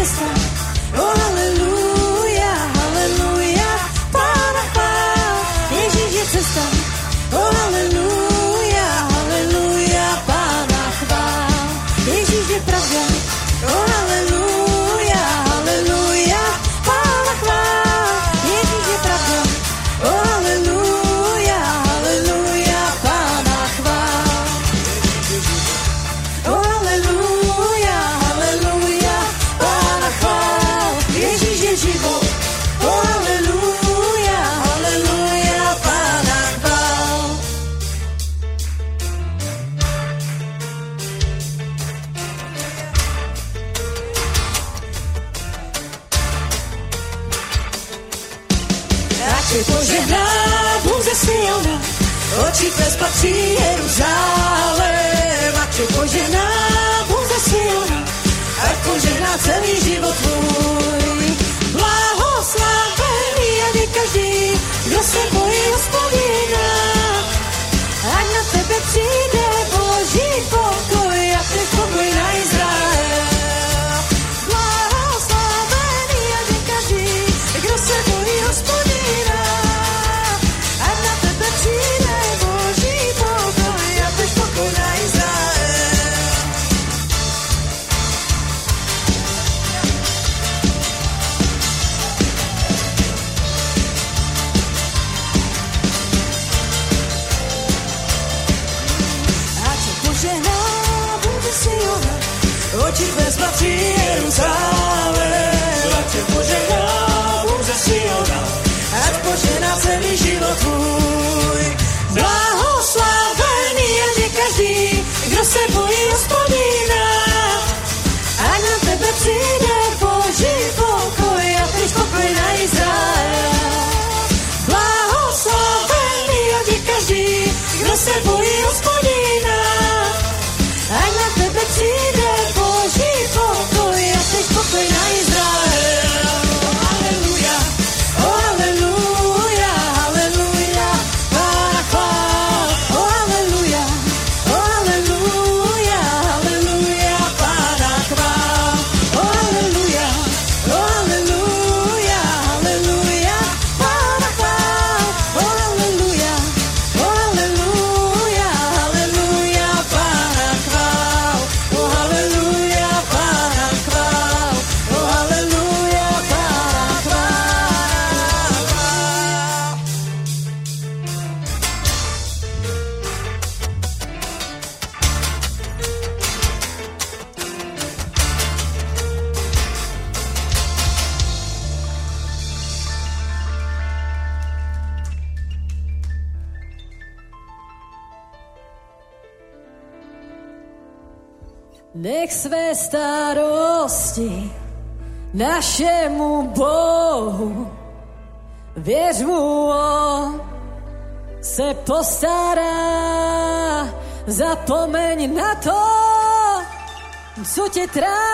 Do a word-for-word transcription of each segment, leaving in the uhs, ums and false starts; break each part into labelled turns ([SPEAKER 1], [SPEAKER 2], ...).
[SPEAKER 1] cesta. O haleluja, haleluja, Pána chvál. Ježíš je cesta. O haleluja, haleluja, Pána chvál. Ježíš je pravda. O haleluja, haleluja, Pána chvál. Ježíš je pravda. O haleluja, haleluja, Pána chvál. O haleluja, haleluja, Pána chvál. Ježíš je život. O haleluja, haleluja, Pána chvál. Ať je požehná Bůh ze Siona, oči tvé spatří Jeruzalém. Ať je požehná Bůh ze Siona, ať požehná celý život tvůj. Blahoslavený ať je každý, kdo se bojí Hospodina. Ať na tebe přijde Boží pokoj a ten pokoj na Izrael. Blahoslavený ať je každý, kdo se bojí Hospodina. Ať na tebe přijde Boží pokoj a ten pokoj na Izrael. Ať se požehná Bůh ze Siona, oči tvé spatří Jeruzalém. Ať se požehná Bůh ze Siona, ať požehná celý život tvůj. Blahoslavený ať je každý, kdo se bojí Hospodina. Ať na tebe přijde Boží pokoj a ten pokoj na Izrael. Blahoslavený ať je každý, kdo se bojí Hospodina. Ať na tebe přijde Boží pokoj a ten pokoj na Izrael. Haleluja, oh haleluja, haleluja, Pána chvál. Oh haleluja, oh haleluja, haleluja, Pána chvál. Oh haleluja, oh haleluja, haleluja, Pána chvál. Oh haleluja, oh haleluja, haleluja, Pána chvál. Oh haleluja, Pána chvál. Oh haleluja, Pána chvál. Nech své starosti našemu Bohu, věř mu, on se postará. Zapomeň na to, co tě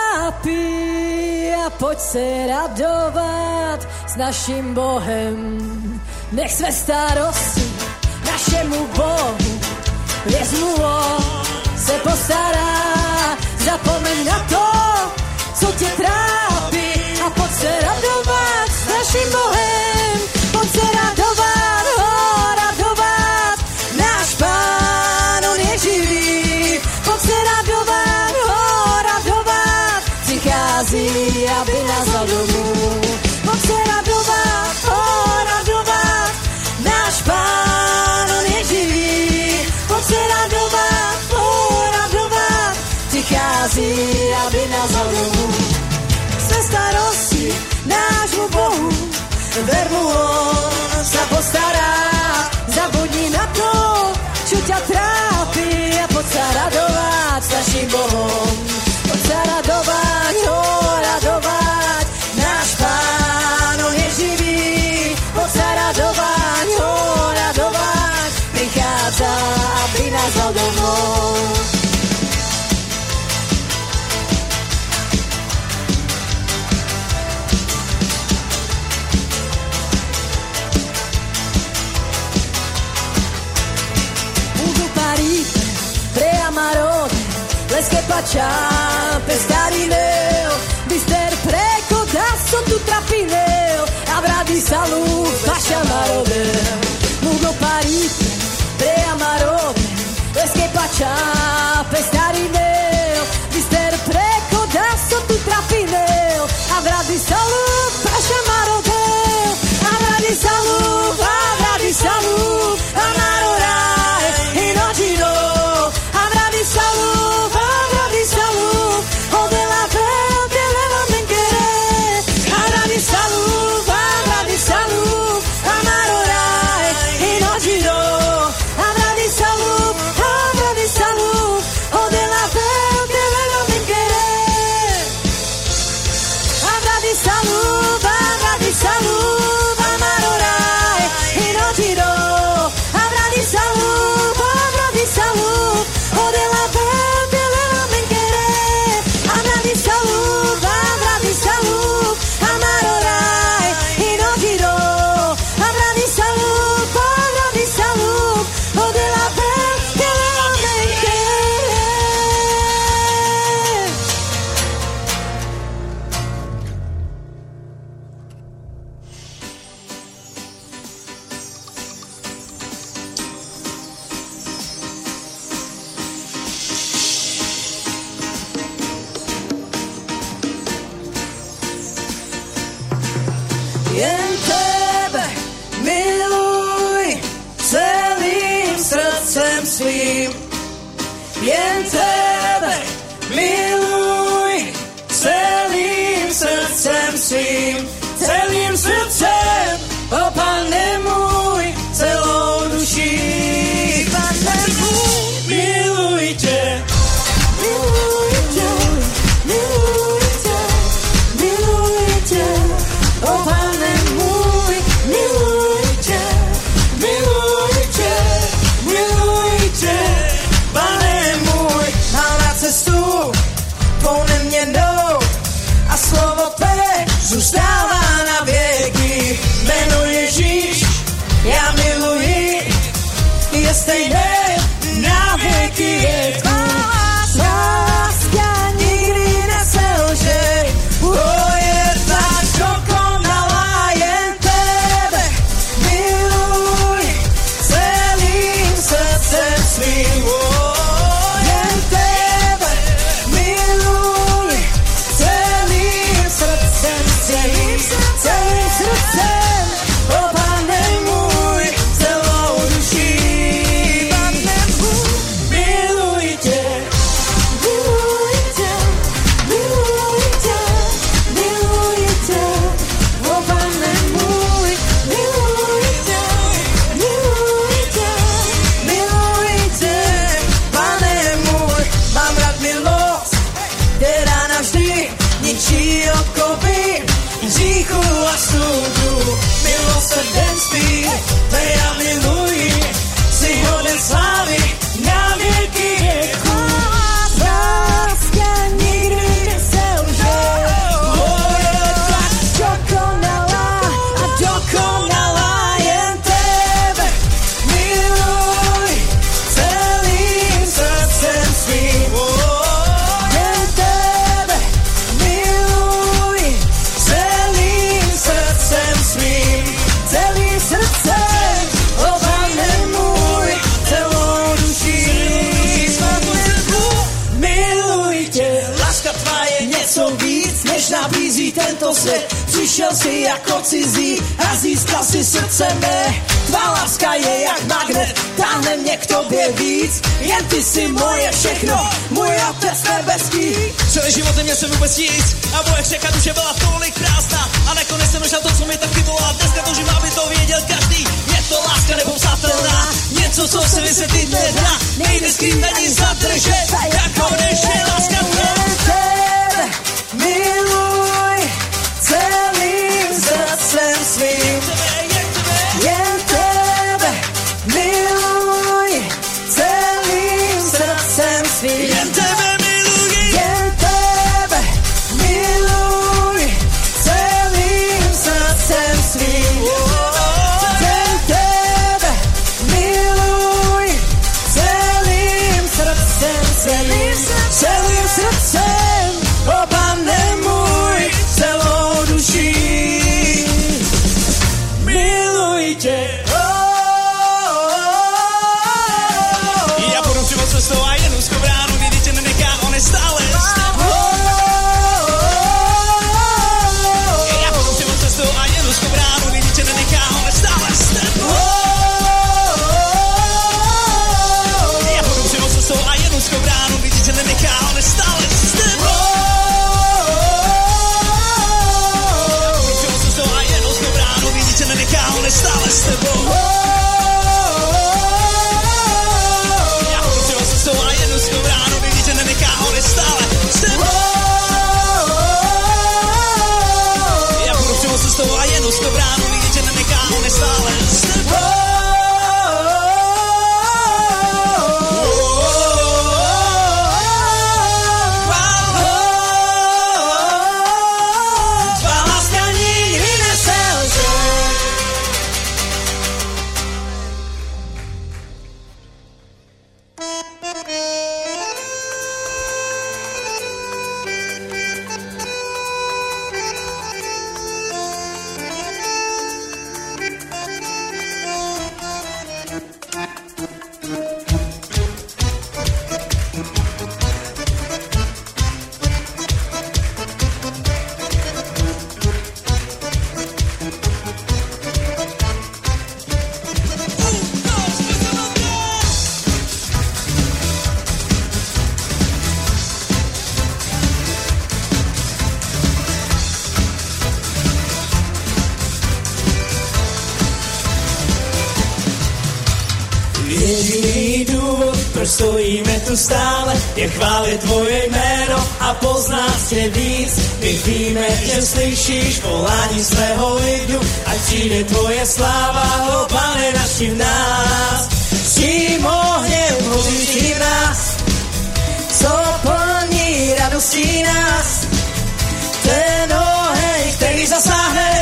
[SPEAKER 1] trápí a pojď se radovat s naším Bohem. Nech své starosti našemu Bohu, věř mu, on se postará. Zapomeň na to, co tě trápí a pojď se radovat s naším Bohem. Pojď se radovat, oh, radovat, náš Pán, on je živý. Pojď se radovat, oh, radovat, přichází, aby nás dal domů. Pojď se radovat, oh, radovat, náš Pán, on je živý. Pojď se radovat, oh, radovat, přichází, aby nás dal domů. Se starosti nášmu Bohu, ver mu, on se postará. Zabudni na to, čo ťa trápi a pojď se radovat s naším Bohom. Pojď se radovat, oh, radovat, náš Pán, on je živý. Pojď se radovat, oh, radovat, prichádza, aby nás dal domov. Les que paccia per stare in eo, mister pre čápe starý mail, mister preko da so tu trapinel, a vradi salup, paša marodel, a vradi salup, a vradi salup, a naroraj, i noći do, a vradi salup, a vradi salup, ode la pel, te leva menkere, a vradi salup, a vradi salup, a naroraj, i noći do, a vradi salup, a vradi salup, ode la pel, te leva menkere, a vradi salup, a vradi salup, a naroraj, i noći do, a vradi salup, a vradi salup, ode la pel, te leva menkere, a vradi salup, a vradi salup, a naroraj, i noći do, a vradi salup, a vradi salup, ode la pel, te leva menkere. Jen tebe miluj celým srdcem svým. Jen tebe miluj celým srdcem svým. Celým srdcem, o Pane můj, celou duší. Pane můj, miluj tě. Miluj tě, miluj tě, miluj tě, o Pane můj, miluj tě, miluj tě, miluj tě, Pane můj. Mám rád cestu tvou neměnnou a slovo tvé zůstává na věky. Jméno Ježíš, já miluji, je stejné na věky věku. Láska nikdy neselže, o je tak dokonalá, jen tebe miluj celým srdcem svým. Jen tebe miluj celým srdcem svým. Celým srdcem, o Pane můj, celou duší. Pane můj, miluj tě, miluj tě, miluj tě, miluj tě, o Pane můj, miluj tě, miluj tě, miluj tě, Pane můj. Mám rád milost, která navždy ničí okovy hříchu a soudu. Milosrdenství, tvé já miluji, si hoden slávy na věky věku. Láska nikdy neselže, o je tak dokonalá a dokonalá, jen tebe miluj celým srdcem svým. Jen tebe miluj celým srdcem svým. Celým srdcem, o Pane můj, celou duší. Miluj tě, láska tvá je něco víc, než nabízí tento svět. Přišel jsi jako cizí a získal si srdce mé. Tvá láska je jak magnet, táhne mě k tobě víc. Jen ty jsi moje všechno, můj otec nebeský.
[SPEAKER 2] Celý život neměl jsem vůbec nic a moje řeka duše byla tolik prázdná a nakonec jsem našel to, co mi tak chybilo a dneska toužím, aby to věděl každý. Je to láska nepopsatelná, něco, co se vysvětlit nedá, nejde skrýt ani zadržet, jako než je láska tvá.
[SPEAKER 1] Tebe miluj celým srdcem svým. Jen tebe miluj celým srdcem svým.
[SPEAKER 2] Jen tebe miluji,
[SPEAKER 1] Jen tebe miluj celým srdcem svým. Jen tebe miluj celým srdcem svým. Celým srdcem
[SPEAKER 2] stojíme tu stále, je chválit tvoje jméno a poznat tě víc. My víme, že slyšíš volání svého lidu, ať přijde tvoje sláva, o Pane, navštív nás. S tím ohněm hořící v nás, co plní radostí nás. Ten oheň, který zasáhne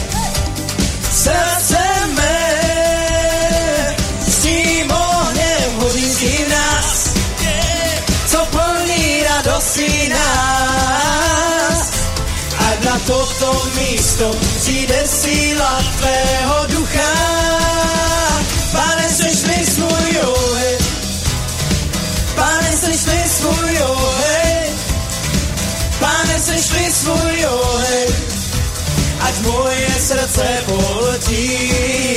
[SPEAKER 2] srdce mé. S tím ohněm hořící v nás, co plní radostí nás. Ať na toto místo přijde síla tvého ducha. Pane, sešli svůj oheň, Pane, sešli svůj oheň, Pane, sešli svůj oheň, ať moje srdce poletí.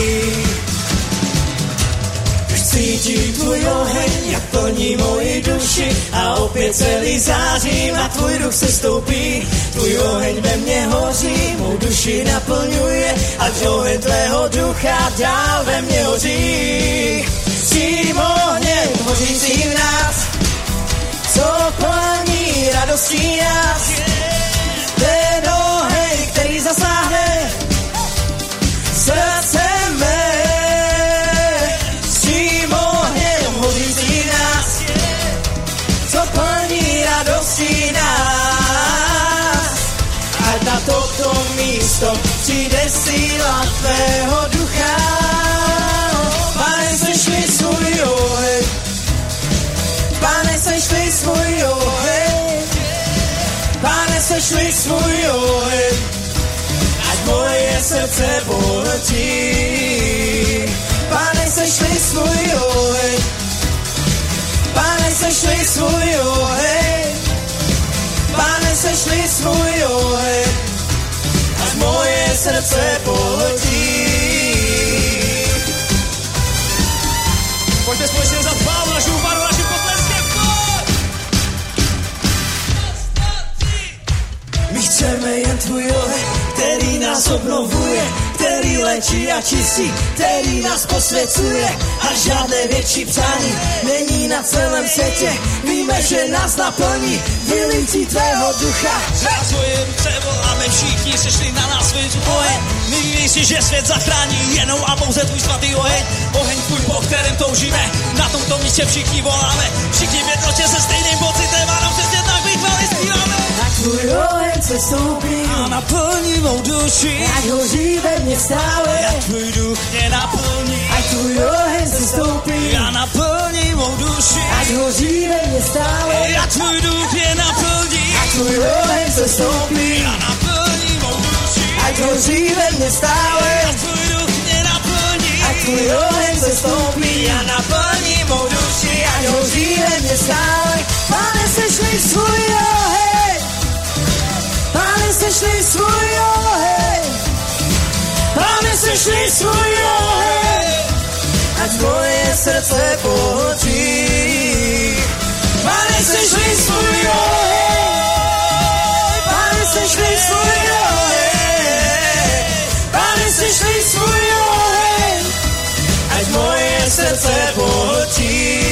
[SPEAKER 2] Už cítím tvůj oheň, jak plní moji duši a opět celý zářím a tvůj duch se stoupí. Tvůj oheň ve mně hoří, mou duši naplňuje, ať oheň tvého ducha dál ve mně hoří. S tím ohněm hořící v nás, co plní radostí nás. Ten oheň, který zasáhne srdce mé. S tím ohněm hořící v nás, co plní radostí nás. Ať na toto místo přijde síla tvého ducha. Pane, sešli svůj oheň, Pane, sešli svůj oheň, Pane, sešli svůj oheň, ať moje srdce poletí. Pane, sešli svůj oheň, Pane, sešli svůj oheň, Pane, sešli svůj oheň, ať moje srdce poletí. Pojďte společně za Pánu, našemu Pánu, našim potleskem. My chceme jen tvůj oheň, který nás obnovuje, který léčí a čistí, který nás posvěcuje. A žádné větší přání není na celém světě. Víme, že nás naplní vylití tvého ducha. Za tvoje převoláme všichni, sešli na nás svůj oheň. My víš, že svět zachrání jenom a pouze tvůj svatý oheň. Oheň tvůj, po kterém toužíme, na tomto místě všichni voláme. Všichni v jednotě se stejným pocitem a nám přesně tak vychváli zpíváme. Tak tvůj oheň se stoupí a naplní mou duši, ať hoří ve mně stále, ať tvůj duch mě naplní. Ať tvůj oheň se stoupí a naplní mou duši, ať hoří ve mně stále, ať tvůj duch mě naplní. Ať tvůj oheň se stoupí a naplní mou duši, ať hoří ve mně stále, ať tvůj duch mě naplní. Ať tvůj oheň se stoupí a naplní mou duši, ať hoří ve mně stále. Pane, sešli svůj oheň, Pane, sešli svůj oheň, Pane, sešli svůj oheň, ať moje srdce pohltí. Pane, sešli svůj oheň, Pane, sešli svůj oheň, Pane, sešli svůj oheň, ať moje srdce pohltí.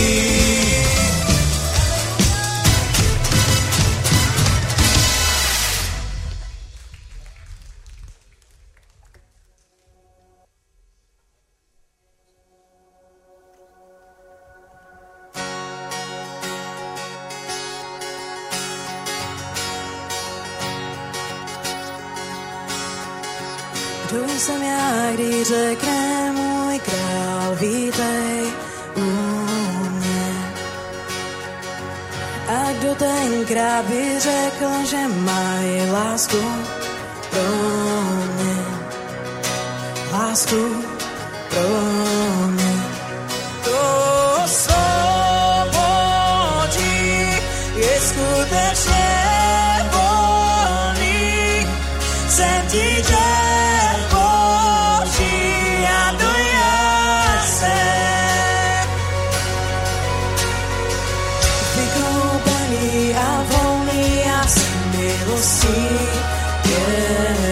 [SPEAKER 1] Kdo jsem já, když řekne můj král, vítej u mě. A kdo tenkrát by řekl, že mají lásku pro mě, lásku pro mě. To svobodí je skutečně volný, jsem ti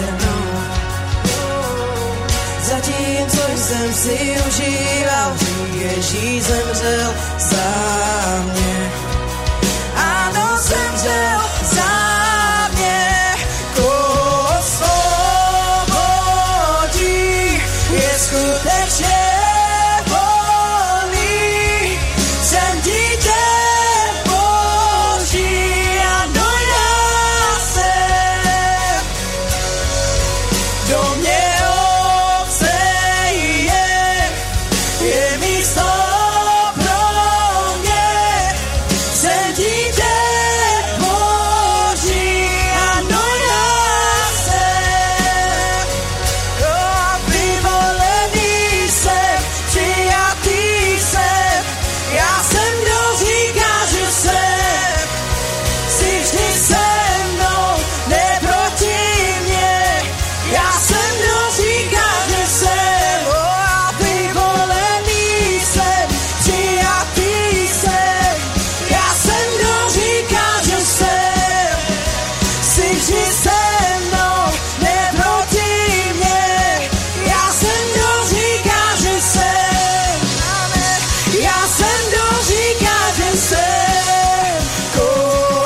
[SPEAKER 1] zatímco jsem si užíval
[SPEAKER 2] Ježíš zemřel za mě. Ano, zemřel za mě. Koho osvobodí, je skutečně volný. Jsem dítě Boží, ano, já jsem. Do mě Otce je, je místo pro mě. Jsem dítě Boží, ano, já jsem. Vyvolený jsem, přijatý jsem. Já jsem, kdo říká, že jsem. Jsi vždy se mnou, ne proti mně. Já jsem, kdo říká, že jsem. Vyvolený jsem, přijatý jsem. Já jsem, kdo říká, že jsem. Jsi vždy se mnou, ne proti mně. Já jsem, kdo říká, že jsem. Já jsem, kdo říká, že jsem. Koho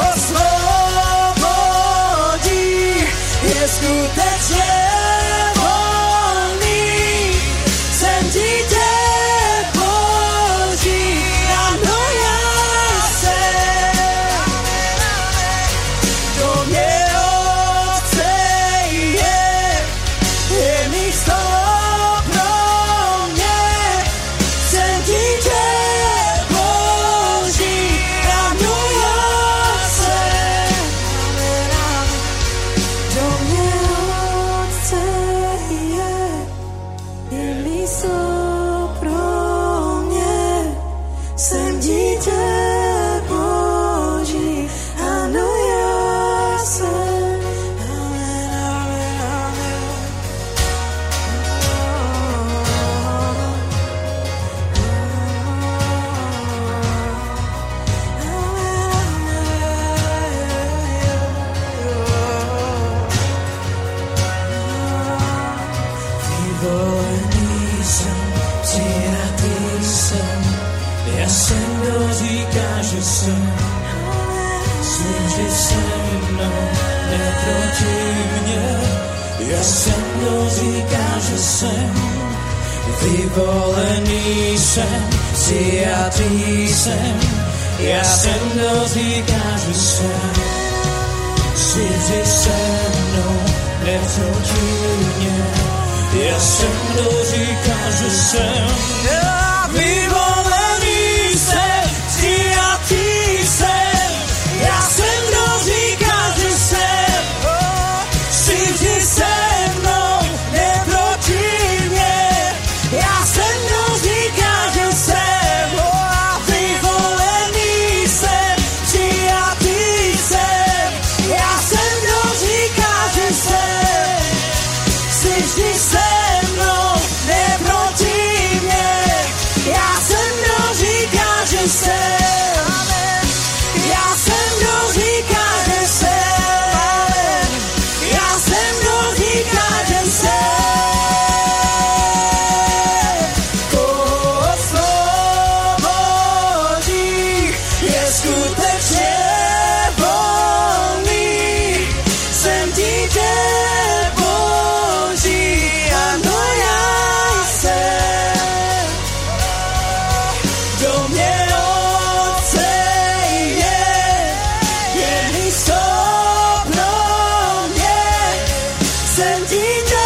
[SPEAKER 2] osvobodí, je skutečně volný. Jsem dítě Boží, ano, já jsem. Do mě Otce je, je místo pro mě. Jsem dítě Boží, ano, já jsem. Do mě Otce je, je místo pro mě. Jsem dítě Boží, ano, já jsem. Amen, amen, amen. Vyvolený jsem, přijatý jsem. Já jsem, kdo říká, že jsem. Jsi vždy se mnou, ne proti mně. Já jsem, kdo říká, že jsem. Vyvolený jsem, přijatý jsem. Já jsem, kdo říká, že jsem. Jsi vždy se mnou, ne proti mně. Já jsem, kdo říká, že jsem. Vyvolený jsem, přijatý jsem. Já jsem, kdo říká, že jsem. Jsi vždy se mnou, ne proti mně. Já jsem, kdo říká, že jsem. Vyvolený jsem, přijatý jsem. Já jsem, kdo říká, že jsem. Jsi vždy se mnou, ne proti mně. Já jsem, kdo říká, že jsem. Já jsem, kdo říká, že jsem. Já jsem, kdo říká, že jsem. Koho osvobodí, je skutečně volný. Jsem dítě Boží, ano, já jsem. Do mě Otce je, je místo pro mě. Jsem dítě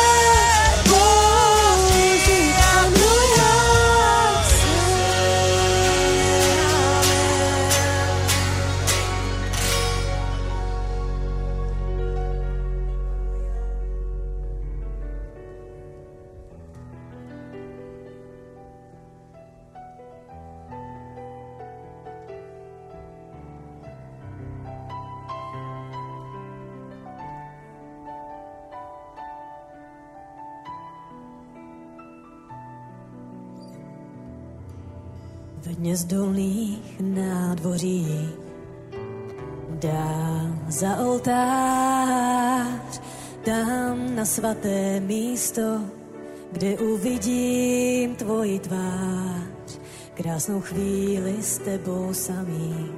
[SPEAKER 2] Boží, ano, já jsem.
[SPEAKER 1] Ve dně zdolných nádvoří dál za oltář, tam na svaté místo, kde uvidím tvoji tvář. krásnou chvíli s tebou samý.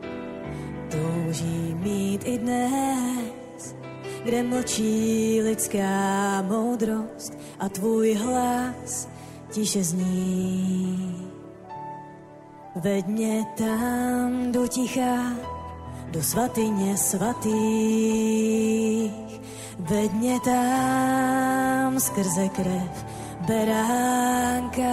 [SPEAKER 1] Touží mít i dnes, kde mlčí lidská moudrost a tvůj hlas tiše zní. Veď mě tam do ticha, do svatyně svatých. Veď mě tam skrze krev beránka.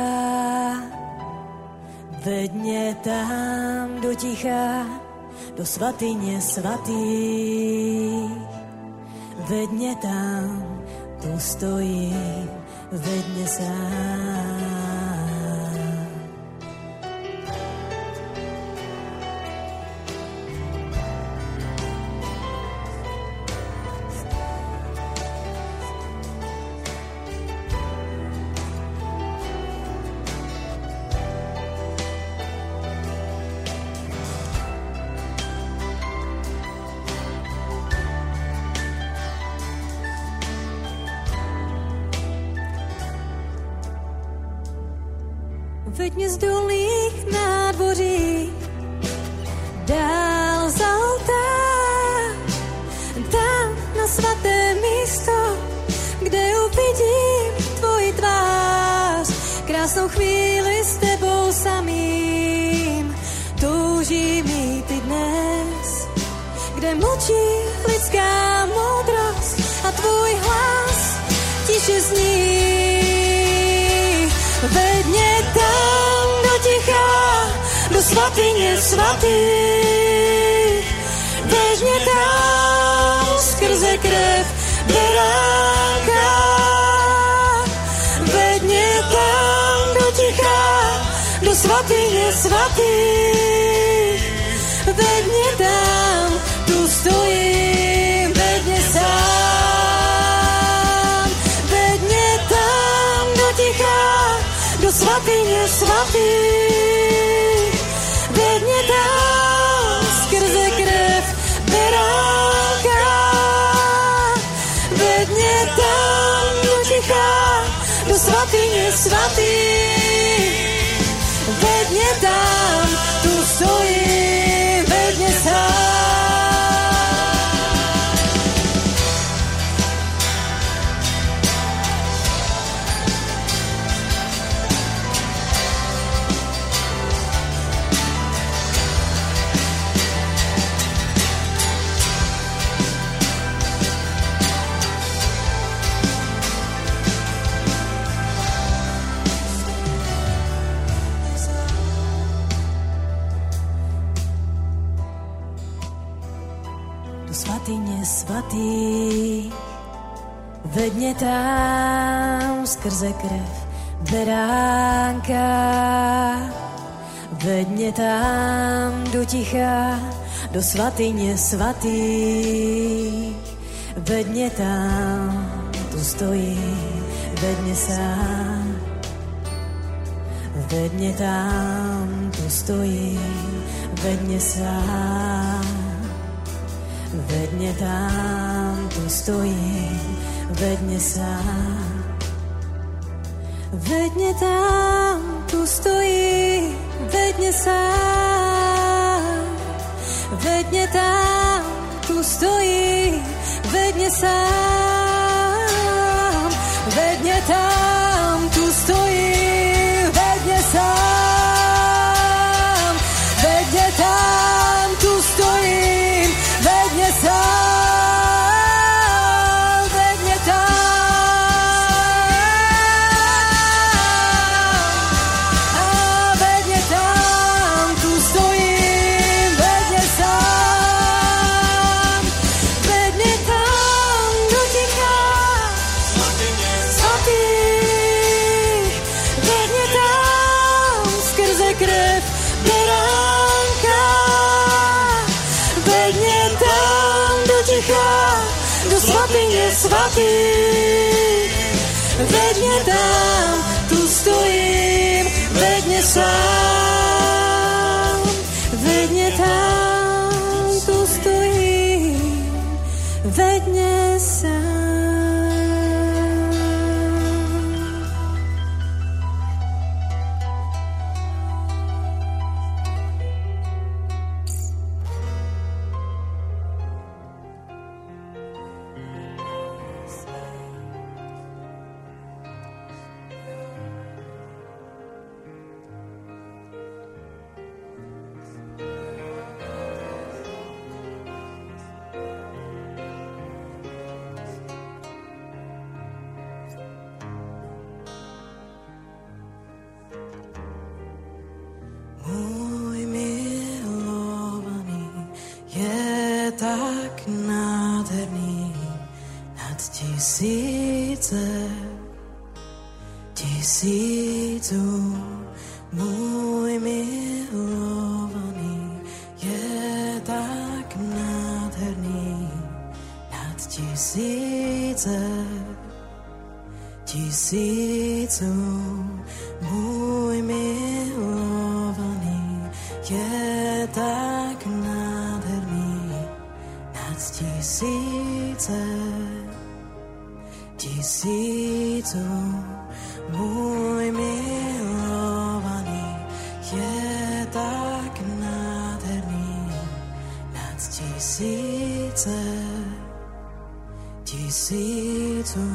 [SPEAKER 1] Veď mě tam do ticha, do svatyně svatých. Veď mě tam, tu stojím, veď mě sám. Veď mě z dolných nádvoří dál za oltář, tam na svaté místo, kde uvidím tvoji tvář. Krásnou chvíli s tebou samým toužím mít i dnes, kde mlčí lidská moudrost a tvůj hlas tiše zní. Veď mě tam do ticha, do svatyně svatých. Veď mě tam skrze krev beránka. Veď mě tam do ticha, do svatyně svatých. Veď mě tam, tu stojím, veď mě sám. Veď mě tam do ticha, do svatyně svatých. Veď mě tam skrze krev beránka. Veď mě tam do ticha, do svatyně svatých. Veď mě tam, tu stojím, veď mě sám. Svatyně svatý, veď mě tam skrze krev beránka. Veď mě tam do ticha, do svatyně svatý. Veď mě tam, tu stojí, veď mě sám. Veď mě tam, tu stojí, veď mě sám. Veď mě tam, tu stojím, veď mě sám. Veď mě tam, tu stojím, veď mě sám. Veď mě tam, tu stojím, veď mě sám. Veď mě tam, tu stojím, veď mě sám. Veď mě tam, tu stojím, veď mě sám, veď mě tam, a veď mě tam, tu stojím, veď mě sám, veď mě tam do ticha, svatých, veď mě tam skrze krev beránka, veď mě tam do ticha, do svatyně svatých. Veď mě tam, tu stojím, veď mě sám. Veď mě tam, tu stojím, veď mě sám.
[SPEAKER 3] tak nádherný nad tisíce, tisíců. Můj milovaný je tak nádherný nad tisíce, tisíců. Můj milovaný je tak nádherný nad tisíce, tisíců. Můj milovaný je tak nádherný nad tisíce, tisíců.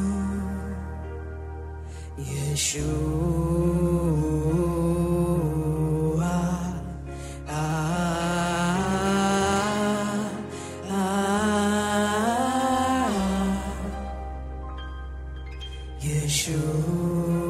[SPEAKER 3] Ješua, a, a, a, Ješua.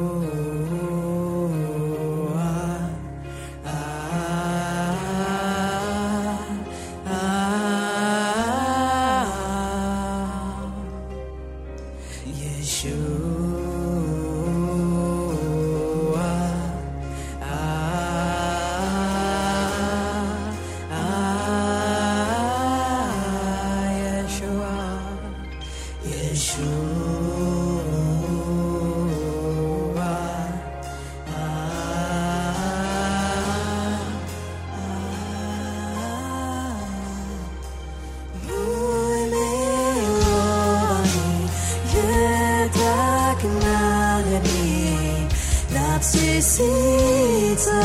[SPEAKER 3] Tisíce,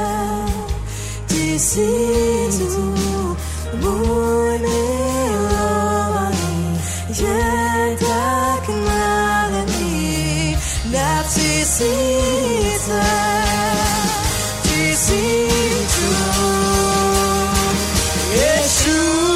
[SPEAKER 3] tisíců, můj milovaný je tak nádherný na tisíce, tisíců. Ješua,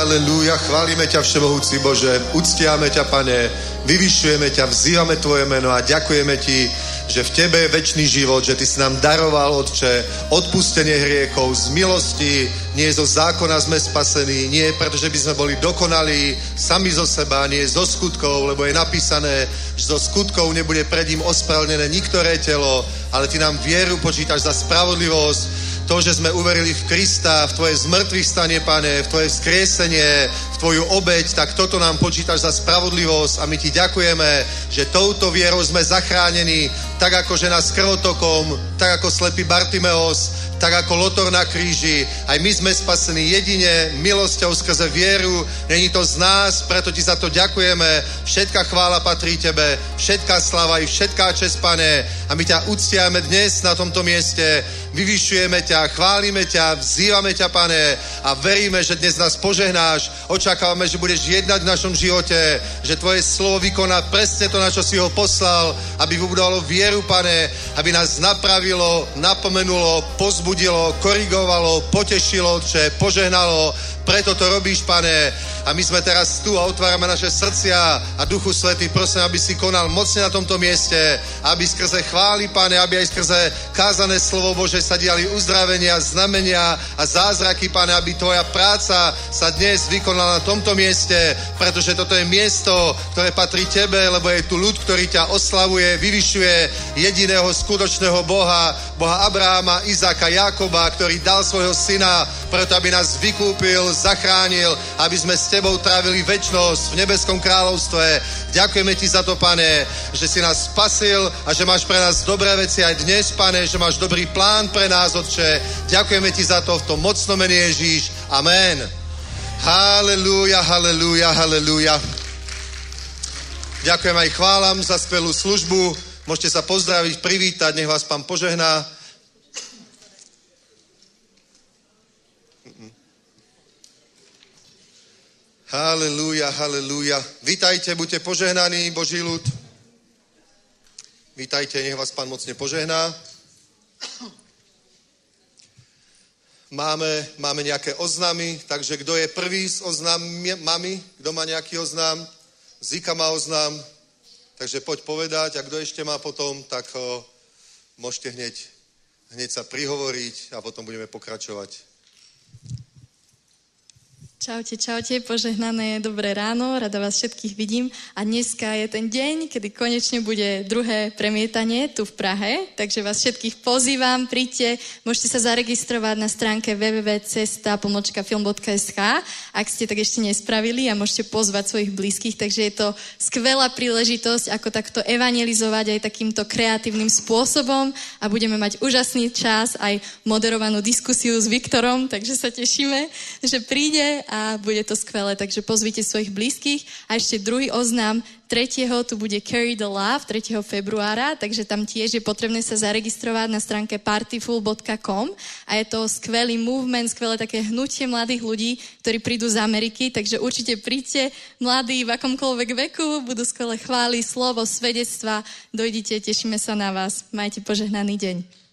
[SPEAKER 4] halelúja, chválime ťa, Všemohúci Bože, uctiame ťa, Pane, vyvyšujeme ťa, vzývame tvoje meno a ďakujeme ti, že v tebe je večný život, že ty si nám daroval, Otče, odpustenie hriechov z milosti, nie zo zákona sme spasení, nie pretože by sme boli dokonalí sami zo seba, nie zo skutkov, lebo je napísané, že zo skutkov nebude pred ním ospravedlnené niktoré telo, ale ty nám vieru počítaš za spravodlivosť. To, že sme uverili v Krista, v tvoje zmrtvých stanie, Pane, v tvoje vzkriesenie, v tvoju obeť, tak toto nám počítaš za spravodlivosť a my ti ďakujeme, že touto vierou sme zachránení, tak ako žena s krvotokom, tak ako slepý Bartimeos, tak ako Lotor na kríži. Aj my sme spasení jedine milosťou skrze vieru. Není to z nás, preto ti za to ďakujeme. Všetká chvála patrí tebe, všetká sláva i všetká česť, Pane. A my ťa uctiame dnes na tomto mieste. Vyvyšujeme ťa, chválime ťa, vzývame ťa, Pane, a veríme, že dnes nás požehnáš. Očakávame, že budeš jednať v našom živote, že tvoje slovo vykoná presne to, na čo si ho poslal, aby vybudovalo vieru, Pane, aby nás napravilo, napomenulo, pozbudilo, korigovalo, potešilo, Otče, požehnalo. Preto to robíš, Pane. A my sme teraz tu a otvárame naše srdcia a Duchu Svätý, prosím, aby si konal mocne na tomto mieste, aby skrze chvály, Pane, aby aj skrze kázané slovo Bože sa diali uzdravenia, znamenia a zázraky, Pane, aby tvoja práca sa dnes vykonala na tomto mieste, pretože toto je miesto, ktoré patrí tebe, lebo je tu ľud, ktorý ťa oslavuje, vyvyšuje jediného skutočného Boha, Boha Abraháma, Izáka, Jákoba, ktorý dal svojho syna, preto aby nás vykúpil, zachránil, aby sme s tebou trávili večnosť v nebeskom kráľovstve. Ďakujeme ti za to, Pane, že si nás spasil a že máš pre nás dobré veci aj dnes, Pane, že máš dobrý plán pre nás, Otče. Ďakujeme ti za to v tom mocnom mene Ježíš. Amen. Halelúja, halelúja, halelúja. Ďakujem aj chválam za skvelú službu. Môžete sa pozdraviť, privítať, nech vás Pán požehná. Halelúja, halelúja. Vítajte, buďte požehnaní, Boží ľud. Vítajte, nech vás Pán mocne požehná. Máme, máme nejaké oznámy, takže kto je prvý s oznámami? Kto má nejaký oznám? Zika má oznám, takže poď povedať, a kto ešte má potom, tak ho môžete hneď, hneď sa prihovoriť a potom budeme pokračovať.
[SPEAKER 5] Čaute, čaute, požehnané dobré ráno, rada vás všetkých vidím a dneska je ten deň, kedy konečne bude druhé premietanie tu v Prahe, takže vás všetkých pozývam, príďte, môžete sa zaregistrovať na stránke w w w bodka cesta pomlčka film bodka es ká, ak ste tak ešte nespravili, a môžete pozvať svojich blízkych, takže je to skvelá príležitosť, ako takto evangelizovať aj takýmto kreatívnym spôsobom a budeme mať úžasný čas, aj moderovanú diskusiu s Viktorom, takže sa tešíme, že príde a bude to skvelé, takže pozvite svojich blízkych. A ešte druhý oznám, tretieho tu bude Carry the Love, tretieho februára, takže tam tiež je potrebné sa zaregistrovať na stránke partyful bodka com a je to skvelý movement, skvelé také hnutie mladých ľudí, ktorí prídu z Ameriky, takže určite príďte, mladí v akomkoľvek veku, budú skvelé chvály, slovo, svedectva, dojdite, tešíme sa na vás, majte požehnaný deň.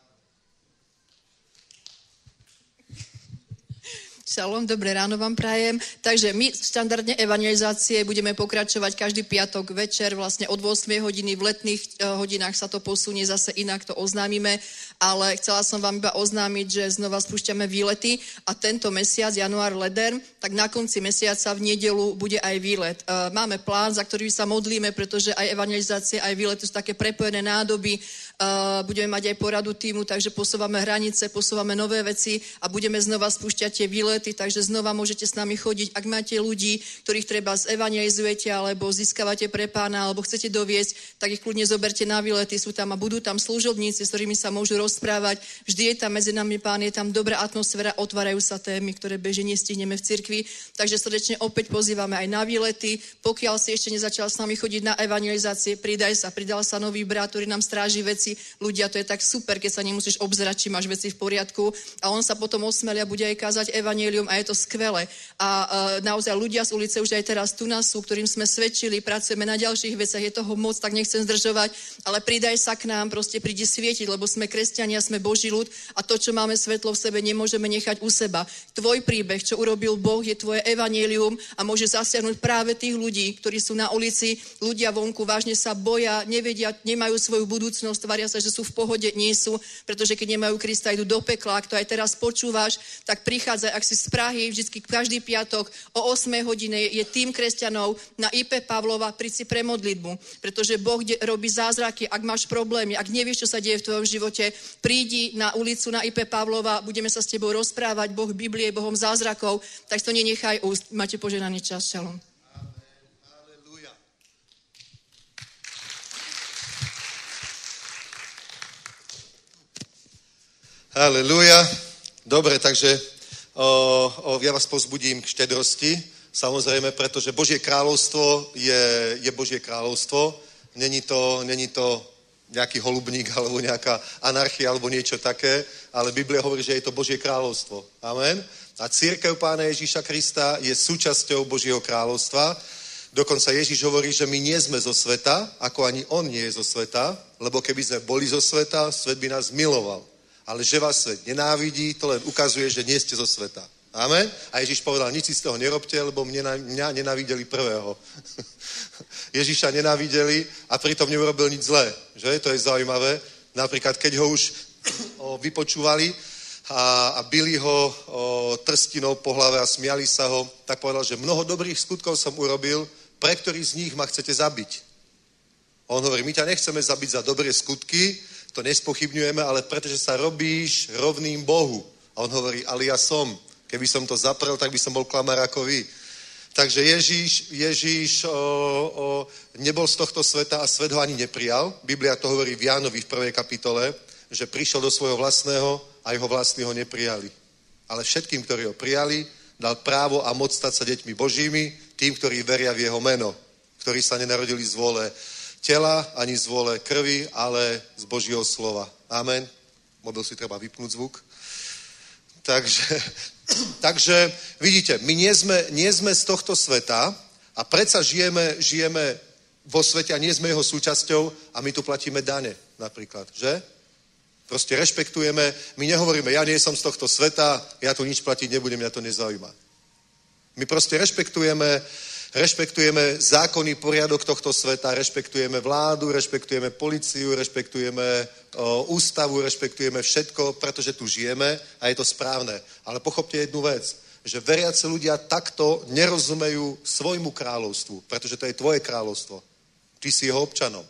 [SPEAKER 6] Šalom, dobré ráno vám prajem. Takže my štandardne evangelizácie budeme pokračovať každý piatok večer, vlastne od ôsmej hodiny, v letných hodinách sa to posunie, zase inak to oznámime, ale chcela som vám iba oznámiť, že znova spúšťame výlety a tento mesiac, január, leden, tak na konci mesiaca v nedeľu bude aj výlet. Máme plán, za ktorý sa modlíme, pretože aj evangelizácie, aj výlety sú také prepojené nádoby. Budeme mať aj poradu týmu, takže posúvame hranice, posúvame nové veci a budeme znova spúšťať tie výlety, takže znova môžete s nami chodiť. Ak máte ľudí, ktorých treba zevangelizujete alebo získavate pre Pána alebo chcete doviesť, tak ich kľudne zoberte na výlety, sú tam a budú tam služobníci, s ktorými sa môžu rozprávať. Vždy je tam medzi nami Pán, je tam dobrá atmosféra, otvárajú sa témy, ktoré bežne nestihneme v cirkvi. Takže srdečne opäť pozývame aj na výlety. Pokiaľ si ešte nezačal s nami chodiť na evangelizácie, pridaj sa, pridal sa nový brat, ktorý nám stráži veci. Ľudia, to je tak super, keď sa nemusíš obzerať, či máš veci v poriadku. A on sa potom osmelia, bude aj kázať evangelium evanjelium a je to skvelé. A uh, naozaj ľudia z ulice už aj teraz tu nás sú, ktorým sme svedčili, pracujeme na ďalších veciach, je toho moc, tak nechcem zdržovať, ale pridaj sa k nám, proste prídi svietiť, lebo sme kresťania, sme Boží ľud a to, čo máme svetlo v sebe, nemôžeme nechať u seba. Tvoj príbeh, čo urobil Boh, je tvoje evanjelium a môže zasiahnuť práve tých ľudí, ktorí sú na ulici, ľudia vonku vážne sa boja, nevedia, nemajú svoju budúcnosť, tvária sa, že sú v pohode, nie sú, pretože keď nemajú Krista, idú do pekla. Ak to aj teraz počúvaš, tak prichádzaj, ak si z Prahy, vždycky každý piatok o ôsmej hodine je tým kresťanov na í pé Pavlova, príď si pre modlitbu, pretože Boh robí zázraky. Ak máš problémy, ak nevieš, čo sa deje v tvojom živote, prídi na ulicu na í pé Pavlova, budeme sa s tebou rozprávať, Boh Biblie je Bohom zázrakov, tak to nenechaj úst. Máte požehnaný čas. Šalom.
[SPEAKER 4] Halelúja. Dobre, takže o, o, ja vás povzbudím k štedrosti, samozrejme, pretože Božie kráľovstvo je, je Božie kráľovstvo. Není to, není to nejaký holubník alebo nejaká anarchia alebo niečo také, ale Biblia hovorí, že je to Božie kráľovstvo. Amen. A cirkev Pána Ježíša Krista je súčasťou Božieho kráľovstva. Dokonca Ježíš hovorí, že my nie sme zo sveta, ako ani on nie je zo sveta, lebo keby sme boli zo sveta, svet by nás miloval. Ale že vás svet nenávidí, to len ukazuje, že nie ste zo sveta. Amen? A Ježíš povedal, nič si z toho nerobte, lebo mňa, mňa nenávideli prvého. Ježíša nenávideli a pritom neurobil nič zlé. Že? To je zaujímavé. Napríklad, keď ho už o, vypočúvali a, a bili ho o, trstinou po hlave a smiali sa ho, tak povedal, že mnoho dobrých skutkov som urobil, pre ktorý z nich ma chcete zabiť. A on hovorí, my ťa nechceme zabiť za dobré skutky, to nespochybňujeme, ale pretože sa robíš rovným Bohu. A on hovorí, ale ja som. Keby som to zaprel, tak by som bol klamár ako vy. Takže Ježíš, Ježíš o, o, nebol z tohto sveta a svet ho ani neprijal. Biblia to hovorí v Jánovi v prvej kapitole, že prišiel do svojho vlastného a jeho vlastní ho neprijali. Ale všetkým, ktorí ho prijali, dal právo a moc stať sa deťmi Božími, tým, ktorí veria v jeho meno, ktorí sa nenarodili z vôle tela, ani z vôle krvi, ale z Božieho slova. Amen. Mobil si treba vypnúť zvuk. Takže, takže vidíte, my nie sme, nie sme z tohto sveta a predsa žijeme, žijeme vo svete a nie sme jeho súčasťou a my tu platíme dane napríklad, že? Proste rešpektujeme, my nehovoríme, ja nie som z tohto sveta, ja tu nič platiť nebudem, mňa to nezaujíma. My proste rešpektujeme Rešpektujeme zákonný poriadok tohto sveta, rešpektujeme vládu, rešpektujeme políciu, rešpektujeme o, ústavu, rešpektujeme všetko, pretože tu žijeme a je to správne. Ale pochopte jednu vec, že veriaci ľudia takto nerozumejú svojmu kráľovstvu, pretože to je tvoje kráľovstvo. Ty si jeho občanom.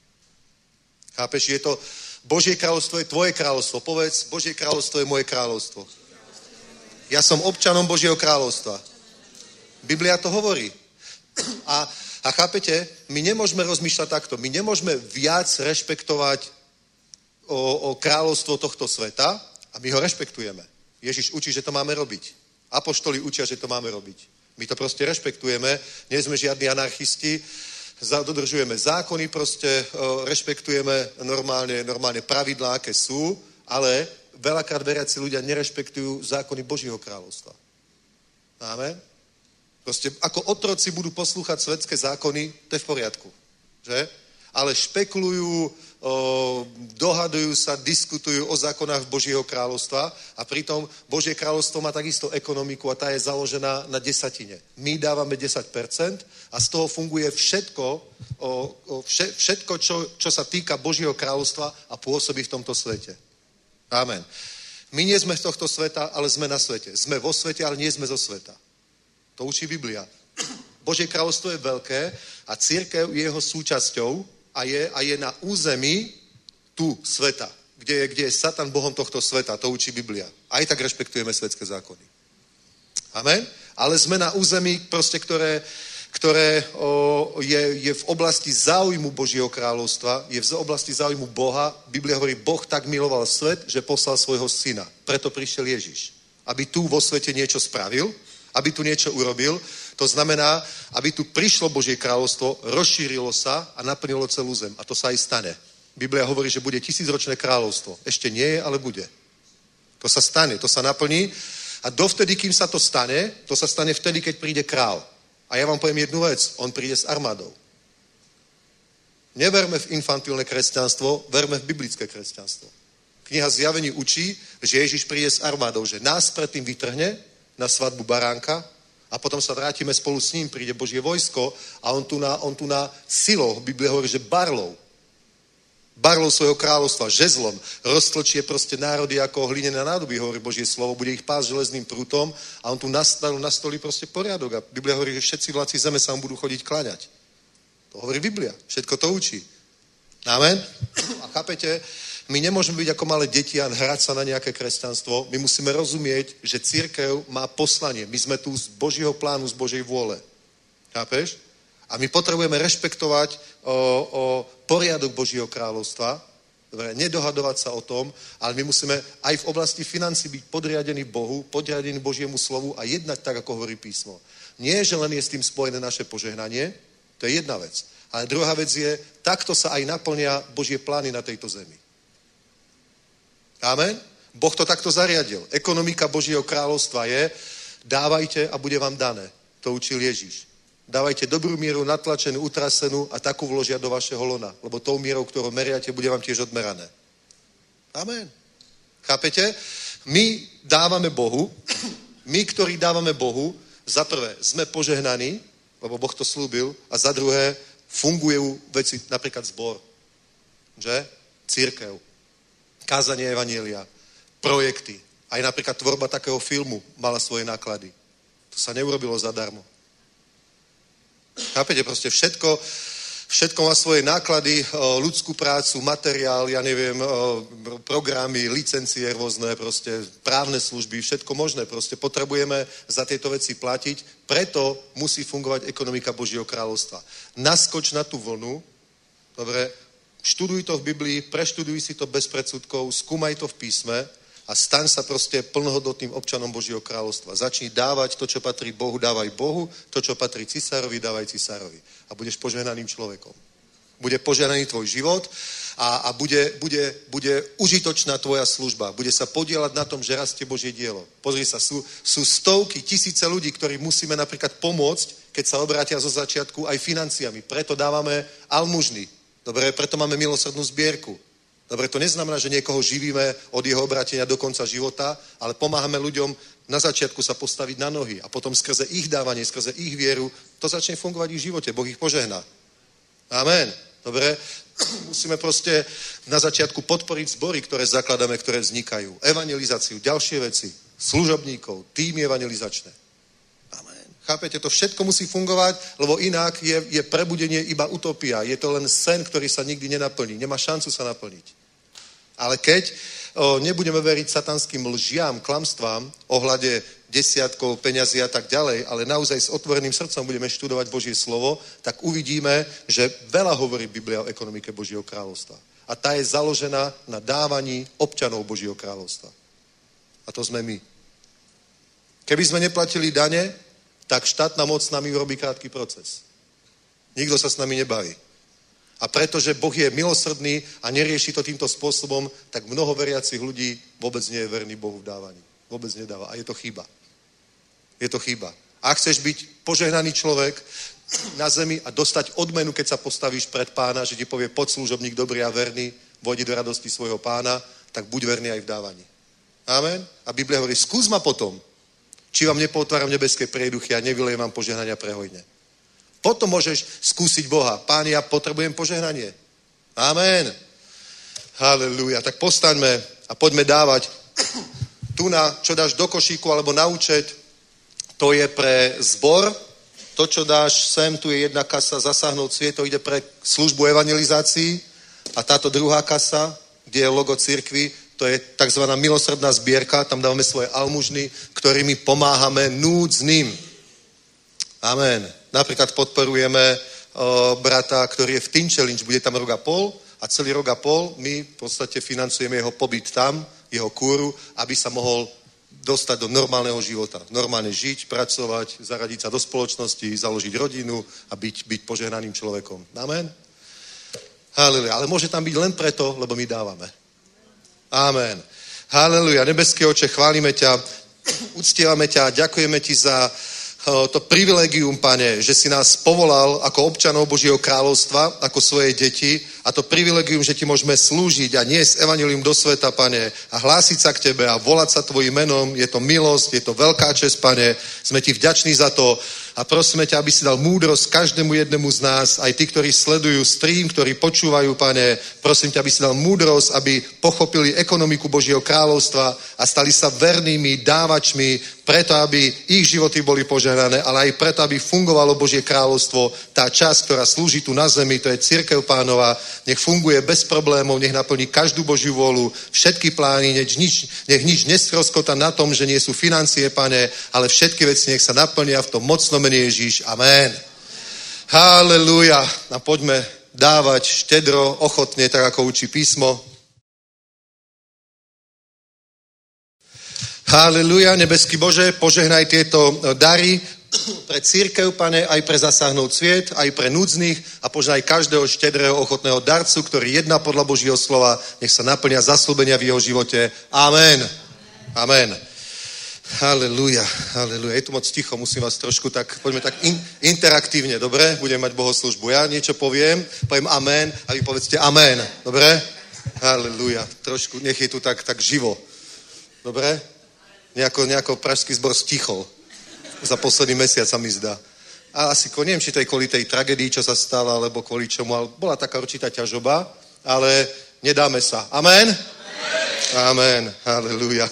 [SPEAKER 4] Chápeš? Je to, Božie kráľovstvo je tvoje kráľovstvo. Povedz, Božie kráľovstvo je moje kráľovstvo. Ja som občanom Božieho kráľovstva. Biblia to hovorí. A, a chápete, my nemôžeme rozmýšľať takto. My nemôžeme viac rešpektovať o, o kráľovstvo tohto sveta a my ho rešpektujeme. Ježiš učí, že to máme robiť. Apoštoli učia, že to máme robiť. My to proste rešpektujeme, nie sme žiadni anarchisti, dodržujeme zákony, proste o, rešpektujeme normálne, normálne pravidlá, aké sú, ale veľakrát veriaci ľudia nerešpektujú zákony Božieho kráľovstva. Amen? Proste ako otroci budú poslúchať svetské zákony, to je v poriadku. Že? Ale špekulujú, o, dohadujú sa, diskutujú o zákonách Božieho kráľovstva a pritom Božie kráľovstvo má takisto ekonomiku a tá je založená na desatine. My dávame desať percent a z toho funguje všetko, o, o, vše, všetko čo, čo sa týka Božieho kráľovstva a pôsobí v tomto svete. Amen. My nie sme z tohto sveta, ale sme na svete. Sme vo svete, ale nie sme zo sveta. To učí Biblia. Božie kráľovstvo je veľké a cirkev je jeho súčasťou a je, a je na území tu sveta, kde je, kde je Satan bohom tohto sveta. To učí Biblia. Aj tak rešpektujeme svetské zákony. Amen? Ale sme na území, proste, ktoré, ktoré o, je, je v oblasti záujmu Božieho kráľovstva, je v oblasti záujmu Boha. Biblia hovorí, Boh tak miloval svet, že poslal svojho syna. Preto prišiel Ježiš. Aby tu vo svete niečo spravil, aby tu niečo urobil. To znamená, aby tu prišlo Božie kráľovstvo, rozšírilo sa a naplnilo celú zem. A to sa aj stane. Biblia hovorí, že bude tisícročné kráľovstvo. Ešte nie je, ale bude. To sa stane, to sa naplní. A dovtedy, kým sa to stane, to sa stane vtedy, keď príde král. A ja vám poviem jednu vec, on príde s armádou. Neverme v infantilné kresťanstvo, verme v biblické kresťanstvo. Kniha Zjavení učí, že Ježiš príde s armádou, že nás predtým vytrhne na svadbu baránka a potom sa vrátime spolu s ním, príde Božie vojsko a on tu na, on tu na silou, Biblia hovorí, že barlou, barlou svojho kráľovstva, žezlom, roztlčie proste národy ako hlinené nádoby, hovorí Božie slovo, bude ich pásť železným prútom a on tu nastavil, nastolí proste poriadok a Biblia hovorí, že všetci vládci zeme sa mu budú chodiť kláňať. To hovorí Biblia, všetko to učí. Amen? A chápete, my nemôžeme byť ako malé deti a hrať sa na nejaké kresťanstvo. My musíme rozumieť, že cirkev má poslanie. My sme tu z Božieho plánu, z Božej vôle. Chápeš? A my potrebujeme rešpektovať o, o poriadok Božieho kráľovstva. Dobre, nedohadovať sa o tom, ale my musíme aj v oblasti financí byť podriadení Bohu, podriadení Božiemu slovu a jednať tak, ako hovorí písmo. Nie, že len je s tým spojené naše požehnanie, to je jedna vec. Ale druhá vec je, takto sa aj naplnia Božie plány na tejto zemi. Amen? Boh to takto zariadil. Ekonomika Božieho kráľovstva je, dávajte a bude vám dané. To učil Ježíš. Dávajte dobrú mieru, natlačenú, utrasenú a takú vložia do vašeho lona. Lebo tou mierou, ktorou meriate, bude vám tiež odmerané. Amen. Chápete? My dávame Bohu, my, ktorí dávame Bohu, za prvé sme požehnaní, lebo Boh to slúbil, a za druhé fungujú veci, napríklad zbor, že? Cirkev, kázanie evanjelia, projekty. Aj napríklad tvorba takého filmu mala svoje náklady. To sa neurobilo zadarmo. Chápete? Proste všetko, všetko má svoje náklady, ľudskú prácu, materiál, ja neviem, programy, licencie rôzne, proste právne služby, všetko možné. Proste potrebujeme za tieto veci platiť, preto musí fungovať ekonomika Božieho kráľovstva. Naskoč na tú vlnu, dobre, študuj to v Biblii, preštuduj si to bez predsudkov, skúmaj to v písme a staň sa proste plnohodnotným občanom Božieho kráľovstva. Začni dávať to, čo patrí Bohu, dávaj Bohu, to, čo patrí cisárovi, dávaj cisárovi. A budeš požehnaným človekom. Bude požehnaný tvoj život a, a bude, bude, bude užitočná tvoja služba. Bude sa podielať na tom, že rastie Božie dielo. Pozri sa, sú, sú stovky, tisíce ľudí, ktorí musíme napríklad pomôcť, keď sa obrátia zo začiatku aj financiami. Preto dávame almužny. Dobre, preto máme milosrdnú zbierku. Dobre, to neznamená, že niekoho živíme od jeho obrátenia do konca života, ale pomáhame ľuďom na začiatku sa postaviť na nohy a potom skrze ich dávanie, skrze ich vieru, to začne fungovať ich v živote. Boh ich požehná. Amen. Dobre, musíme proste na začiatku podporiť zbory, ktoré zakladáme, ktoré vznikajú. Evangelizáciu, ďalšie veci, služobníkov, týmy evangelizačné. Amen. Chápete, to všetko musí fungovať, lebo inak je, je prebudenie iba utopia. Je to len sen, ktorý sa nikdy nenaplní. Nemá šancu sa naplniť. Ale keď o, nebudeme veriť satanským lžiam, klamstvám, ohľade desiatkov, peňazí a tak ďalej, ale naozaj s otvoreným srdcom budeme študovať Božie slovo, tak uvidíme, že veľa hovorí Biblia o ekonomike Božieho kráľovstva. A tá je založená na dávaní občanov Božieho kráľovstva. A to sme my. Keby sme neplatili dane, tak štátna moc s nami urobí krátky proces. Nikto sa s nami nebaví. A pretože Boh je milosrdný a nerieši to týmto spôsobom, tak mnoho veriacich ľudí vôbec nie je verný Bohu v dávaní. Vôbec nedáva. A je to chyba. Je to chyba. A ak chceš byť požehnaný človek na zemi a dostať odmenu, keď sa postavíš pred pána, že ti povie, poď služobník dobrý a verný, vojdi do radosti svojho pána, tak buď verný aj v dávaní. Amen. A Biblia hovorí, skús ma potom, či vám nepotváram nebeské prieduchy a nevylejem vám požehnania prehojne. Potom môžeš skúsiť Boha. Pán, ja potrebujem požehnanie. Amen. Halelúja. Tak postaňme a poďme dávať tu na, čo dáš do košíku alebo na účet, to je pre zbor. To, čo dáš sem, tu je jedna kasa, zasáhnout sviet, to ide pre službu evangelizácií. A táto druhá kasa, kde je logo cirkvi, to je takzvaná milosrdná zbierka, tam dávame svoje almužny, ktorými pomáhame núdznym. Amen. Napríklad podporujeme o, brata, ktorý je v Teen Challenge, bude tam rok a pol a celý rok a pol my v podstate financujeme jeho pobyt tam, jeho kúru, aby sa mohol dostať do normálneho života. Normálne žiť, pracovať, zaradiť sa do spoločnosti, založiť rodinu a byť, byť požehnaným človekom. Amen. Halleluja. Ale môže tam byť len preto, lebo my dávame. Amen. Halleluja. Nebeský Oče, chválime ťa uctievame ťa a ďakujeme ti za to privilegium, Pane, že si nás povolal ako občanov Božieho kráľovstva, ako svoje deti a to privilegium, že ti môžeme slúžiť a niesť evanjelium do sveta, Pane, a hlásiť sa k tebe a volať sa tvojim menom. Je to milosť, je to veľká česť, Pane. Sme ti vďační za to a prosíme ťa, aby si dal múdrosť každému jednému z nás, aj tí, ktorí sledujú stream, ktorí počúvajú, Pane. Prosím ťa, aby si dal múdrosť, aby pochopili ekonomiku Božieho kráľovstva a stali sa vernými dávačmi, preto, aby ich životy boli požehnané, ale aj preto, aby fungovalo Božie kráľovstvo. Tá časť, ktorá slúži tu na zemi, to je cirkev Pánova, nech funguje bez problémov, nech naplní každú Božiu vôľu, všetky plány, nech nič, nech nič nestroskota na tom, že nie sú financie, Pane, ale všetky veci nech sa naplnia v tom mocnom mene Ježíš. Amen. Halelúja. A poďme dávať štedro, ochotne, tak ako učí písmo. Halelúja, nebeský Bože, požehnaj tieto dary pre cirkev, Pane, aj pre zasáhnout sviet, aj pre núdznych a požehnaj každého štedrého, ochotného darcu, ktorý jedná podľa Božieho slova, nech sa naplnia zasľúbenia v jeho živote. Amen. Amen. Halelúja, halelúja. Je tu moc ticho, musím vás trošku tak, poďme tak in, interaktívne, dobre? Budeme mať bohoslúžbu. Ja niečo poviem, poviem amen a vy povedzte amen, dobre? Halelúja. Trošku, nech je tu tak, tak živo. Dobre? Nejako, nejako pražský zbor stichol. Za posledný mesiac sa mi zdá. A asi, neviem, či to je kvôli tej tragédii, čo sa stala, alebo kvôli čomu, ale bola taká určitá ťažoba, ale nedáme sa. Amen? Amen. Amen. Halelúja.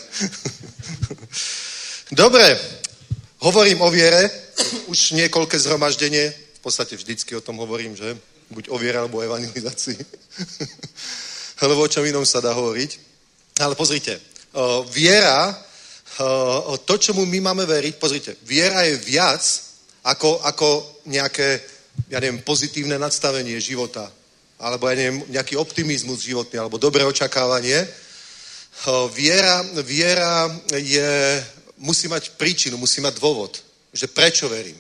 [SPEAKER 4] Dobre, hovorím o viere, už niekoľké zhromaždenie, v podstate vždycky o tom hovorím, že? Buď o viere, alebo o evangelizácii. Lebo o čom inom sa dá hovoriť. Ale pozrite, viera, to, čomu my máme veriť, pozrite, viera je viac ako, ako nejaké, ja neviem, pozitívne nadstavenie života, alebo ja neviem, nejaký optimizmus životný, alebo dobré očakávanie. Viera, viera je, musí mať príčinu, musí mať dôvod, že prečo verím.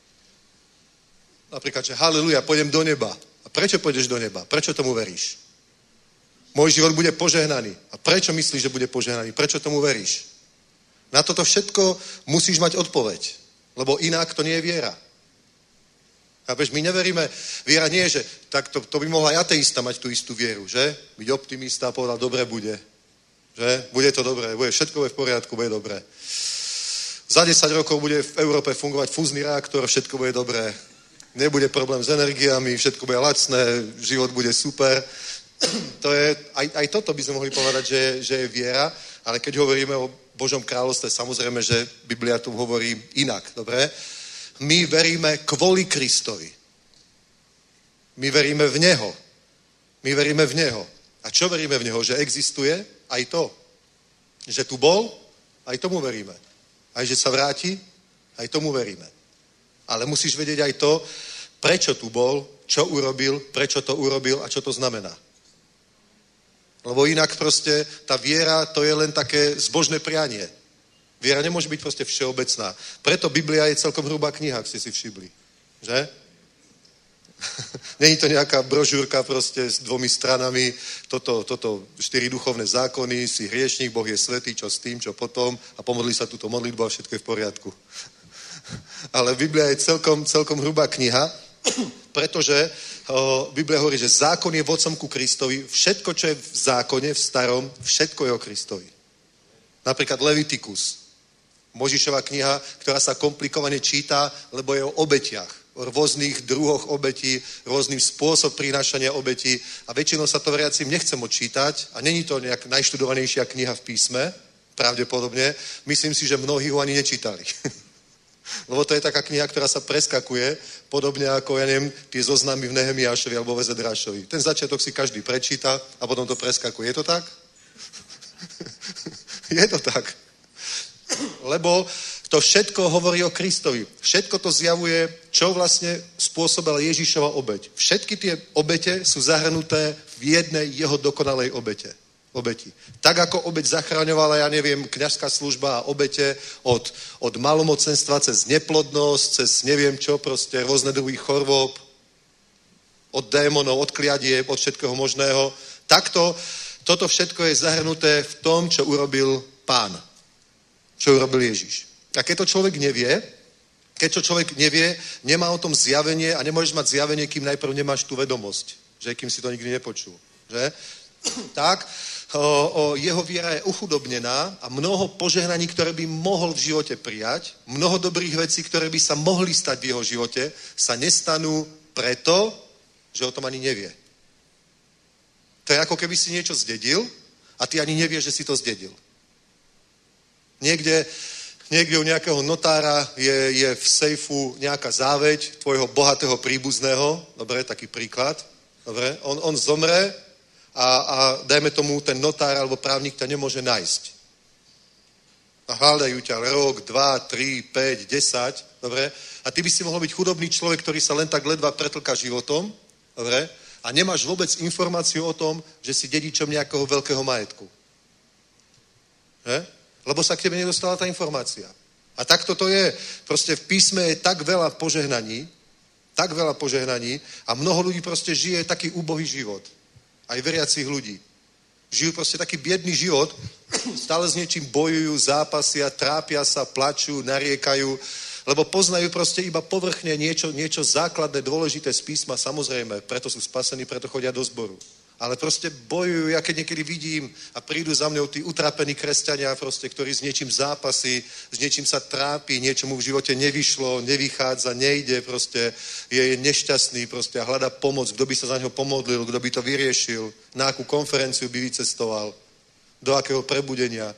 [SPEAKER 4] Napríklad, že haleluja, pôjdem do neba. A prečo pôjdeš do neba? Prečo tomu veríš? Môj život bude požehnaný. A prečo myslíš, že bude požehnaný? Prečo tomu veríš? Na toto všetko musíš mať odpoveď, lebo inak to nie je viera. Chápeš, my neveríme, viera nie je, že tak to, to by mohla aj ateista mať tú istú vieru, že? Byť optimista a povedať, dobre bude, že? Bude to dobré, bude, všetko bude v poriadku, bude dobré. Za desať rokov bude v Európe fungovať fúzny reaktor, všetko bude dobré. Nebude problém s energiami, všetko bude lacné, život bude super. To je, aj, aj toto by sme mohli povedať, že, že je viera, ale keď hovoríme o Božom kráľovstve, samozrejme, že Biblia tu hovorí inak, dobre? My veríme kvôli Kristovi. My veríme v Neho. My veríme v Neho. A čo veríme v Neho? Že existuje? Aj to. Že tu bol? Aj tomu veríme. Aj že sa vráti? Aj tomu veríme. Ale musíš vedieť aj to, prečo tu bol, čo urobil, prečo to urobil a čo to znamená. Lebo inak proste tá viera, to je len také zbožné prianie. Viera nemôže byť proste všeobecná. Preto Biblia je celkom hrubá kniha, ak ste si všimli. Že? Není to nejaká brožúrka proste s dvomi stranami, toto, toto štyri duchovné zákony, si hriešník, Boh je svätý, čo s tým, čo potom a pomodli sa túto modlitbu a všetko je v poriadku. Ale Biblia je celkom, celkom hrubá kniha, pretože o, Biblia hovorí, že zákon je vodcom ku Kristovi. Všetko, čo je v zákone, v starom, všetko je o Kristovi. Napríklad Levitikus, Možišova kniha, ktorá sa komplikovane číta, lebo je o obetiach, o rôznych druhoch obetí, rôznym spôsob prinášania obetí a väčšinou sa to veriacim nechcem odčítať a není to nejak najštudovanejšia kniha v písme, pravdepodobne. Myslím si, že mnohí ho ani nečítali. Lebo to je taká kniha, ktorá sa preskakuje, podobne ako, ja neviem, tie zoznamy v Nehemiášovi alebo v Ezedrášovi. Ten začiatok si každý prečíta a potom to preskakuje. Je to tak? Je to tak. Lebo to všetko hovorí o Kristovi. Všetko to zjavuje, čo vlastne spôsobila Ježišova obeť. Všetky tie obete sú zahrnuté v jednej jeho dokonalej obete. Obeti. Tak ako obeť zachraňovala, ja neviem, kňazská služba a obete od, od malomocenstva cez neplodnosť, cez neviem čo, proste rôzne druhy chorôb, od démonov, od kliadieb, od všetkého možného. Takto, toto všetko je zahrnuté v tom, čo urobil Pán. čo urobil Ježiš. A keď to človek nevie, keď to človek nevie, nemá o tom zjavenie a nemôžeš mať zjavenie, kým najprv nemáš tú vedomosť, že kým si to nikdy nepočul. Že? Tak, o, o, jeho viera je uchudobnená a mnoho požehnaní, ktoré by mohol v živote prijať, mnoho dobrých vecí, ktoré by sa mohli stať v jeho živote, sa nestanú preto, že o tom ani nevie. To je ako keby si niečo zdedil a ty ani nevieš, že si to zdedil. Niekde, niekde u nejakého notára je, je v sejfu nejaká záveď tvojho bohatého príbuzného, dobre, taký príklad, dobre, on, on zomre a, a dajme tomu, ten notár alebo právnik ťa nemôže nájsť. A hľadajú ťa rok, dva, tri, päť, desať, dobre, a ty by si mohol byť chudobný človek, ktorý sa len tak ledva pretlká životom, dobre, a nemáš vôbec informáciu o tom, že si dedičom nejakého veľkého majetku. Že? Lebo sa k tebe nedostala tá informácia. A takto to je. Proste v písme je tak veľa požehnaní, tak veľa požehnaní a mnoho ľudí proste žije taký úbohý život. Aj veriacich ľudí. Žijú proste taký biedný život, stále s niečím bojujú, zápasia, trápia sa, plačú, nariekajú, lebo poznajú proste iba povrchne niečo, niečo základné, dôležité z písma, samozrejme, preto sú spasení, preto chodia do zboru. Ale proste bojujú, ja keď niekedy vidím a prídu za mňou tí utrapení kresťania, proste, ktorí s niečím zápasí, s niečím sa trápi, niečo mu v živote nevyšlo, nevychádza, nejde, proste je nešťastný proste a hľadá pomoc, kto by sa za neho pomodlil, kto by to vyriešil, na akú konferenciu by vycestoval, do akého prebudenia.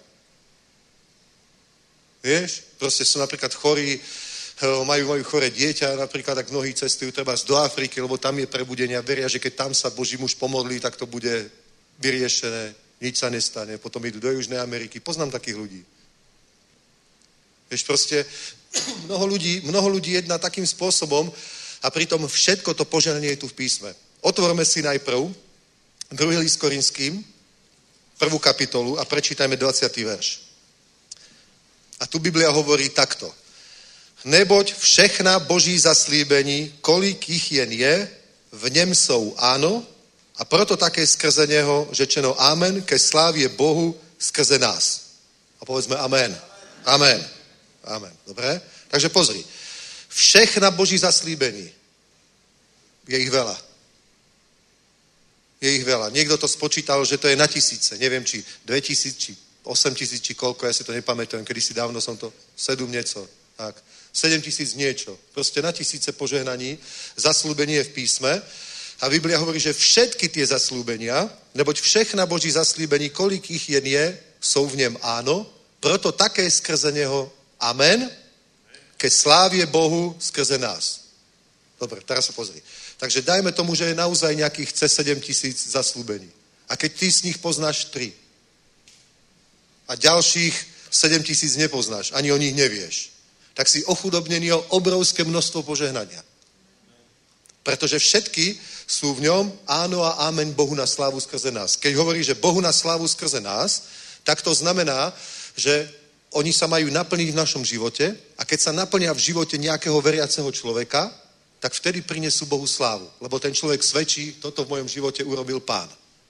[SPEAKER 4] Vieš? Proste sú napríklad chorí, majú, majú choré dieťa, napríklad tak mnohí cestujú treba do Afriky, lebo tam je prebudenie a veria, že keď tam sa Boží muž pomodlí, tak to bude vyriešené, nič sa nestane. Potom idú do Južnej Ameriky. Poznám takých ľudí. Vieš, proste mnoho ľudí, mnoho ľudí jedná takým spôsobom a pritom všetko to požehnanie je tu v písme. Otvorme si najprv druhý list Korinským, prvú kapitolu a prečítajme dvadsiaty verš. A tu Biblia hovorí takto. Neboť všechna Boží zaslíbení, kolik jich jen je, v něm jsou áno, a proto také skrze něho řečeno amen ke slávě Bohu skrze nás. A povedzme amen. Amen. Amen. Dobre? Takže pozri. Všechna Boží zaslíbení. Je ich veľa. Je ich veľa. Niekto to spočítal, že to je na tisíce. Neviem, či dve tisíc, či osem tisíc, či koľko, ja si to nepamätujem. Kedysi dávno som to sedm nieco. Tak. sedem tisíc niečo. Proste na tisíce požehnaní. Zaslúbenie je v písme. A Biblia hovorí, že všetky tie zaslúbenia, neboť všechna Boží zaslíbení, kolik ich jen je, jsou v něm áno, proto také skrze něho amen, ke slávě Bohu skrze nás. Dobre, teraz sa pozri. Takže dajme tomu, že je naozaj nejakých cez sedem tisíc zaslúbení. A keď ty z nich poznáš tri a ďalších sedem tisíc nepoznáš, ani o nich nevieš, tak si ochudobnený o obrovské množstvo požehnania. Pretože všetky sú v ňom áno a amen Bohu na slávu skrze nás. Keď hovorí, že Bohu na slávu skrze nás, tak to znamená, že oni sa majú naplniť v našom živote a keď sa naplnia v živote nejakého veriaceho človeka, tak vtedy prinesú Bohu slávu. Lebo ten človek svedčí, toto v mojom živote urobil Pán.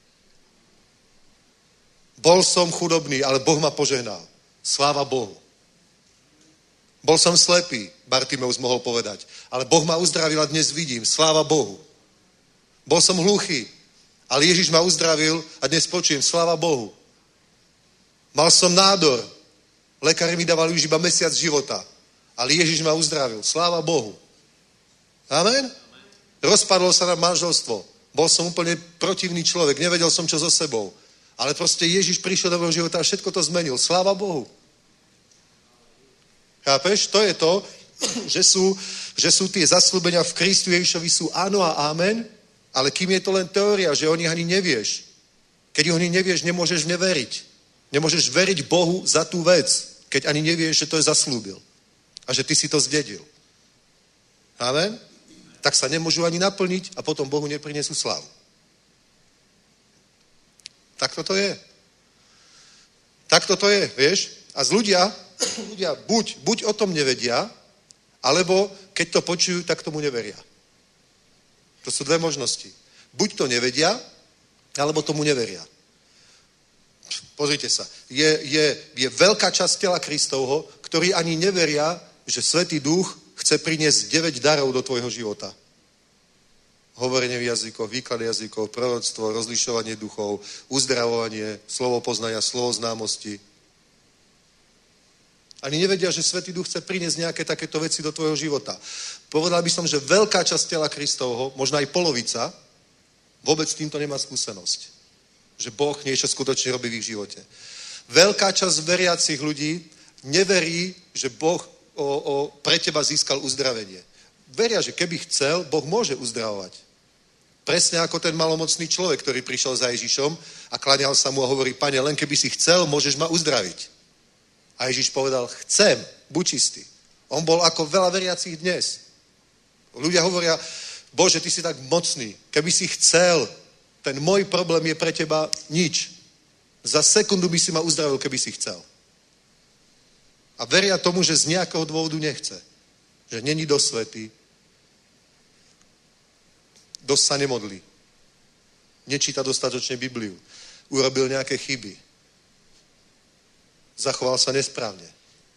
[SPEAKER 4] Bol som chudobný, ale Boh ma požehnal. Sláva Bohu. Bol som slepý, Bartimeus mohol povedať, ale Boh ma uzdravil a dnes vidím. Sláva Bohu. Bol som hluchý, ale Ježiš ma uzdravil a dnes počujem. Sláva Bohu. Mal som nádor. Lekári mi dávali už iba mesiac života, ale Ježiš ma uzdravil. Sláva Bohu. Amen? Rozpadlo sa nám manželstvo. Bol som úplne protivný človek, nevedel som, čo so sebou. Ale proste Ježiš prišiel do môjho života a všetko to zmenil. Sláva Bohu. Chápeš? To je to, že sú, že sú tie zaslúbenia v Kristu Ježišovi sú áno a amen, ale kým je to len teória, že o nich ani nevieš. Keď o nich nevieš, nemôžeš v ne veriť. Nemôžeš veriť Bohu za tú vec, keď ani nevieš, že to je zaslúbil. A že ty si to zdedil. Amen? Tak sa nemôžu ani naplniť a potom Bohu neprinesú slávu. Tak toto je. Tak toto je, vieš? A z ľudia, ľudia buď, buď o tom nevedia, alebo keď to počujú, tak tomu neveria. To sú dve možnosti. Buď to nevedia, alebo tomu neveria. Pozrite sa. Je, je, je veľká časť tela Kristovho, ktorí ani neveria, že Svätý Duch chce priniesť deväť darov do tvojho života. Hovorenie v jazykoch, výklad jazykov, proroctvo, rozlišovanie duchov, uzdravovanie, slovo poznania, slovo známosti. Ani nevedia, že Svätý Duch chce priniesť nejaké takéto veci do tvojho života. Povedal by som, že veľká časť tela Kristovho, možno aj polovica, vôbec s týmto nemá skúsenosť. Že Boh niečo skutočne robí v ich živote. Veľká časť veriacich ľudí neverí, že Boh o, o, pre teba získal uzdravenie. Veria, že keby chcel, Boh môže uzdravovať. Presne ako ten malomocný človek, ktorý prišiel za Ježišom a kláňal sa mu a hovorí, Pane, len keby si chcel, môžeš ma uzdraviť. A Ježiš povedal, chcem, buď čistý. On bol ako veľa veriacich dnes. Ľudia hovoria, Bože, ty si tak mocný. Keby si chcel, ten môj problém je pre teba nič. Za sekundu by si ma uzdravil, keby si chcel. A veria tomu, že z nejakého dôvodu nechce. Že není dosť svätý. Dosť sa nemodlí. Nečíta dostatočne Bibliu. Urobil nejaké chyby. Zachoval sa nesprávne.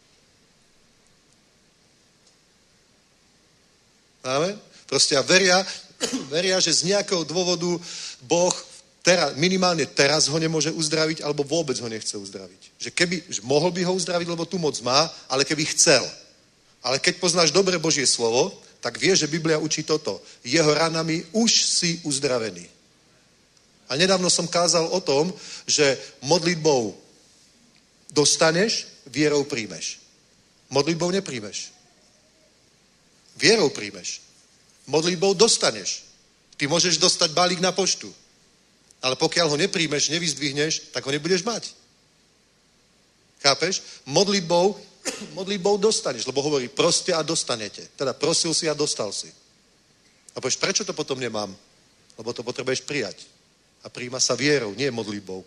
[SPEAKER 4] Amen? Proste a veria, veria, že z nejakého dôvodu Boh teraz, minimálne teraz ho nemôže uzdraviť, alebo vôbec ho nechce uzdraviť. Že keby, že mohol by ho uzdraviť, lebo tu moc má, ale keby chcel. Ale keď poznáš dobre Božie slovo, tak vieš, že Biblia učí toto. Jeho ranami už si uzdravený. A nedávno som kázal o tom, že modlitbou dostaneš, vierou príjmeš. Modlitbou nepríjmeš. Vierou príjmeš. Modlitbou dostaneš. Ty môžeš dostať balík na poštu. Ale pokiaľ ho nepríjmeš, nevyzdvihneš, tak ho nebudeš mať. Chápeš? Modlitbou, modlitbou dostaneš, lebo hovorí, proste a dostanete. Teda prosil si a dostal si. A povieš, prečo to potom nemám? Lebo to potrebuješ prijať. A príjma sa vierou, nie modlitbou.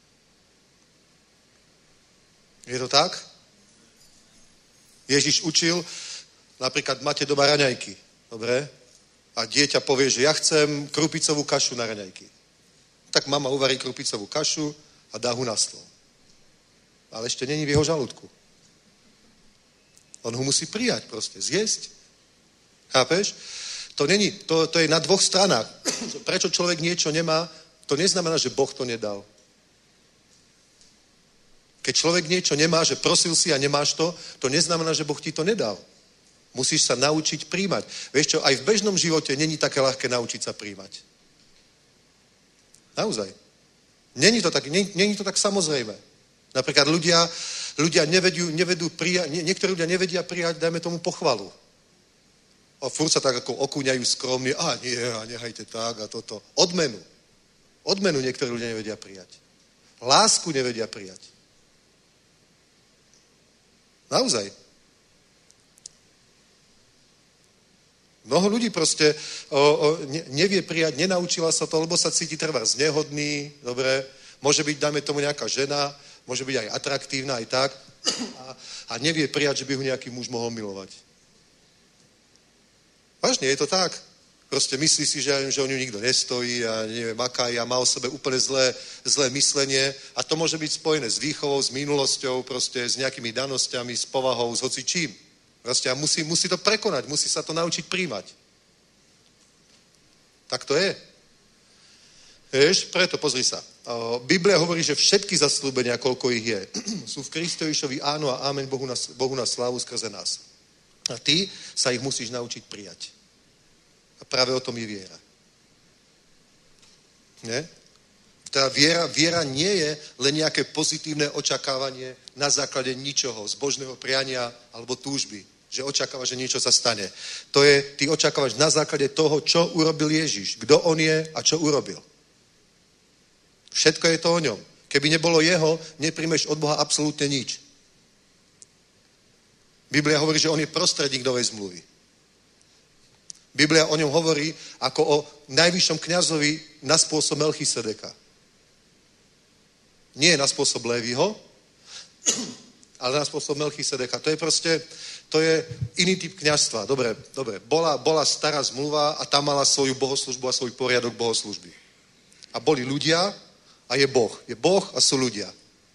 [SPEAKER 4] Je to tak? Ježiš učil, napríklad máte doma raňajky. Dobre? A dieťa povie, že ja chcem krupicovú kašu na raňajky. Tak mama uvarí krupicovú kašu a dá ho na stôl. Ale ešte není v jeho žalúdku. On ho musí prijať proste, zjesť. Chápeš? To, není, to, to je na dvoch stranách. Prečo človek niečo nemá, to neznamená, že Boh to nedal. Keď človek niečo nemá, že prosil si a nemáš to, to neznamená, že Boh ti to nedal. Musíš sa naučiť príjmať. Vieš čo, aj v bežnom živote není také ľahké naučiť sa príjmať. Naozaj. Není to tak, nie, není to tak samozrejme. Napríklad ľudia, ľudia nevedú, nevedú prijať, nie, niektorí ľudia nevedia prijať, dajme tomu pochvalu. A furt sa tak ako okúňajú skromne, a nie, a nehajte tak a toto. Odmenu. Odmenu niektorí ľudia nevedia prijať. Lásku nevedia prijať. Naozaj. Mnoho ľudí proste o, o, ne, nevie prijať, nenaučila sa to, lebo sa cíti trvá znehodný, dobre, môže byť, dáme tomu nejaká žena, môže byť aj atraktívna, aj tak, a, a nevie prijať, že by ho nejaký muž mohol milovať. Vážne, je to tak. Proste myslí si, že, že o ňu nikto nestojí a neviem, aká je a má o sebe úplne zlé, zlé myslenie a to môže byť spojené s výchovou, s minulosťou, proste s nejakými danosťami, s povahou, s hocičím. Proste a musí, musí to prekonať, musí sa to naučiť príjmať. Tak to je. Vieš, preto pozri sa. Biblia hovorí, že všetky zasľúbenia, koľko ich je, sú v Kristovišovi áno a amen Bohu na, Bohu na slávu skrze nás. A ty sa ich musíš naučiť prijať. A práve o tom je viera. Nie? Teda viera, viera nie je len nejaké pozitívne očakávanie na základe ničoho, zbožného priania alebo túžby. Že očakávaš, že niečo sa stane. To je, ty očakávaš na základe toho, čo urobil Ježiš. Kto on je a čo urobil. Všetko je to o ňom. Keby nebolo jeho, nepríjmeš od Boha absolútne nič. Biblia hovorí, že on je prostredník novej zmluvy. Biblia o ňom hovorí ako o najvyššom kňazovi na spôsob Melchisedeka. Nie na spôsob Léviho, ale na spôsob Melchisedeka. To je proste, to je iný typ kňazstva. Dobre, dobre. Bola, bola stará zmluva a tam mala svoju bohoslužbu a svoj poriadok bohoslužby. A boli ľudia a je Boh. Je Boh a sú ľudia.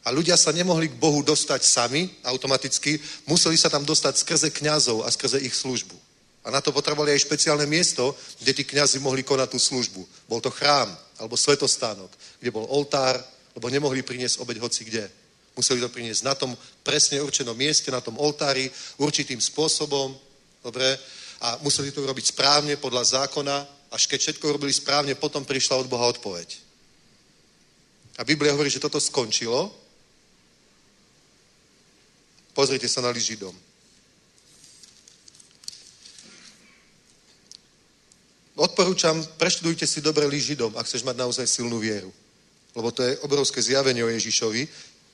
[SPEAKER 4] A ľudia sa nemohli k Bohu dostať sami, automaticky, museli sa tam dostať skrze kňazov a skrze ich službu. A na to potrebovali aj špeciálne miesto, kde tí kňazi mohli konať tú službu. Bol to chrám, alebo svetostánok, kde bol oltár, lebo nemohli priniesť obeť hoci kde. Museli to priniesť na tom presne určenom mieste, na tom oltári, určitým spôsobom, dobre, a museli to robiť správne podľa zákona, až keď všetko robili správne, potom prišla od Boha odpoveď. A Biblia hovorí, že toto skončilo. Pozrite sa na list Židom. Odporúčam, preštudujte si dobre list Židom, ak chceš mať naozaj silnú vieru. Lebo to je obrovské zjavenie o Ježišovi.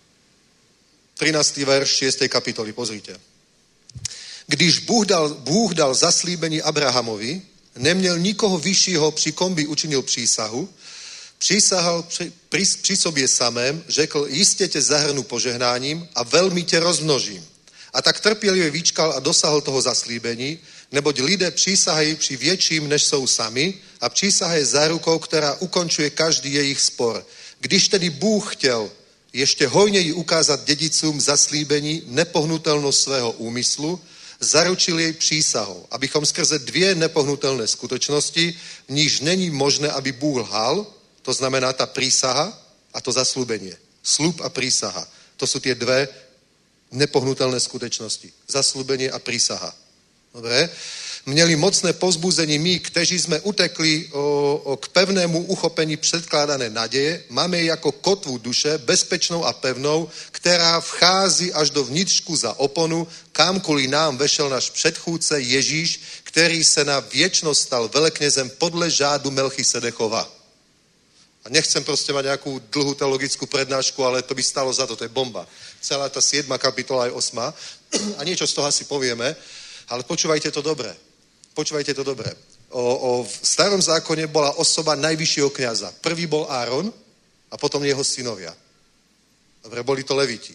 [SPEAKER 4] trinásty verš šiestej kapitoly, pozrite. Když Bůh dal, Bůh dal zaslíbení Abrahamovi, neměl nikoho vyššího, při kom by učinil přísahu, přísahal při, při, při sobě samém, řekl, jistě tě zahrnu požehnáním a velmi tě rozmnožím. A tak trpělivě vyčkal a dosáhl toho zaslíbení, neboť lidé přísahají při větším, než jsou sami, a přísaha je zárukou, která ukončuje každý jejich spor. Když tedy Bůh chtěl ještě hojněji ukázat dědicům zaslíbení nepohnutelnost svého úmyslu, zaručil jej přísahou, abychom skrze dvě nepohnutelné skutečnosti, v níž není možné, aby Bůh lhal, to znamená ta prísaha a to zaslúbenie. Slub a prísaha. To sú tie dve nepohnutelné skutečnosti. Zaslúbenie a prísaha. Dobre? Měli mocné povzbuzení my, kteří jsme utekli o, o, k pevnému uchopení předkládané naděje, máme ji jako kotvu duše, bezpečnou a pevnou, která vchází až do vnitřku za oponu, kamkoliv nám vešel náš předchůdce Ježíš, který se na věčnost stal veleknězem podle žádu Melchisedechova. A nechcem proste mať nejakú dlhú teologickú prednášku, ale to by stalo za to, to je bomba. Celá tá siedma kapitola je osma a niečo z toho asi povieme, ale počúvajte to dobre. Počúvajte to dobre. O, o, v starom zákone bola osoba najvyššieho kňaza. Prvý bol Áron a potom jeho synovia. Dobre, boli to leviti.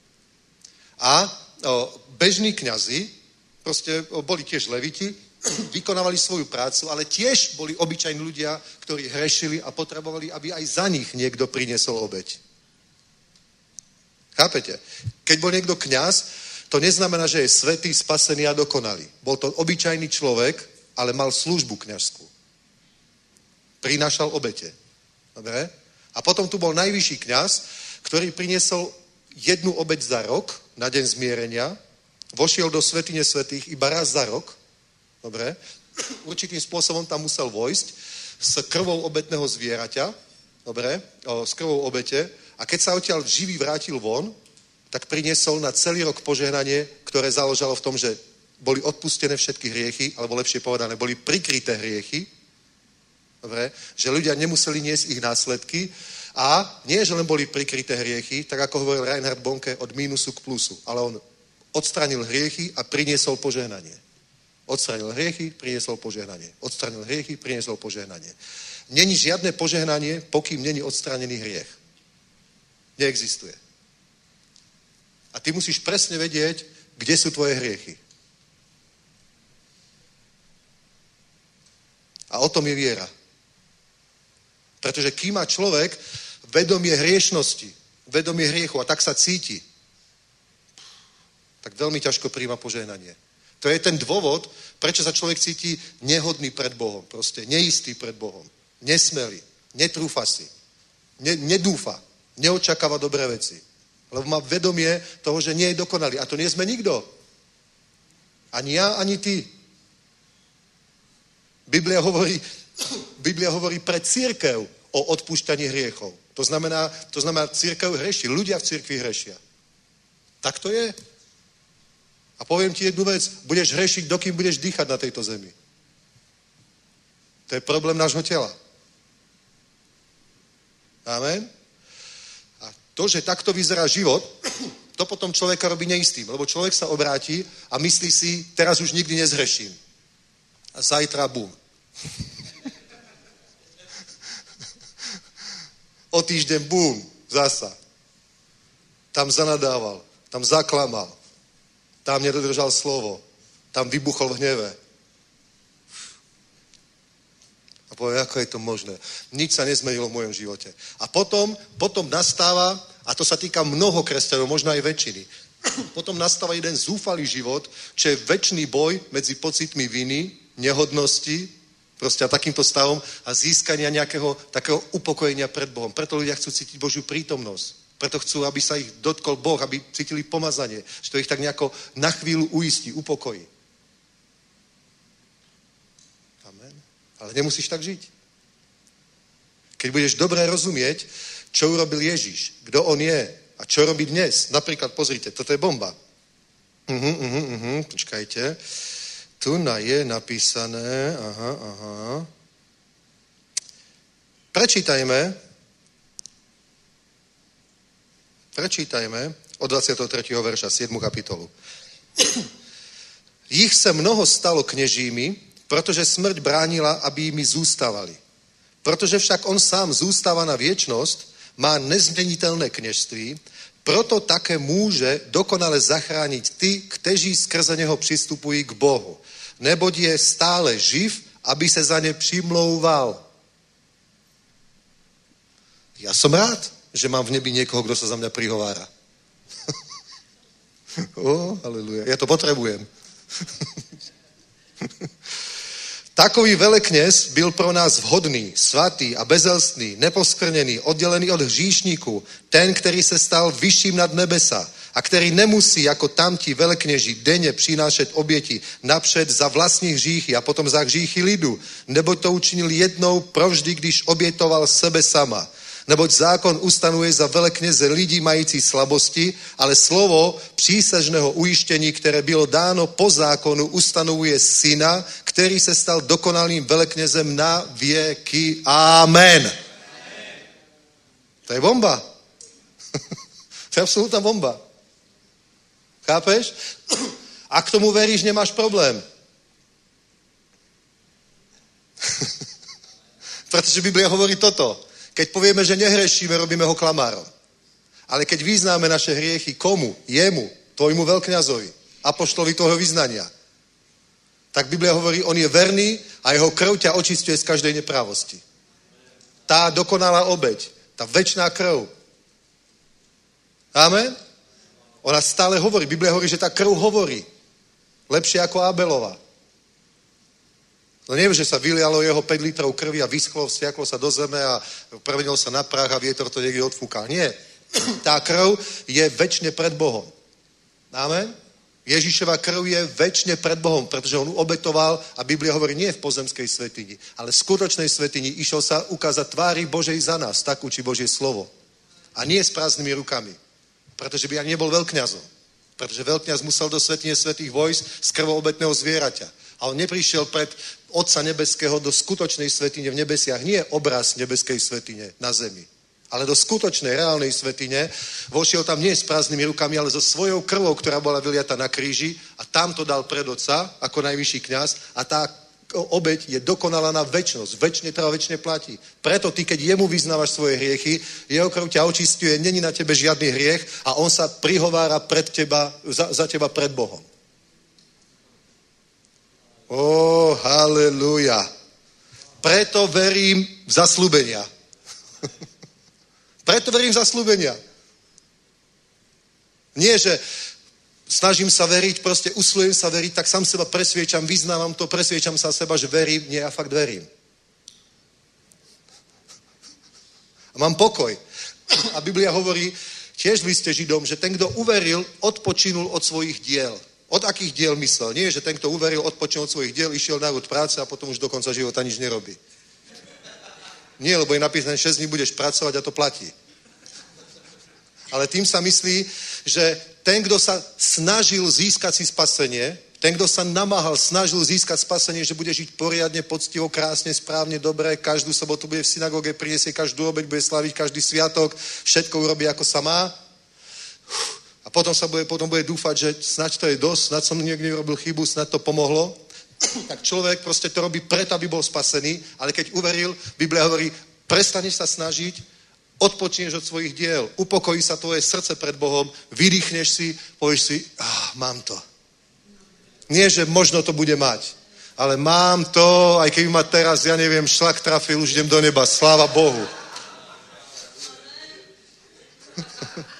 [SPEAKER 4] A o, bežní kňazi, proste o, boli tiež leviti, vykonávali svoju prácu, ale tiež boli obyčajní ľudia, ktorí hrešili a potrebovali, aby aj za nich niekto priniesol obeť. Chápete? Keď bol niekto kňaz, to neznamená, že je svätý, spasený a dokonalý. Bol to obyčajný človek, ale mal službu kňažskú. Prinášal obete. Dobre? A potom tu bol najvyšší kňaz, ktorý priniesol jednu obeť za rok, na deň zmierenia, vošiel do svätyne svätých iba raz za rok. Dobre? Určitým spôsobom tam musel vojsť s krvou obetného zvieraťa, dobre? O, s krvou obete. A keď sa odtiaľ živý vrátil von, tak priniesol na celý rok požehnanie, ktoré založalo v tom, že boli odpustené všetky hriechy, alebo lepšie povedané, boli prikryté hriechy, dobre? Že ľudia nemuseli niesť ich následky a nie, že len boli prikryté hriechy, tak ako hovoril Reinhard Bonke, od mínusu k plusu, ale on odstranil hriechy a priniesol požehnanie. Odstranil hriechy, priniesol požehnanie. Odstranil hriechy, priniesol požehnanie. Není žiadne požehnanie, pokým není odstranený hriech. Neexistuje. A ty musíš presne vedieť, kde sú tvoje hriechy. A o tom je viera. Pretože kým má človek vedomie hriešnosti, vedomie hriechu a tak sa cíti, tak veľmi ťažko príjma požehnanie. To je ten dôvod, prečo sa človek cíti nehodný pred Bohom. Proste neistý pred Bohom. Nesmelý. Netrúfa si. Ne, nedúfa. Neočakáva dobré veci. Lebo má vedomie toho, že nie je dokonalý. A to nie sme nikto. Ani ja, ani ty. Biblia hovorí, Biblia hovorí pre cirkev o odpúšťaní hriechov. To znamená, to znamená, cirkev hreší. Ľudia v cirkvi hrešia. Tak to je. A poviem ti jednu vec, budeš hrešiť, dokým budeš dýchať na tejto zemi. To je problém nášho tela. Amen? A to, že takto vyzerá život, to potom človeka robí neistým, lebo človek sa obráti a myslí si, teraz už nikdy nezhreším. A zajtra bum. O týždeň bum, zasa. Tam zanadával, tam zaklamal. Tam nedodržal slovo. Tam vybuchol v hneve. povie, ako je to možné. Nič sa nezmenilo v mojom živote. A potom, potom nastáva a A to sa týka mnoho kresťanov, možno aj väčšiny. Potom nastáva jeden zúfalý život, čo je večný boj medzi pocitmi viny, nehodnosti, proste a takýmto stavom a získania nejakého takého upokojenia pred Bohom. Preto ľudia chcú cítiť Božiu prítomnosť. Preto chcú, aby sa ich dotkol Boh, aby cítili pomazanie, že to ich tak nejako na chvíľu uistí, upokojí. Amen. Ale nemusíš tak žiť. Keď budeš dobre rozumieť, čo urobil Ježiš, kto on je a čo robí dnes. Napríklad, pozrite, toto je bomba. Uh-huh, uh-huh, uh-huh, počkajte. Tu na je napísané, aha, aha. Prečítajme, prečítajme od dvadsiateho tretieho verša, siedmu kapitolu. Jich se mnoho stalo kněžími, protože smrť bránila, aby jimi zůstávali. Protože však on sám zůstává na věčnost, má nezměnitelné kněžství, proto také může dokonale zachránit ty, kteří skrze něho přistupují k Bohu. Neboť je stále živ, aby se za ně přimlouval. Já jsem rád, že mám v nebi někoho, kdo se za mě prihovára. oh, haleluja. Já to potřebujem. Takový velekněz byl pro nás vhodný, svatý a bezelstný, neposkrněný, oddělený od hříšníků, ten, který se stal vyšším nad nebesa a který nemusí jako tamti velekněži denně přinášet oběti napřed za vlastní hříchy a potom za hříchy lidu, neboť to učinil jednou provždy, když obětoval sebe sama. Neboť zákon ustanovuje za velekněze lidí mající slabosti, ale slovo přísažného ujištění, které bylo dáno po zákonu, ustanovuje syna, který se stal dokonalým veleknězem na věky. Amen. Amen. To je bomba. To je absolútna bomba. Chápeš? A k tomu veríš, nemáš problém. Protože Biblia hovorí toto. Keď povieme, že nehrešíme, robíme ho klamárom. Ale keď vyznáme naše hriechy komu? Jemu, tvojmu veľkňazovi, apoštolovi tvojho vyznania. Tak Biblia hovorí, on je verný a jeho krv ťa očistuje z každej neprávosti. Tá dokonalá obeť, tá večná krv. Amen? Ona stále hovorí. Biblia hovorí, že tá krv hovorí. Lepšie ako Abelova. No neviem, že sa vylialo jeho päť litrov krvi a vyschlo, vsiaklo sa do zeme a premenilo sa na prach a vietor to niekde odfúkal. Nie. Tá krv je večne pred Bohom. Amen? Ježišova krv je večne pred Bohom, pretože on obetoval a Biblia hovorí nie v pozemskej svätyni, ale v skutočnej svätyni išiel sa ukázať tvári Božej za nás, tak učí Božie slovo. A nie s prázdnymi rukami, pretože by ani nebol veľkňazom. Pretože veľkňaz musel do svätyne svätých vojsť z krvou obetného zvieraťa. A on neprišiel pred Otca nebeského do skutočnej svätyne v nebesiach. Nie obraz nebeskej svätyne na zemi, ale do skutočnej, reálnej svätyne. Vošiel tam nie s prázdnymi rukami, ale so svojou krvou, ktorá bola vyliata na kríži a tam to dal pred Otca ako najvyšší kňaz a tá obeť je dokonalá na večnosť. Večne trvá, večne platí. Preto ty, keď jemu vyznávaš svoje hriechy, jeho krv ťa očistuje, není na tebe žiadny hriech a on sa prihovára pred teba, za, za teba pred Bohom. Ó, haleluja. Preto verím v zasľúbenia. Preto verím v zasľúbenia. Nie, že snažím sa veriť, proste usilujem sa veriť, tak sám seba presviečam, vyznávam to, presviečam sa seba, že verím. Nie, ja fakt verím. A mám pokoj. A Biblia hovorí tiež v liste Židom, že ten, kto uveril, odpočinul od svojich diel. Od akých diel myslel? Nie, že ten, kto uveril, odpočinul od svojich diel, išiel na úd práce a potom už do konca života nič nerobí. Nie, lebo je napísané, šesť dní budeš pracovať a to platí. Ale tým sa myslí, že ten, kto sa snažil získať si spasenie, ten, kto sa namáhal, snažil získať spasenie, že bude žiť poriadne, poctivo, krásne, správne, dobre, každú sobotu bude v synagóge, priniesie každú obeť, bude slaviť každý sviatok, všetko urobí ako sa má. A potom sa bude, potom bude dúfať, že snad to je dosť, snad som niekde urobil chybu, snad to pomohlo. Tak človek proste to robí preto, aby bol spasený, ale keď uveril, Biblia hovorí, prestaneš sa snažiť, odpočneš od svojich diel, upokojí sa tvoje srdce pred Bohom, vydýchneš si, povieš si, ah, mám to. Nie, že možno to bude mať, ale mám to, aj keby ma teraz, ja neviem, šlak trafil, už idem do neba, sláva Bohu.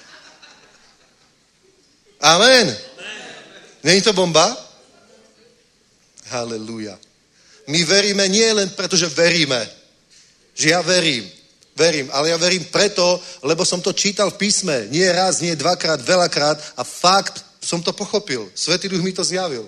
[SPEAKER 4] Amen. Není to bomba? Haleluja. My veríme nie len preto, že veríme. Že ja verím. Verím, ale ja verím preto, lebo som to čítal v písme. Nie raz, nie dvakrát, veľakrát a fakt som to pochopil. Svätý Duch mi to zjavil.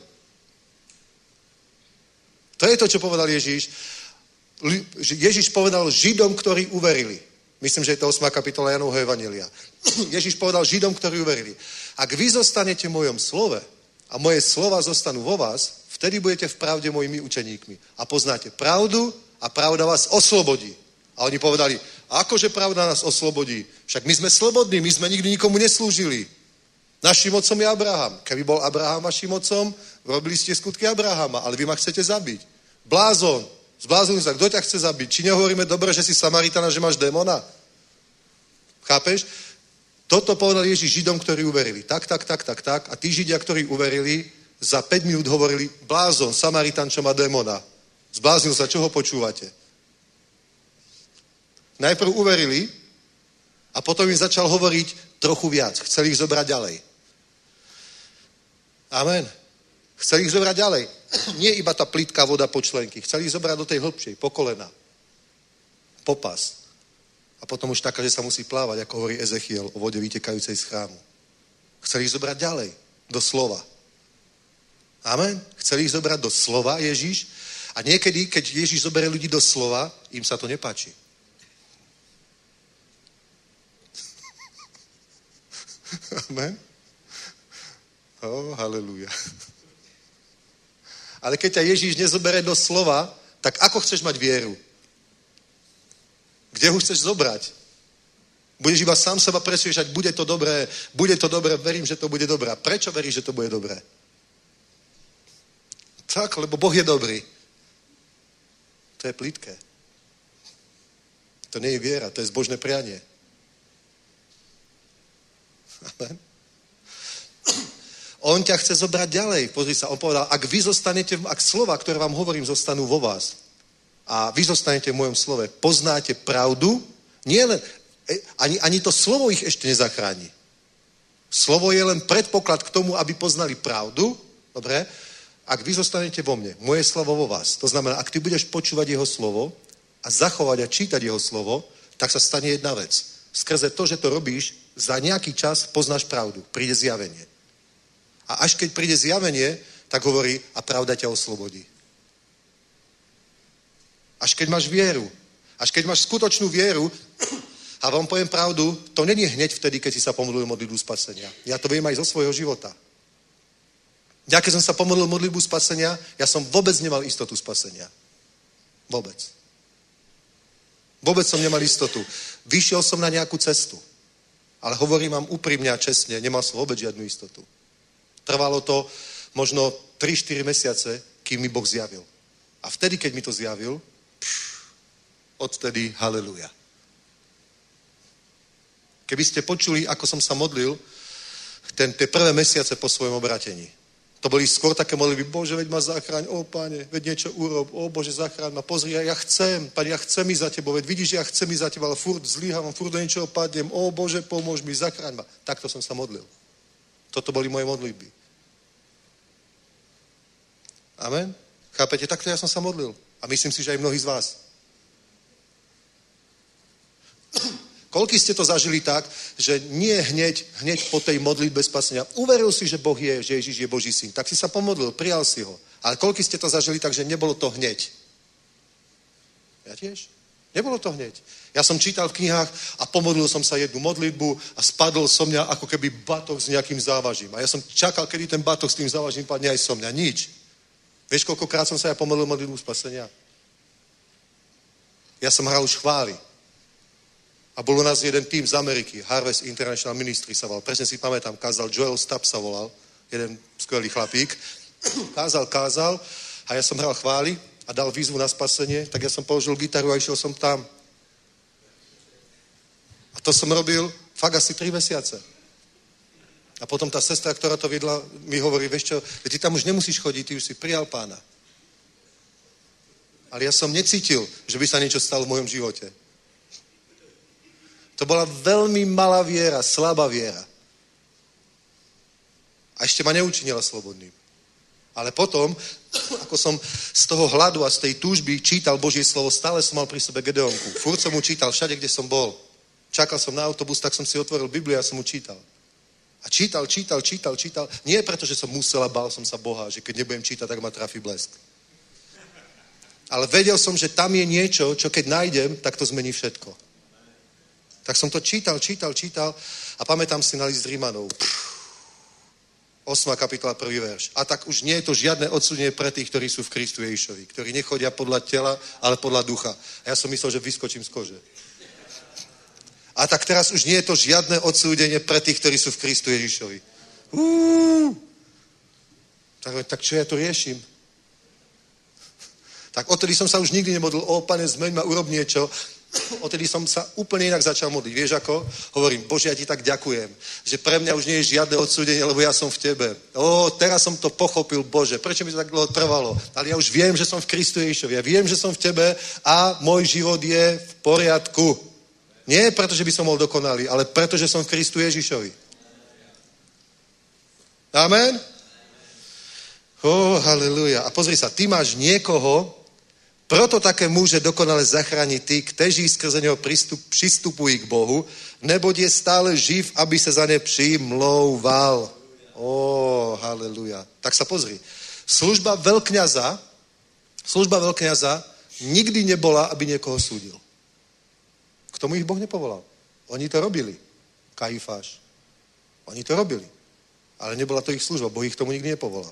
[SPEAKER 4] To je to, čo povedal Ježíš. Ježíš povedal Židom, ktorí uverili. Myslím, že je to ôsma kapitola Jánovho evanjelia. Ježíš povedal Židom, ktorí uverili. Ak vy zostanete v mojom slove a moje slova zostanú vo vás, vtedy budete v pravde mojimi učeníkmi. A poznáte pravdu a pravda vás oslobodí. A oni povedali, akože pravda nás oslobodí? Však my sme slobodní, my sme nikdy nikomu neslúžili. Naším otcom je Abraham. Keby bol Abraham vaším otcom, robili ste skutky Abrahama, ale vy ma chcete zabiť. Blázon, zbláznil sa, kto ťa chce zabiť? Či nehovoríme dobre, že si Samaritana, že máš démona? Chápeš? Toto povedal Ježíš Židom, ktorí uverili. Tak, tak, tak, tak, tak. A tí Židia, ktorí uverili, za päť minút hovorili, blázon, Samaritan, čo má démona. Zbláznil sa, čo ho počúvate? Najprv uverili a potom im začal hovoriť trochu viac. Chceli ich zobrať ďalej. Amen. Chceli ich zobrať ďalej. Nie iba tá plitká voda po členky. Chceli ich zobrať do tej hĺbšej, po kolena. Po pás. A potom už taká, že sa musí plávať, ako hovorí Ezechiel o vode vytekajúcej z chrámu. Chceli ich zobrať ďalej. Do slova. Amen. Chceli ich zobrať do slova Ježíš. A niekedy, keď Ježíš zoberie ľudí do slova, im sa to nepáči. Amen. Oh, haleluja. Ale keď ťa Ježíš nezobere do slova, tak ako chceš mať vieru? Kde ho chceš zobrať? Budeš iba sám seba presviečať, bude to dobré, bude to dobré, verím, že to bude dobré. A prečo veríš, že to bude dobré? Tak, lebo Boh je dobrý. To je plitké. To nie je viera, to je zbožné prianie. Amen. On ťa chce zobrať ďalej. Pozri sa, on povedal, ak vy zostanete, ak slova, ktoré vám hovorím, zostanú vo vás a vy zostanete v mojom slove, poznáte pravdu, nie len, ani, ani to slovo ich ešte nezachráni. Slovo je len predpoklad k tomu, aby poznali pravdu, dobre? Ak vy zostanete vo mne, moje slovo vo vás, to znamená, ak ty budeš počúvať jeho slovo a zachovať a čítať jeho slovo, tak sa stane jedna vec. Skrze to, že to robíš, za nejaký čas poznáš pravdu. Príde zjavenie. A až keď príde zjavenie, tak hovorí, a pravda ťa oslobodí. Až keď máš vieru, až keď máš skutočnú vieru, a vám poviem pravdu, to není hneď vtedy, keď si sa pomodlil modlitbu spasenia. Ja to viem aj zo svojho života. Ja keď som sa pomodlil modlitbu spasenia, ja som vôbec nemal istotu spasenia. Vôbec. Vôbec som nemal istotu. Vyšiel som na nejakú cestu. Ale hovorím vám úprimne a čestne, nemal som vôbec žiadnu istotu. Trvalo to možno tri štyri mesiace, kým mi Boh zjavil. A vtedy, keď mi to zjavil, pš, odtedy haleluja. Keby ste počuli, ako som sa modlil ten, tie prvé mesiace po svojom obratení. To boli skôr také modlitby, Bože, veď ma zachráň, ó Pane, veď niečo urob, ó Bože, zachráň ma, pozri, ja, ja chcem, Pane, ja chcem ísť za Tebou, veď vidíš, ja chcem ísť za Tebou, ale furt zlíhavam, furt do niečoho padnem, ó Bože, pomôž mi, zachráň ma. Takto som sa modlil. Toto boli moje modlitby. Amen? Chápete? Takto ja som sa modlil. A myslím si, že aj mnohí z vás. Koľký ste to zažili tak, že nie hneď, hneď po tej modlitbe spasenia. Uveril si, že Boh je, že Ježiš je Boží syn. Tak si sa pomodlil, prijal si ho. Ale koľký ste to zažili tak, že nebolo to hneď? Ja tiež. Nebolo to hneď. Ja som čítal v knihách a pomodlil som sa jednu modlitbu a spadol som mňa ako keby batoh s nejakým závažím. A ja som čakal, kedy ten batoh s tým závažím padne aj so mňa. Nič. Vieš, koľkokrát som sa ja pomodlil modlitbu spasenia? Ja som hral už chvály. A bol u nás jeden tým z Ameriky, Harvest International Ministry sa volal. Presne si pamätám, kázal Joel Stapp sa volal, jeden skvelý chlapík. Kázal, kázal a ja som hral chvály a dal výzvu na spasenie, tak ja som položil gitaru a išiel som tam. A to som robil fakt asi tri mesiace. A potom tá sestra, ktorá to viedla, mi hovorí, vieš čo, ty tam už nemusíš chodiť, ty už si prijal Pána. Ale ja som necítil, že by sa niečo stalo v mojom živote. To bola veľmi malá viera, slabá viera. A ešte ma neučinila slobodným. Ale potom, ako som z toho hladu a z tej túžby čítal Božie slovo, stále som mal pri sebe Gedeonku. Furt som mu čítal všade, kde som bol. Čakal som na autobus, tak som si otvoril Bibliu a som mu čítal. A čítal, čítal, čítal, čítal. Nie preto, že som musel a bál som sa Boha, že keď nebudem čítať, tak ma trafí blesk. Ale vedel som, že tam je niečo, čo keď nájdem, tak to zmení všetko. Tak som to čítal, čítal, čítal a pamätám si na list Rímanov. osma kapitola, prvý verš. A tak už nie je to žiadne odsúdenie pre tých, ktorí sú v Kristu Ježišovi, ktorí nechodia podľa tela, ale podľa ducha. A ja som myslel, že vyskočím z kože. A tak teraz už nie je to žiadne odsúdenie pre tých, ktorí sú v Kristu Ježišovi. Uú. Tak, tak čo ja to riešim? Tak odtedy som sa už nikdy nemodlil, o Pane, zmeň ma, urob niečo. Odtedy som sa úplne inak začal modliť. Vieš ako? Hovorím, Bože, ja ti tak ďakujem, že pre mňa už nie je žiadne odsúdenie, lebo ja som v tebe. Ó, teraz som to pochopil, Bože, prečo mi to tak dlho trvalo? Ale ja už viem, že som v Kristu Ježišovi. Ja viem, že som v tebe a môj život je v poriadku. Nie preto, že by som bol dokonalý, ale preto, že som v Kristu Ježišovi. Amen? Ó, haleluja. A pozri sa, ty máš niekoho, proto také môže dokonale zachrániť tí, kteří skrze neho pristup, přistupují k Bohu, neboť je stále živ, aby sa za ne přimlouval. Ó, haleluja. Tak sa pozri. Služba veľkňaza, služba veľkňaza nikdy nebola, aby niekoho súdil. K tomu ich Boh nepovolal. Oni to robili. Kajfáš. Oni to robili. Ale nebola to ich služba. Boh ich k tomu nikdy nepovolal.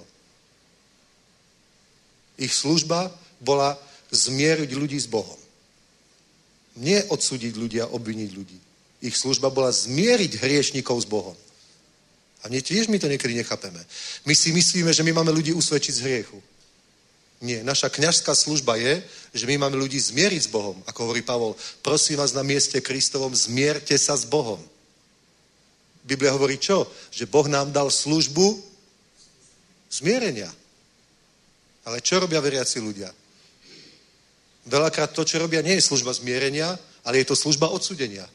[SPEAKER 4] Ich služba bola zmieriť ľudí s Bohom. Nie odsúdiť ľudí a obviniť ľudí. Ich služba bola zmieriť hriešnikov s Bohom. A nie, tiež my to niekedy nechápeme. My si myslíme, že my máme ľudí usvedčiť z hriechu. Nie, naša kňažská služba je, že my máme ľudí zmieriť s Bohom. Ako hovorí Pavol, prosím vás na mieste Kristovom, zmierte sa s Bohom. Biblia hovorí čo? Že Boh nám dal službu zmierenia. Ale čo robia veriaci ľudia? Veľakrát to, čo robia, nie je služba zmierenia, ale je to služba odsúdenia.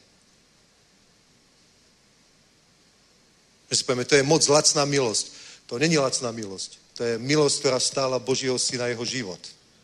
[SPEAKER 4] My si povieme, to je moc lacná milosť. To není lacná milosť. To je milosť, ktorá stála Božieho syna jeho život.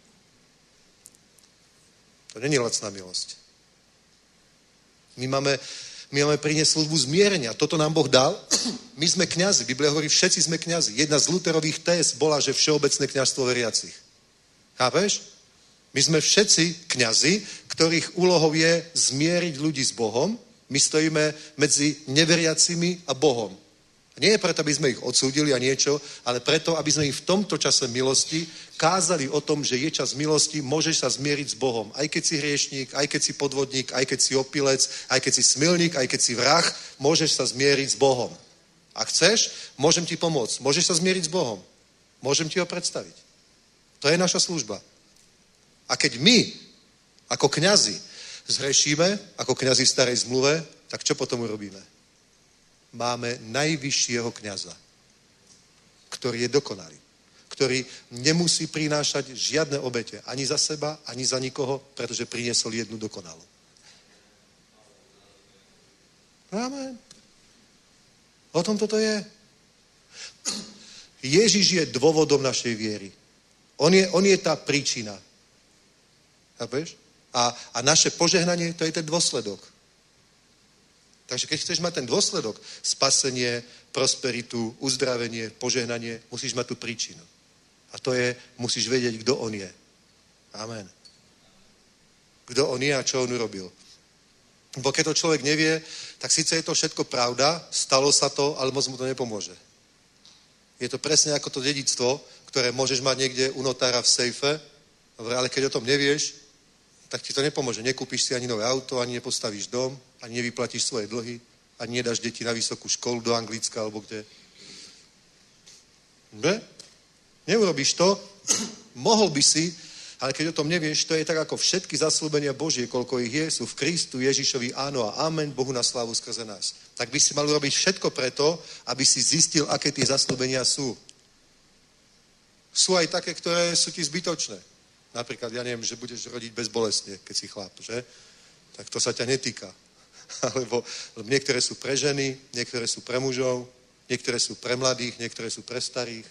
[SPEAKER 4] To není lacná milosť. My máme, my máme priniesť službu zmierenia. Toto nám Boh dal. My sme kňazi. Biblia hovorí, všetci sme kňazi. Jedna z Lutherových téz bola, že všeobecné kňazstvo veriacich. Chápeš? My sme všetci kňazi, ktorých úlohou je zmieriť ľudí s Bohom. My stojíme medzi neveriacimi a Bohom. Nie je preto, aby sme ich odsúdili a niečo, ale preto, aby sme ich v tomto čase milosti kázali o tom, že je čas milosti, môžeš sa zmieriť s Bohom. Aj keď si hriešník, aj keď si podvodník, aj keď si opilec, aj keď si smilník, aj keď si vrah, môžeš sa zmieriť s Bohom. A chceš, môžem ti pomôcť. Môžeš sa zmieriť s Bohom. Môžem ti ho predstaviť. To je naša služba. A keď my, ako kňazi, zhrešíme, ako kňazi v starej zmluve, tak čo potom urobíme? Máme najvyššieho kňaza, ktorý je dokonalý, ktorý nemusí prinášať žiadne obete, ani za seba, ani za nikoho, pretože priniesol jednu dokonalú. Amen. O tom toto je. Ježiš je dôvodom našej viery. On je, on je tá príčina. Chápeš? A, a naše požehnanie, to je ten dôsledok. Takže keď chceš mať ten dôsledok, spasenie, prosperitu, uzdravenie, požehnanie, musíš mať tú príčinu. A to je, musíš vedieť, kto on je. Amen. Kto on je a čo on urobil. Bo keď to človek nevie, tak síce je to všetko pravda, stalo sa to, ale moc mu to nepomôže. Je to presne ako to dedičstvo, ktoré môžeš mať niekde u notára v sejfe, ale keď o tom nevieš, tak ti to nepomôže. Nekúpiš si ani nové auto, ani nepostavíš dom, ani nevyplatíš svoje dlhy, ani nedáš deti na vysokú školu do Anglicka, alebo kde. Ne? Neurobíš to, mohol by si, ale keď o tom nevieš, to je tak ako všetky zasľúbenia Božie, koľko ich je, sú v Kristu Ježišovi áno a amen, Bohu na slávu skrze nás. Tak by si mal urobiť všetko preto, aby si zistil, aké tie zasľúbenia sú. Sú aj také, ktoré sú ti zbytočné. Napríklad, ja neviem, že budeš rodiť bezbolestne, keď si chlap, že? Tak to sa ťa netýka. Alebo niektoré sú pre ženy, niektoré sú pre mužov. Niektoré sú pre mladých, niektoré sú pre starých.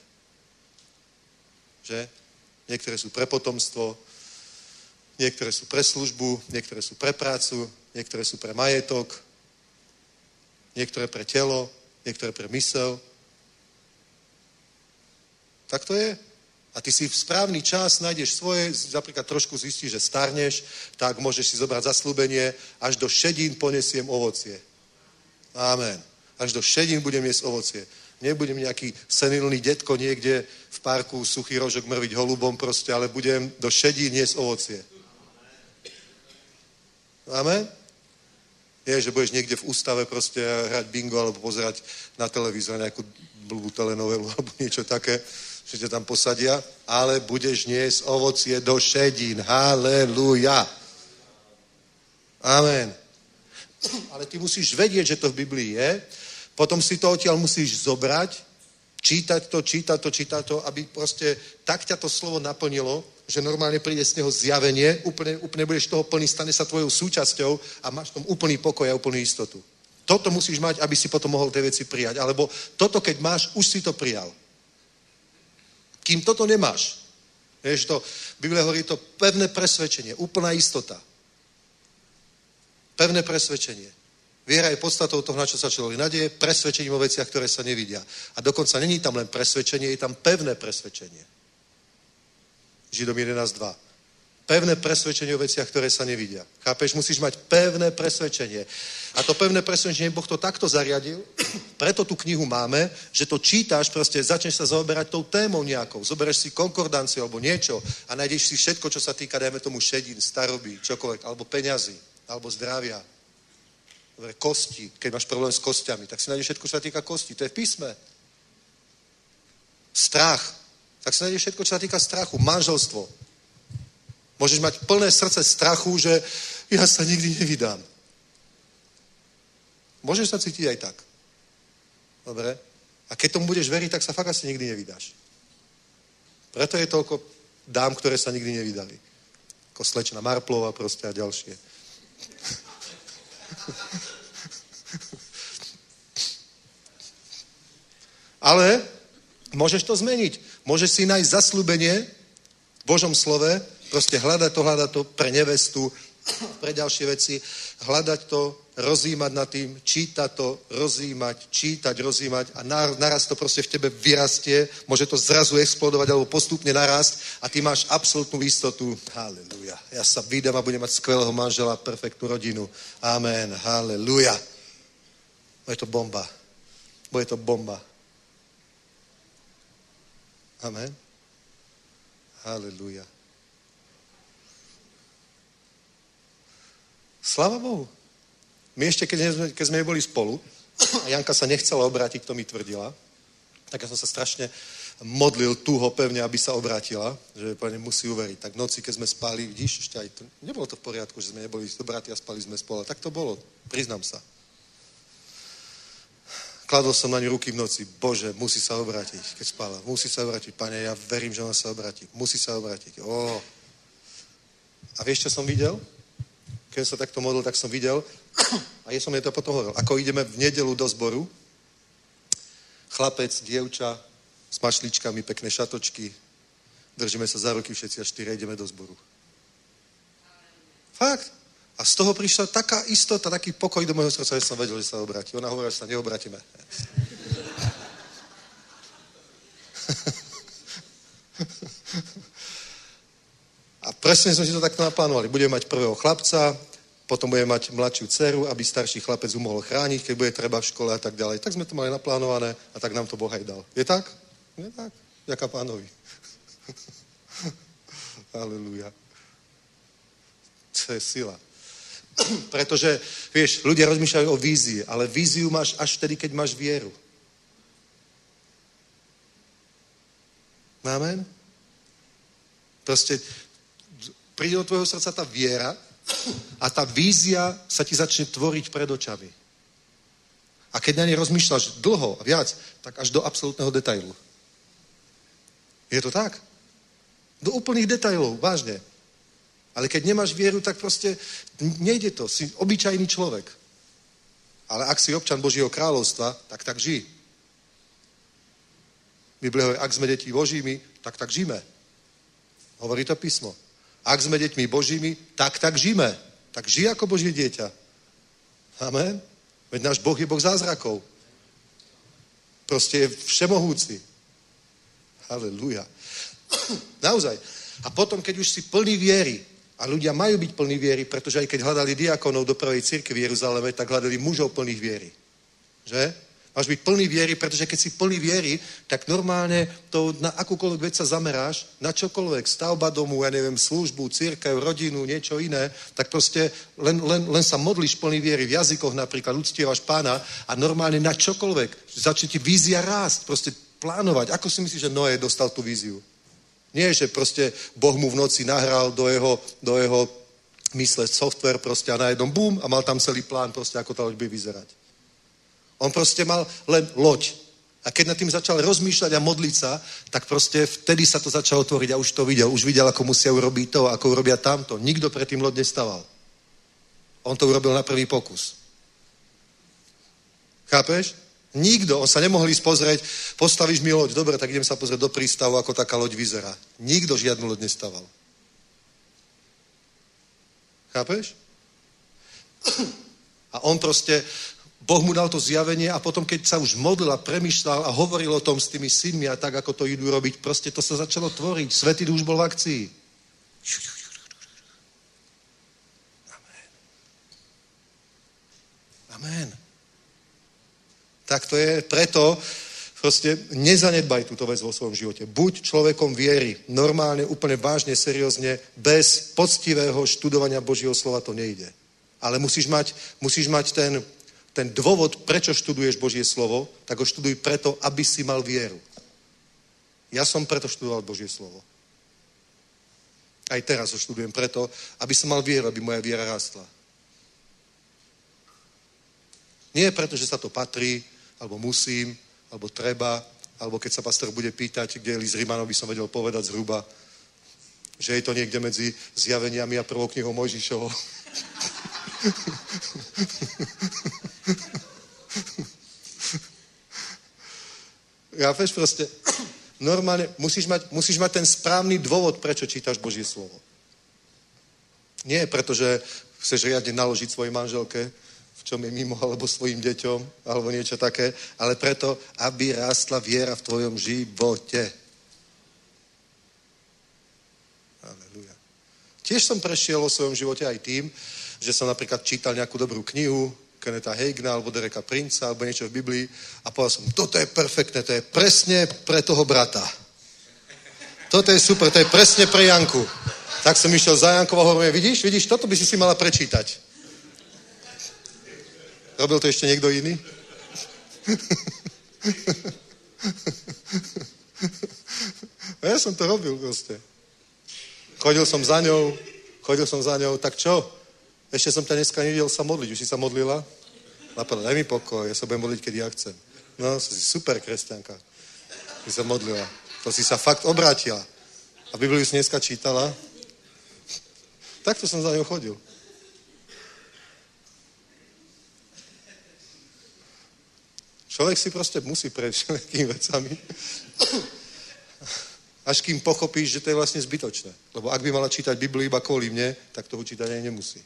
[SPEAKER 4] Že? Niektoré sú pre potomstvo, niektoré sú pre službu, niektoré sú pre prácu, niektoré sú pre majetok, niektoré pre telo, niektoré pre mysel. Tak to je. A ty si v správny čas nájdeš svoje, napríklad trošku zistíš, že starneš, tak môžeš si zobrať zasľúbenie, až do šedín ponesiem ovocie. Amen. Až do šedín budem jesť ovocie. Nebudem nejaký senilný detko niekde v parku, suchý rožok mrviť holubom proste, ale budem do šedín jesť ovocie. Amen? Nie, že budeš niekde v ústave proste hrať bingo alebo pozerať na televízor nejakú blbú telenovelu alebo niečo také, že ťa tam posadia, ale budeš niesť ovocie do šedín. Halelúja. Amen. Ale ty musíš vedieť, že to v Biblii je, potom si to odtiaľ musíš zobrať, čítať to, čítať to, čítať to, aby proste tak ťa to slovo naplnilo, že normálne príde z neho zjavenie, úplne, úplne budeš toho plný, stane sa tvojou súčasťou a máš tom úplný pokoj a úplnú istotu. Toto musíš mať, aby si potom mohol tie veci prijať. Alebo toto, keď máš, už si to prijal. Kým toto nemáš, vieš to, Biblia hovorí to pevné presvedčenie, úplná istota. Pevné presvedčenie. Viera je podstatou toho, na čo sa človek nadeje, presvedčením o veciach, ktoré sa nevidia. A dokonca není tam len presvedčenie, je tam pevné presvedčenie. Židom jedenásť dva. Pevné presvedčenie o veciach, ktoré sa nevidia. Chápeš? Musíš mať pevné presvedčenie. A to pevné presvedčenie, Boh to takto zariadil, preto tú knihu máme, že to čítáš, proste začneš sa zaoberať tou témou nejakou. Zoberieš si konkordanciu alebo niečo a nájdeš si všetko, čo sa týka, dajme tomu šedín, staroby, čokoľvek, alebo peňazí, alebo zdravia. Dobre, kosti, keď máš problém s kostiami, tak si nájdeš všetko, čo sa týka kosti. To je v písme. Strach. Tak si nájdeš všetko, čo sa týka strachu. Manželstvo. Môžeš mať plné srdce strachu, že ja sa nikdy nevydám. Môžeš sa cítiť aj tak. Dobre? A keď tomu budeš veriť, tak sa fakt asi nikdy nevydáš. Preto je toľko dám, ktoré sa nikdy nevydali. Ako slečna Marplova proste a ďalšie. Ale môžeš to zmeniť. Môžeš si nájsť zasľúbenie v Božom slove, proste hľadať to, hľadať to pre nevestu, pre ďalšie veci, hľadať to, rozjímať nad tým, čítať to, rozjímať, čítať, rozjímať a naraz to proste v tebe vyrastie, môže to zrazu explodovať alebo postupne narast a ty máš absolútnu istotu. Halelúja. Ja sa vydám a budem mať skvelého manžela, perfektnú rodinu. Amen. Halelúja. Bude to bomba. Bude to bomba. Amen. Halelúja. Sláva Bohu. My ešte, keď sme, keď sme boli spolu, a Janka sa nechcela obrátiť, to mi tvrdila, tak ja som sa strašne modlil túho pevne, aby sa obrátila, že Pane musí uveriť. Tak v noci, keď sme spali, vidíš, ešte aj to, nebolo to v poriadku, že sme neboli dobratí a spali sme spolu. Tak to bolo, priznám sa. Kladol som na ňu ruky v noci, Bože, musí sa obrátiť, keď spala. Musí sa obrátiť, Pane, ja verím, že ona sa obráti. Musí sa obrátiť. Ó. A vieš, čo som videl? Keď som sa takto modlil, tak som videl, a ja som jej to potom hovoril, ako ideme v nedelu do zboru, chlapec, dievča, s mašličkami, pekné šatočky, držíme sa za ruky všetci a štyri, ideme do zboru. Fakt. A z toho prišla taká istota, taký pokoj do môjho srdca, že som vedel, že sa obráti. Ona hovorila, že sa neobrátime. A presne sme si to takto naplánovali. Budeme mať prvého chlapca, potom budeme mať mladšiu dceru, aby starší chlapec ju mohol chrániť, keď bude treba v škole a tak ďalej. Tak sme to mali naplánované a tak nám to Boh aj dal. Je tak? Je tak. Ďaká Pánovi. Halelúja. To je sila. Pretože, vieš, ľudia rozmýšľajú o vízii, ale víziu máš až vtedy, keď máš vieru. Amen? Proste príde do tvojho srdca tá viera a tá vízia sa ti začne tvoriť pred očami. A keď na nej rozmýšľaš dlho a viac, tak až do absolútneho detailu. Je to tak? Do úplných detailov, vážne. Ale keď nemáš vieru, tak proste nejde to. Si obyčajný človek. Ale ak si občan Božieho kráľovstva, tak tak žij. Biblia hovorí, ak sme deťmi Božími, tak tak žijeme. Hovorí to písmo. Ak sme deťmi Božími, tak tak žijeme. Tak žij ako Božie dieťa. Amen. Veď náš Boh je Boh zázrakov. Proste je všemohúci. Halelúja. Naozaj. A potom, keď už si plný viery, a ľudia majú byť plní viery, pretože aj keď hľadali diakonov do prvej cirkvi v Jeruzaleme, tak hľadali mužov plných viery. Že? Máš byť plný viery, pretože keď si plný viery, tak normálne to na akúkoľvek vec sa zameráš, na čokoľvek, stavba domu, ja neviem, službu, cirkev, rodinu, niečo iné, tak proste len, len, len sa modlíš plný viery, v jazykoch napríklad, uctievaš Pána a normálne na čokoľvek. Začne ti vízia rásť, proste plánovať. Ako si myslíš, že Noé dostal tú víziu? Nie, že proste Boh mu v noci nahral do jeho, do jeho mysle software proste a najednom bum a mal tam celý plán proste, ako tá loď bude vyzerať. On proste mal len loď. A keď nad tým začal rozmýšľať a modliť sa, tak proste vtedy sa to začalo tvoriť a už to videl. Už videl, ako musia urobiť to, ako urobia tamto. Nikto predtým loď nestaval. On to urobil na prvý pokus. Chápeš? Nikto. On sa nemohol ísť pozrieť, postavíš mi loď. Dobre, tak idem sa pozrieť do prístavu, ako taká loď vyzerá. Nikto žiadnu loď nestaval. Chápeš? A on proste... Boh mu dal to zjavenie a potom, keď sa už modlil a premýšľal a hovoril o tom s tými synmi a tak, ako to idú robiť, proste to sa začalo tvoriť. Svätý Duch už bol v akcii. Amen. Amen. Tak to je, preto proste nezanedbaj túto vec vo svojom živote. Buď človekom viery, normálne, úplne vážne, seriózne, bez poctivého študovania Božieho slova to nejde. Ale musíš mať, musíš mať ten ten dôvod, prečo študuješ Božie slovo, tak ho študuj preto, aby si mal vieru. Ja som preto študoval Božie slovo. Aj teraz ho študujem preto, aby som mal vieru, aby moja viera rastla. Nie preto, že sa to patrí, alebo musím, alebo treba, alebo keď sa pastor bude pýtať, kde je list Rimanov, by som vedel povedať zhruba, že je to niekde medzi zjaveniami a prvou knihou Mojžišovou. Chápeš proste? Normálne musíš mať, musíš mať ten správny dôvod, prečo čítaš Božie slovo. Nie preto, že chceš riadne naložiť svojej manželke, v čom je mimo, alebo svojim deťom, alebo niečo také, ale preto, aby rástla viera v tvojom živote. Aleluja. Tiež som prešiel o svojom živote aj tým, že som napríklad čítal nejakú dobrú knihu, Kennetha Hagina, alebo Dereka Princa, alebo niečo v Biblii a povedal som, toto je perfektné, to je presne pre toho brata. Toto je super, to je presne pre Janku. Tak som išiel za Jankou a hovorím, vidíš, vidíš, toto by si si mala prečítať. Robil to ešte niekto iný? Ja som to robil proste. Chodil som za ňou, chodil som za ňou, tak čo? Ešte som ťa dneska nevidel sa modliť. Už si sa modlila? Napadla, daj mi pokoj, ja sa budem modliť, keď ja chcem. No, si super kresťanka. Si sa modlila. To si sa fakt obrátila. A Bibliu si dneska čítala. Takto som za ňou chodil. Človek si proste musí prejsť všetkými vecami. Až kým pochopíš, že to je vlastne zbytočné. Lebo ak by mala čítať Bibliu iba kvôli mne, tak toho čítať aj nemusí.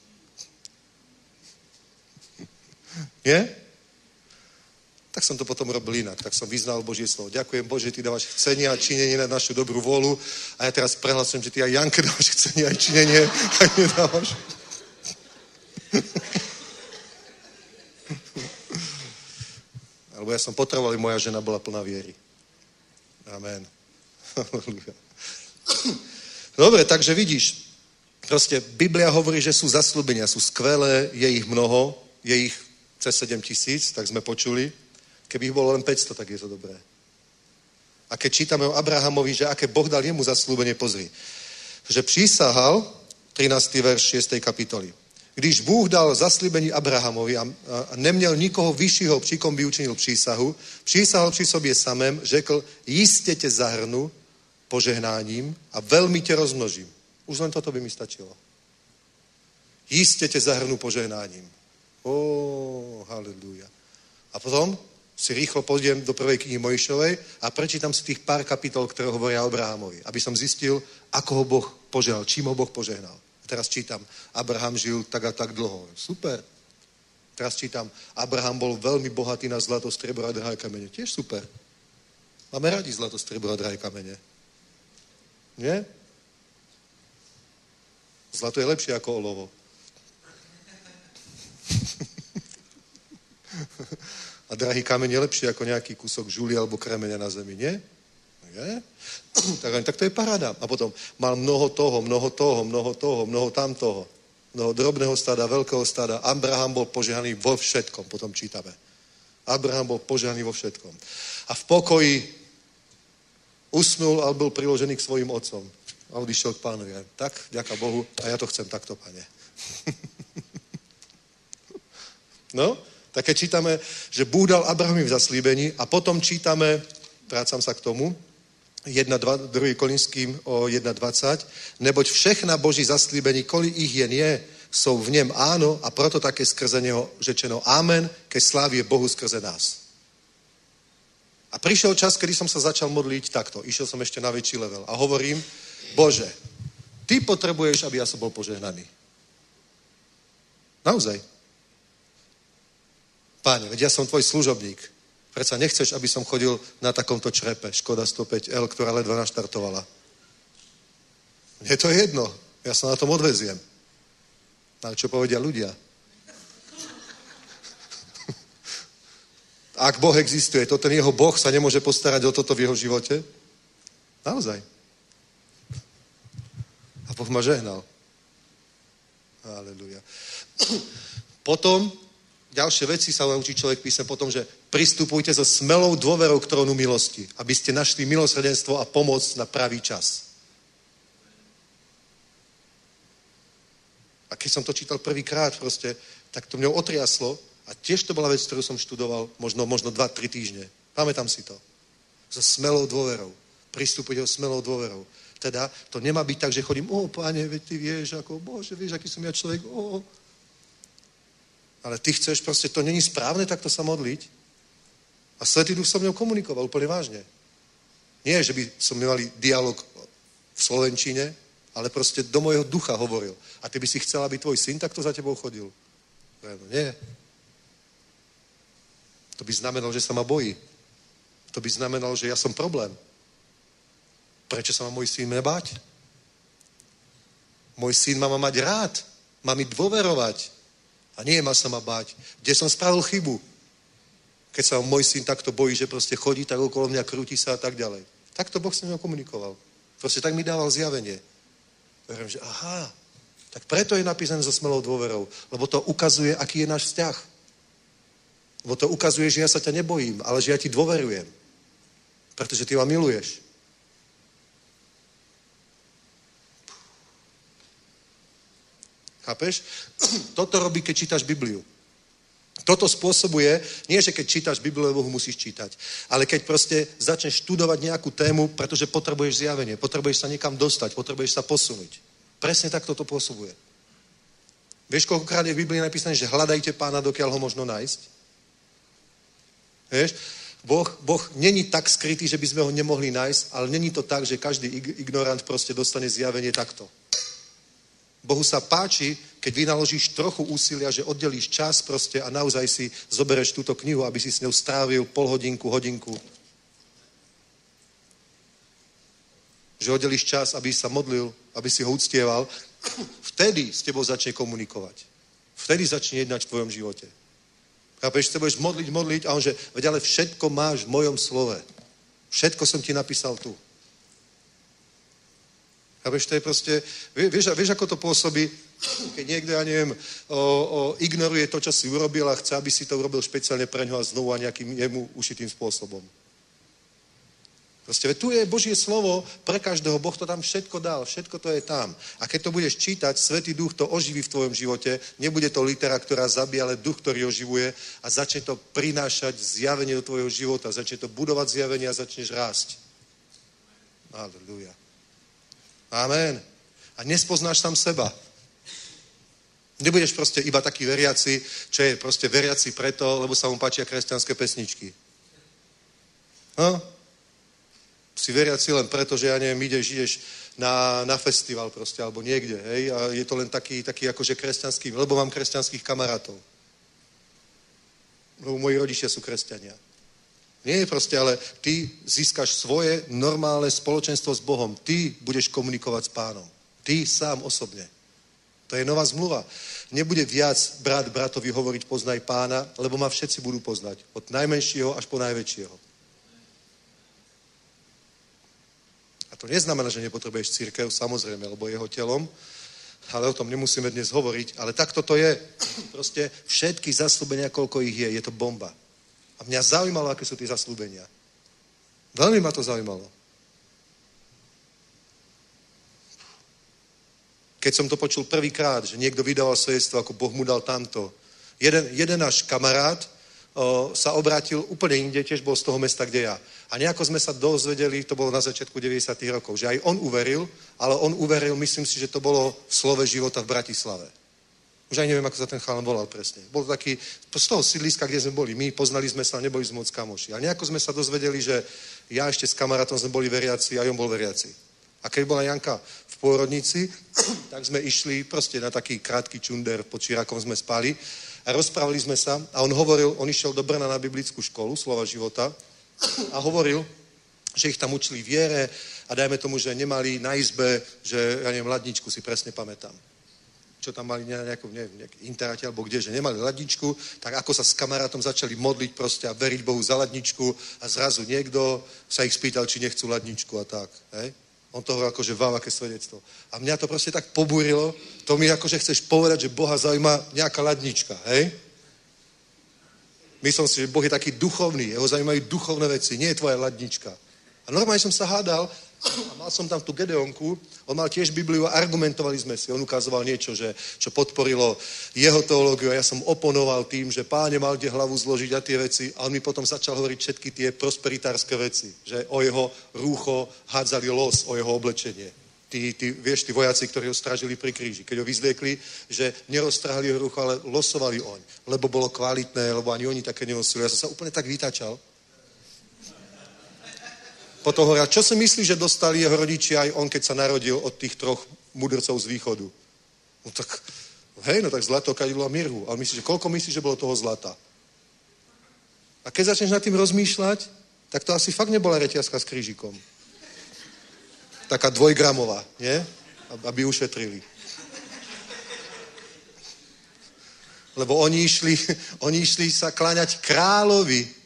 [SPEAKER 4] Nie? Tak som to potom robil inak. Tak som vyznal Božie slovo. Ďakujem Bože, ty dávaš chcenie a činenie na našu dobrú vôľu. A ja teraz prehlasujem, že ty aj Janke dávaš chcenie a činenie a nedávaš. Alebo ja som potreboval, aby moja žena bola plná viery. Amen. Dobre, takže vidíš, proste Biblia hovorí, že sú zasľúbenia, sú skvelé, je ich mnoho, je ich cez sedem tisíc, tak sme počuli. Keby ich bolo len päťsto, tak je to dobré. A keď čítame o Abrahamovi, že aké Boh dal jemu zasľúbenie, pozri. Že prísahal, trinásty verš šiestej kapitoly. Když Bůh dal zaslíbení Abrahamovi a, a neměl nikoho vyššího, při kom by učinil přísahu, přísahal při sobě samém, řekl, jistě tě zahrnu požehnáním a velmi tě rozmnožím. Už len toto by mi stačilo. Jistě tě zahrnu požehnáním. Ó, haleluja. A potom Si rýchlo pôjdem do prvej knihy Mojžišovej a prečítam si tých pár kapitol, ktoré hovoria o Abrahamovi, aby som zistil, ako ho Boh požehnal, čím ho Boh požehnal. A teraz čítam, Abraham žil tak a tak dlho. Super. Teraz čítam, Abraham bol veľmi bohatý na zlato, striebro a drahé kamene. Tiež super. Máme radi zlato, striebro a drahé kamene. Nie? Zlato je lepšie ako olovo. A drahý kameň je lepšie ako nejaký kúsok žuly alebo kremeňa na zemi, nie? Nie? Tak, tak to je paráda. A potom mal mnoho toho, mnoho toho, mnoho toho, mnoho tamtoho. Mnoho drobného stáda, veľkého stáda. Abraham bol požehnaný vo všetkom, potom čítame. Abraham bol požehnaný vo všetkom. A v pokoji usnul a byl priložený k svojim otcom. A odišiel k pánovi. Tak, ďaká Bohu, a ja to chcem takto, pane. No, tak keď čítame, že Bůh dal Abrahamovi v zaslíbení a potom čítame, vrácam sa k tomu, druhý Korinským o jedna dvadsať, neboť všechna Boží zaslíbení, kolik ich jen je, jsou v něm áno a proto také skrze něho řečeno amen, ke slávě Bohu skrze nás. A prišiel čas, kedy som sa začal modliť takto. Išiel som ešte na väčší level a hovorím, Bože, ty potrebuješ, aby ja som bol požehnaný. Naozaj. Páne, veď ja som tvoj služobník. Predsa nechceš, aby som chodil na takomto črepe, Škoda sto päť el, ktorá ledva naštartovala. Mne to je jedno. Ja sa na tom odveziem. Ale čo povedia ľudia? Ak Boh existuje, to ten jeho Boh sa nemôže postarať o toto v jeho živote? Naozaj. A Boh ma žehnal. Aleluja. Potom ďalšie veci sa naučí človek písem potom, že pristupujte so smelou dôverou k trónu milosti, aby ste našli milosrdenstvo a pomoc na pravý čas. A keď som to čítal prvýkrát proste, tak to mňou otriaslo a tiež to bola vec, ktorú som študoval možno, možno dva, tri týždne. Pamätám si to. So smelou dôverou. Pristupujte so smelou dôverou. Teda to nemá byť tak, že chodím, o, Páne, veď ty vieš, ako, Bože, vieš, aký som ja človek, o. Ale ty chceš, proste to není správne takto sa modliť. A Svätý Duch so mnou komunikoval úplne vážne. Nie, že by som mali dialog v slovenčine, ale proste do mojho ducha hovoril. A ty by si chcel, aby tvoj syn takto za tebou chodil? No, nie. To by znamenalo, že sa ma bojí. To by znamenalo, že ja som problém. Prečo sa má môj syn nebáť? Môj syn má ma mať rád. Má mi dôverovať. A nie má sa ma báť. Kde som spravil chybu? Keď sa môj syn takto bojí, že proste chodí tak okolo mňa, krúti sa a tak ďalej. Takto Boh s ním komunikoval. Proste tak mi dával zjavenie. Verím, že aha, tak preto je napísané so smelou dôverou. Lebo to ukazuje, aký je náš vzťah. Lebo to ukazuje, že ja sa ťa nebojím, ale že ja ti dôverujem. Pretože ty ma miluješ. Chápeš? Toto robí, keď čítaš Bibliu. Toto spôsobuje, nie že keď čítaš Bibliu, Bohu musíš čítať, ale keď proste začneš študovať nejakú tému, pretože potrebuješ zjavenie, potrebuješ sa niekam dostať, potrebuješ sa posunúť. Presne tak toto pôsobuje. Vieš, koľkokrát je v Biblii napísané, že hľadajte Pána, dokiaľ ho možno nájsť? Vieš? Boh, boh není tak skrytý, že by sme ho nemohli nájsť, ale není to tak, že každý ignorant proste dostane zjavenie takto. Bohu sa páči, keď vynaložíš trochu úsilia, že oddelíš čas proste a naozaj si zobereš túto knihu, aby si s ňou strávil pol hodinku, hodinku. Že oddelíš čas, aby sa modlil, aby si ho uctieval. Vtedy s tebou začne komunikovať. Vtedy začne jednať v tvojom živote. Chápeš, sa budeš modliť, modliť a on že, veď ale všetko máš v mojom slove. Všetko som ti napísal tu. Chápeš, to je proste, vieš, vieš, ako to pôsobí, keď niekto, ja neviem, o, o, ignoruje to, čo si urobil a chce, aby si to urobil špeciálne pre ňo a znovu a nejakým jemu ušitým spôsobom. Proste, tu je Božie slovo pre každého, Boh to tam všetko dal, všetko to je tam. A keď to budeš čítať, Svätý Duch to oživí v tvojom živote, nebude to litera, ktorá zabíja, ale duch, ktorý oživuje a začne to prinášať zjavenie do tvojho života, začne to budovať zjavenie a začneš rásť. Aleluja. Amen. A nespoznáš sám seba. Nebudeš proste iba taký veriaci, čo je proste veriaci preto, lebo sa mu páčia kresťanské pesničky. No? Si veriaci len preto, že ja neviem, ideš, ideš na, na festival proste, alebo niekde, hej, a je to len taký, taký akože kresťanský, lebo mám kresťanských kamarátov. Lebo moji rodičia sú kresťania. Nie proste, ale ty získaš svoje normálne spoločenstvo s Bohom. Ty budeš komunikovať s Pánom. Ty sám osobne. To je nová zmluva. Nebude viac brat bratovi hovoriť poznaj Pána, lebo ma všetci budú poznať. Od najmenšieho až po najväčšieho. A to neznamená, že nepotrebuješ cirkev, samozrejme, lebo jeho telom, ale o tom nemusíme dnes hovoriť. Ale takto to je. Proste všetky zasľúbenia, koľko ich je, je to bomba. A mňa zaujímalo, aké sú tie zasľúbenia. Veľmi ma to zaujímalo. Keď som to počul prvýkrát, že niekto vydával svedectvo, ako Boh mu dal tamto. Jeden, jeden náš kamarát o, sa obrátil úplne inde, tiež bol z toho mesta, kde ja. A nejako sme sa dozvedeli, to bolo na začiatku deväťdesiatych rokov, že aj on uveril, ale on uveril, myslím si, že to bolo v Slove života v Bratislave. Už aj neviem, ako sa ten chalan volal presne. Bol to taký, z toho sídliska, kde sme boli. My poznali sme sa, neboli sme moc kamoši. A nejako sme sa dozvedeli, že ja ešte s kamarátom sme boli veriaci a on bol veriaci. A keď bola Janka v pôrodnici, tak sme išli proste na taký krátky čunder, pod Čirákom sme spali a rozprávali sme sa a on hovoril, on išiel do Brna na biblickú školu, Slova života a hovoril, že ich tam učili viere a dajme tomu, že nemali na izbe, že ja neviem, ladničku si presne pamätám. Čo tam mali nejakú, neviem, nejaký interáte alebo kde, že nemali ladničku, tak ako sa s kamarátom začali modliť proste a veriť Bohu za ladničku a zrazu niekto sa ich spýtal, či nechcú ladničku a tak, hej? On to hovoril akože vám, aké svedectvo. A mňa to proste tak pobúrilo, to mi akože chceš povedať, že Boha zaujíma nejaká ladnička, hej? Myslím si, že Boh je taký duchovný, jeho zaujímajú duchovné veci, nie je tvoja ladnička. A normálne som sa hádal a mal som tam tú Gedeonku, on mal tiež Bibliu a argumentovali sme si, on ukazoval niečo, že, čo podporilo jeho teológiu a ja som oponoval tým, že Páne mal kde hlavu zložiť a tie veci a on mi potom začal hovoriť všetky tie prosperitárske veci, že o jeho rúcho hádzali los, o jeho oblečenie. Tí, tí, vieš, tí vojaci, ktorí ho strážili pri kríži, keď ho vyzliekli, že neroztrhali jeho rucho, ale losovali oň, lebo bolo kvalitné, lebo ani oni také nenosili. Ja som sa úplne tak vytačal. Potom hovoril, čo si myslí, že dostali jeho rodičia aj on, keď sa narodil od tých troch mudrcov z východu? No tak, hej, no tak zlato, kadidlo a mirhu. Ale myslíš, že koľko myslíš, že bolo toho zlata? A keď začneš nad tým rozmýšľať, tak to asi fakt nebola reťazka s krížikom. Taká dvojgramová, nie? Aby ušetrili. Lebo oni išli, oni išli sa kláňať kráľovi.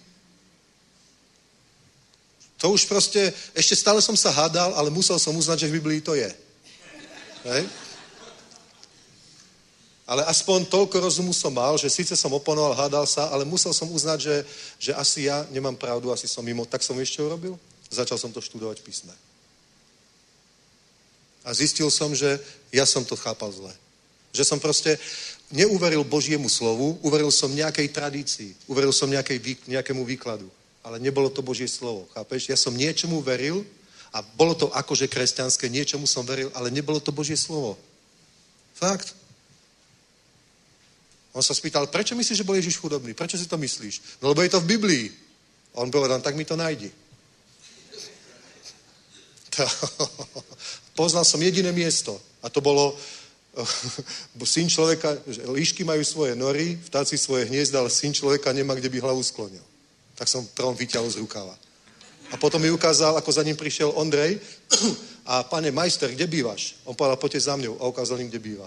[SPEAKER 4] To už proste, ešte stále som sa hádal, ale musel som uznať, že v Biblii to je. Hej? Ale aspoň toľko rozumu som mal, že síce som oponoval, hádal sa, ale musel som uznať, že, že asi ja nemám pravdu, asi som mimo. Tak som ešte urobil. Začal som to študovať v písme. A zistil som, že ja som to chápal zle. Že som proste neuveril Božiemu slovu, uveril som nejakej tradícii, uveril som nejakej, nejakému výkladu. Ale nebolo to Božie slovo, chápeš? Ja som niečomu veril a bolo to akože kresťanské, niečomu som veril, ale nebolo to Božie slovo. Fakt. On sa spýtal, prečo myslíš, že bol Ježiš chudobný? Prečo si to myslíš? No lebo je to v Biblii. A on povedal, tak mi to nájdi. Poznal som jediné miesto a to bolo syn človeka, líšky majú svoje nory, vtáci svoje hniezda, ale syn človeka nemá, kde by hlavu sklonil. Tak som trom vyťahol z rukava. A potom mi ukázal, ako za ním prišiel Ondrej a pane majster, kde bývaš? On povedal, poďte za mňou a ukázal im, kde býva.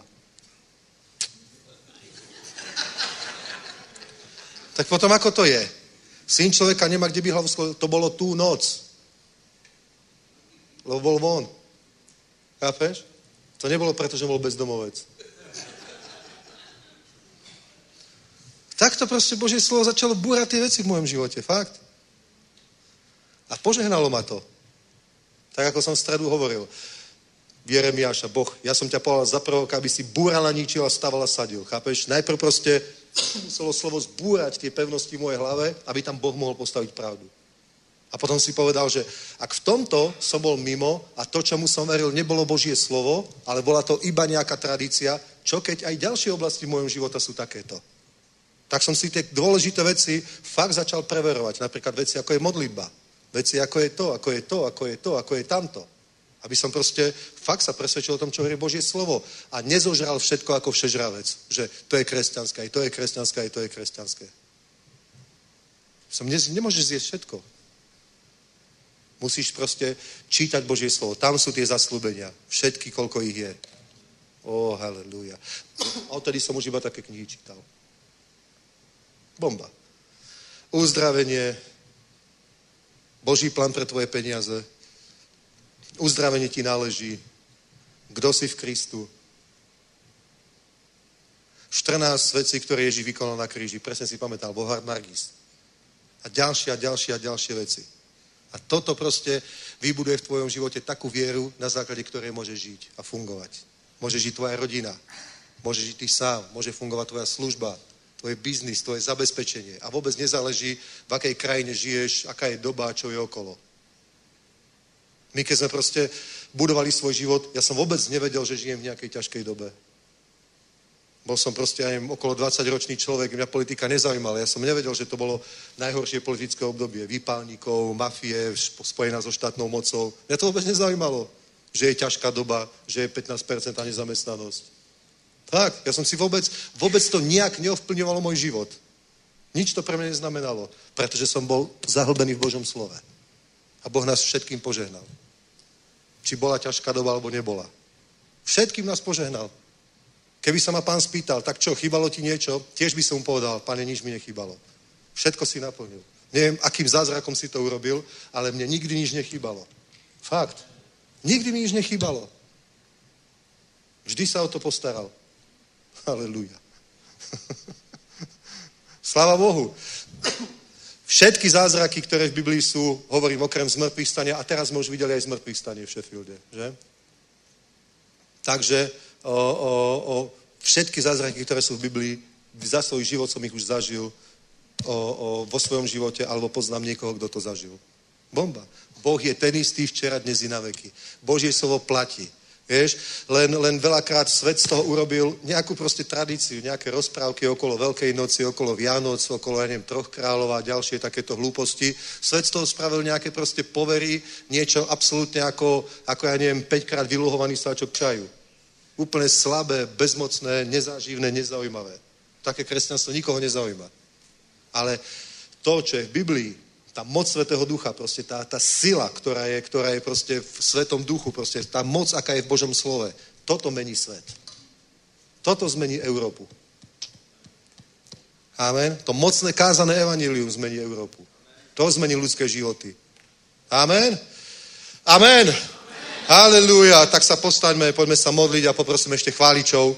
[SPEAKER 4] Tak potom ako to je? Syn človeka nemá, kde by hlavu sklonil. To bolo tú noc. Lebo bol von. Chápeš? To nebolo preto, že bol bezdomovec. Takto proste Božie slovo začalo búrať tie veci v mojom živote, fakt. A požehnalo ma to. Tak ako som v stredu hovoril. Jeremiáša, Boh, ja som ťa povedal za proroka, aby si búral a ničil a staval a sadil. Chápeš? Najprv proste muselo slovo zbúrať tie pevnosti v mojej hlave, aby tam Boh mohol postaviť pravdu. A potom si povedal, že ak v tomto som bol mimo a to, čomu som veril, nebolo Božie slovo, ale bola to iba nejaká tradícia, čo keď aj ďalšie oblasti v mojom života sú takéto. Tak som si tie dôležité veci fakt začal preverovať. Napríklad veci, ako je modlitba. Veci, ako je to, ako je to, ako je to, ako je tamto. Aby som proste fakt sa presvedčil o tom, čo hovorí Božie slovo. A nezožral všetko ako všežravec. Že to je kresťanské, aj to je kresťanské, aj to je kresťanské. Som ne, nemôžeš zjesť všetko. Musíš proste čítať Božie slovo. Tam sú tie zasľúbenia. Všetky, koľko ich je. Ó, halleluja. A odtedy som už iba také knihy čítal. Bomba. Uzdravenie, Boží plán pre tvoje peniaze, uzdravenie ti náleží, kdo si v Kristu. štrnásť vecí, ktoré Ježíš vykonal na kríži. Presne si pamätal, Bohard Margis. A ďalšie a ďalšie a ďalšie veci. A toto proste vybuduje v tvojom živote takú vieru, na základe ktorej môžeš žiť a fungovať. Môže žiť tvoja rodina, môže žiť ty sám, môže fungovať tvoja služba, tvoj biznis, tvoje zabezpečenie. A vôbec nezáleží, v akej krajine žiješ, aká je doba, čo je okolo. My, keď sme proste budovali svoj život, ja som vôbec nevedel, že žijem v nejakej ťažkej dobe. Bol som proste, ja neviem, okolo dvadsaťročný človek, mňa politika nezaujímala. Ja som nevedel, že to bolo najhoršie politické obdobie. Výpálnikov, mafie, spojená so štátnou mocou. Mňa to vôbec nezaujímalo, že je ťažká doba, že je pätnásť percent nezamestnanosť. Tak, ja som si vôbec, vôbec to nejak neovplyvňovalo môj život. Nič to pre mňa neznamenalo, pretože som bol zahlbený v Božom slove. A Boh nás všetkým požehnal. Či bola ťažká doba, alebo nebola. Všetkým nás požehnal. Keby sa ma pán spýtal, tak čo, chýbalo ti niečo? Tiež by som mu povedal, pane, nič mi nechýbalo. Všetko si naplnil. Neviem, akým zázrakom si to urobil, ale mne nikdy nič nechýbalo. Fakt. Nikdy mi nič nechýbalo. Vždy sa o to postaral. Halelúja. Sláva Bohu. Všetky zázraky, ktoré v Biblii sú, hovorím okrem zmrtvých stania, a teraz sme už videli aj zmrtvých stanie v Sheffielde, že? Takže o, o, o všetky zázraky, ktoré sú v Biblii, za svoj život som ich už zažil o, o, vo svojom živote, alebo poznám niekoho, kto to zažil. Bomba. Boh je ten istý včera, dnes i na veky. Božie slovo platí. Vieš, len, len veľakrát svet z toho urobil nejakú proste tradíciu, nejaké rozprávky okolo Veľkej noci, okolo Vianoc, okolo, ja neviem, Troch kráľov a ďalšie takéto hlúposti. Svet z toho spravil nejaké proste povery, niečo absolútne ako, ako ja neviem, päťkrát vyluhovaný sáčok čaju. Úplne slabé, bezmocné, nezáživné, nezaujímavé. Také kresťanstvo nikoho nezaujíma. Ale to, čo je v Biblii, tá moc Svätého Ducha, proste tá, tá sila, ktorá je, ktorá je proste v Svetom Duchu, proste tá moc, aká je v Božom slove, toto mení svet. Toto zmení Európu. Amen. To mocné kázané evanjelium zmení Európu. To zmení ľudské životy. Amen. Amen. Amen. Halelúja. Tak sa postaňme, poďme sa modliť a poprosím ešte chváličov.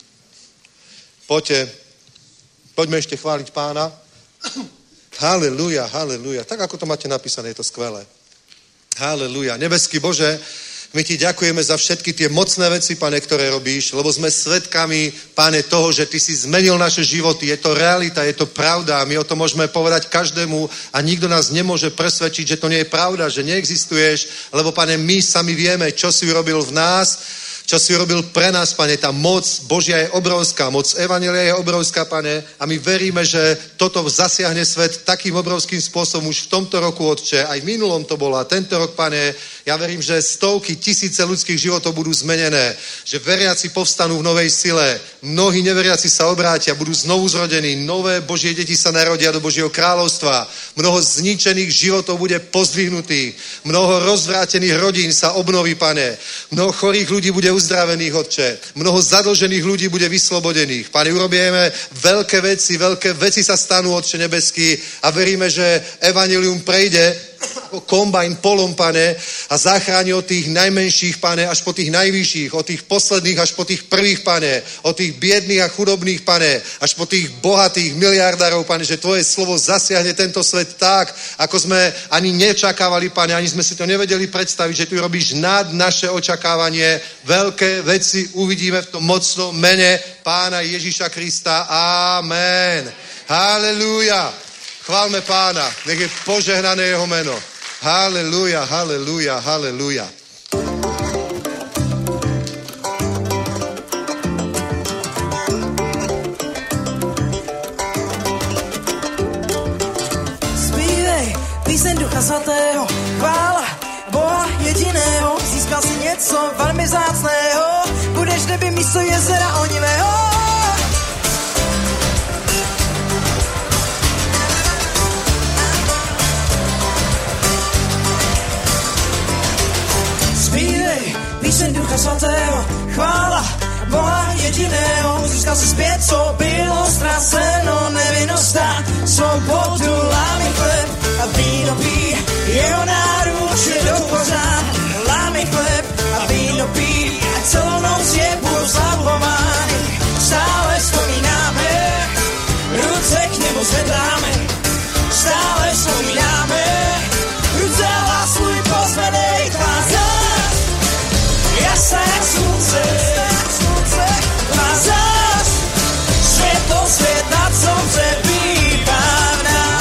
[SPEAKER 4] Poďte. Poďme ešte chváliť Pána. Halelúja, halelúja. Tak, ako to máte napísané, je to skvelé. Halelúja. Nebeský Bože, my ti ďakujeme za všetky tie mocné veci, Pane, ktoré robíš, lebo sme svedkami, Pane, toho, že ty si zmenil naše životy. Je to realita, je to pravda. My o tom môžeme povedať každému a nikto nás nemôže presvedčiť, že to nie je pravda, že neexistuješ, lebo, Pane, my sami vieme, čo si urobil v nás, čo si urobil pre nás, Pane. Tá moc Božia je obrovská, moc evanjelia je obrovská, Pane, a my veríme, že toto zasiahne svet takým obrovským spôsobom už v tomto roku, Otče, aj v minulom to bolo a tento rok, Pane, ja verím, že stovky, tisíce ľudských životov budú zmenené, že veriaci povstanú v novej sile, mnohí neveriaci sa obrátia, budú znovu zrodení, nové Božie deti sa narodia do Božieho kráľovstva, mnoho zničených životov bude pozdvihnutých, mnoho rozvrátených rodín sa obnoví, Pane, mnoho chorých ľudí bude uzdravených, Otče, mnoho zadlžených ľudí bude vyslobodených. Pane, urobíme veľké veci, veľké veci sa stanú, Otče nebeský, a veríme, že evanjelium prejde ako kombajn polom, Pane, a zachráni od tých najmenších, Pane, až po tých najvyšších, od tých posledných až po tých prvých, Pane, od tých biedných a chudobných, Pane, až po tých bohatých miliardárov, Pane, že tvoje slovo zasiahne tento svet tak, ako sme ani nečakávali, Pane, ani sme si to nevedeli predstaviť, že ty robíš nad naše očakávanie. Veľké veci uvidíme v tom mocnom mene Pána Ježíša Krista. Amen. Halelúja. Chválme Pána, nech je požehnané jeho meno. Halelúja, halelúja, halelúja.
[SPEAKER 3] Zpívej píseň Ducha Svatého, chvála Boha jediného, získal si něco velmi vzácného, budeš v nebi místo jezera onivého. Zpívej píseň Ducha Svatého, chvála Boha jediného, získal si zpět, co bylo ztraceno, nevinnost a svobodu, lámy chleb a víno pí, jeho náruč je do pořád, lámy chleb a víno pí, a celou noc je blahoslavovány, stále vzpomínáme, ruce k němu zvedáme, stále vzpomínáme, ruce a hlas svůj pozvedej, tvá jasná jak slunce, má zás světlo svět nad slunce bývá v nás.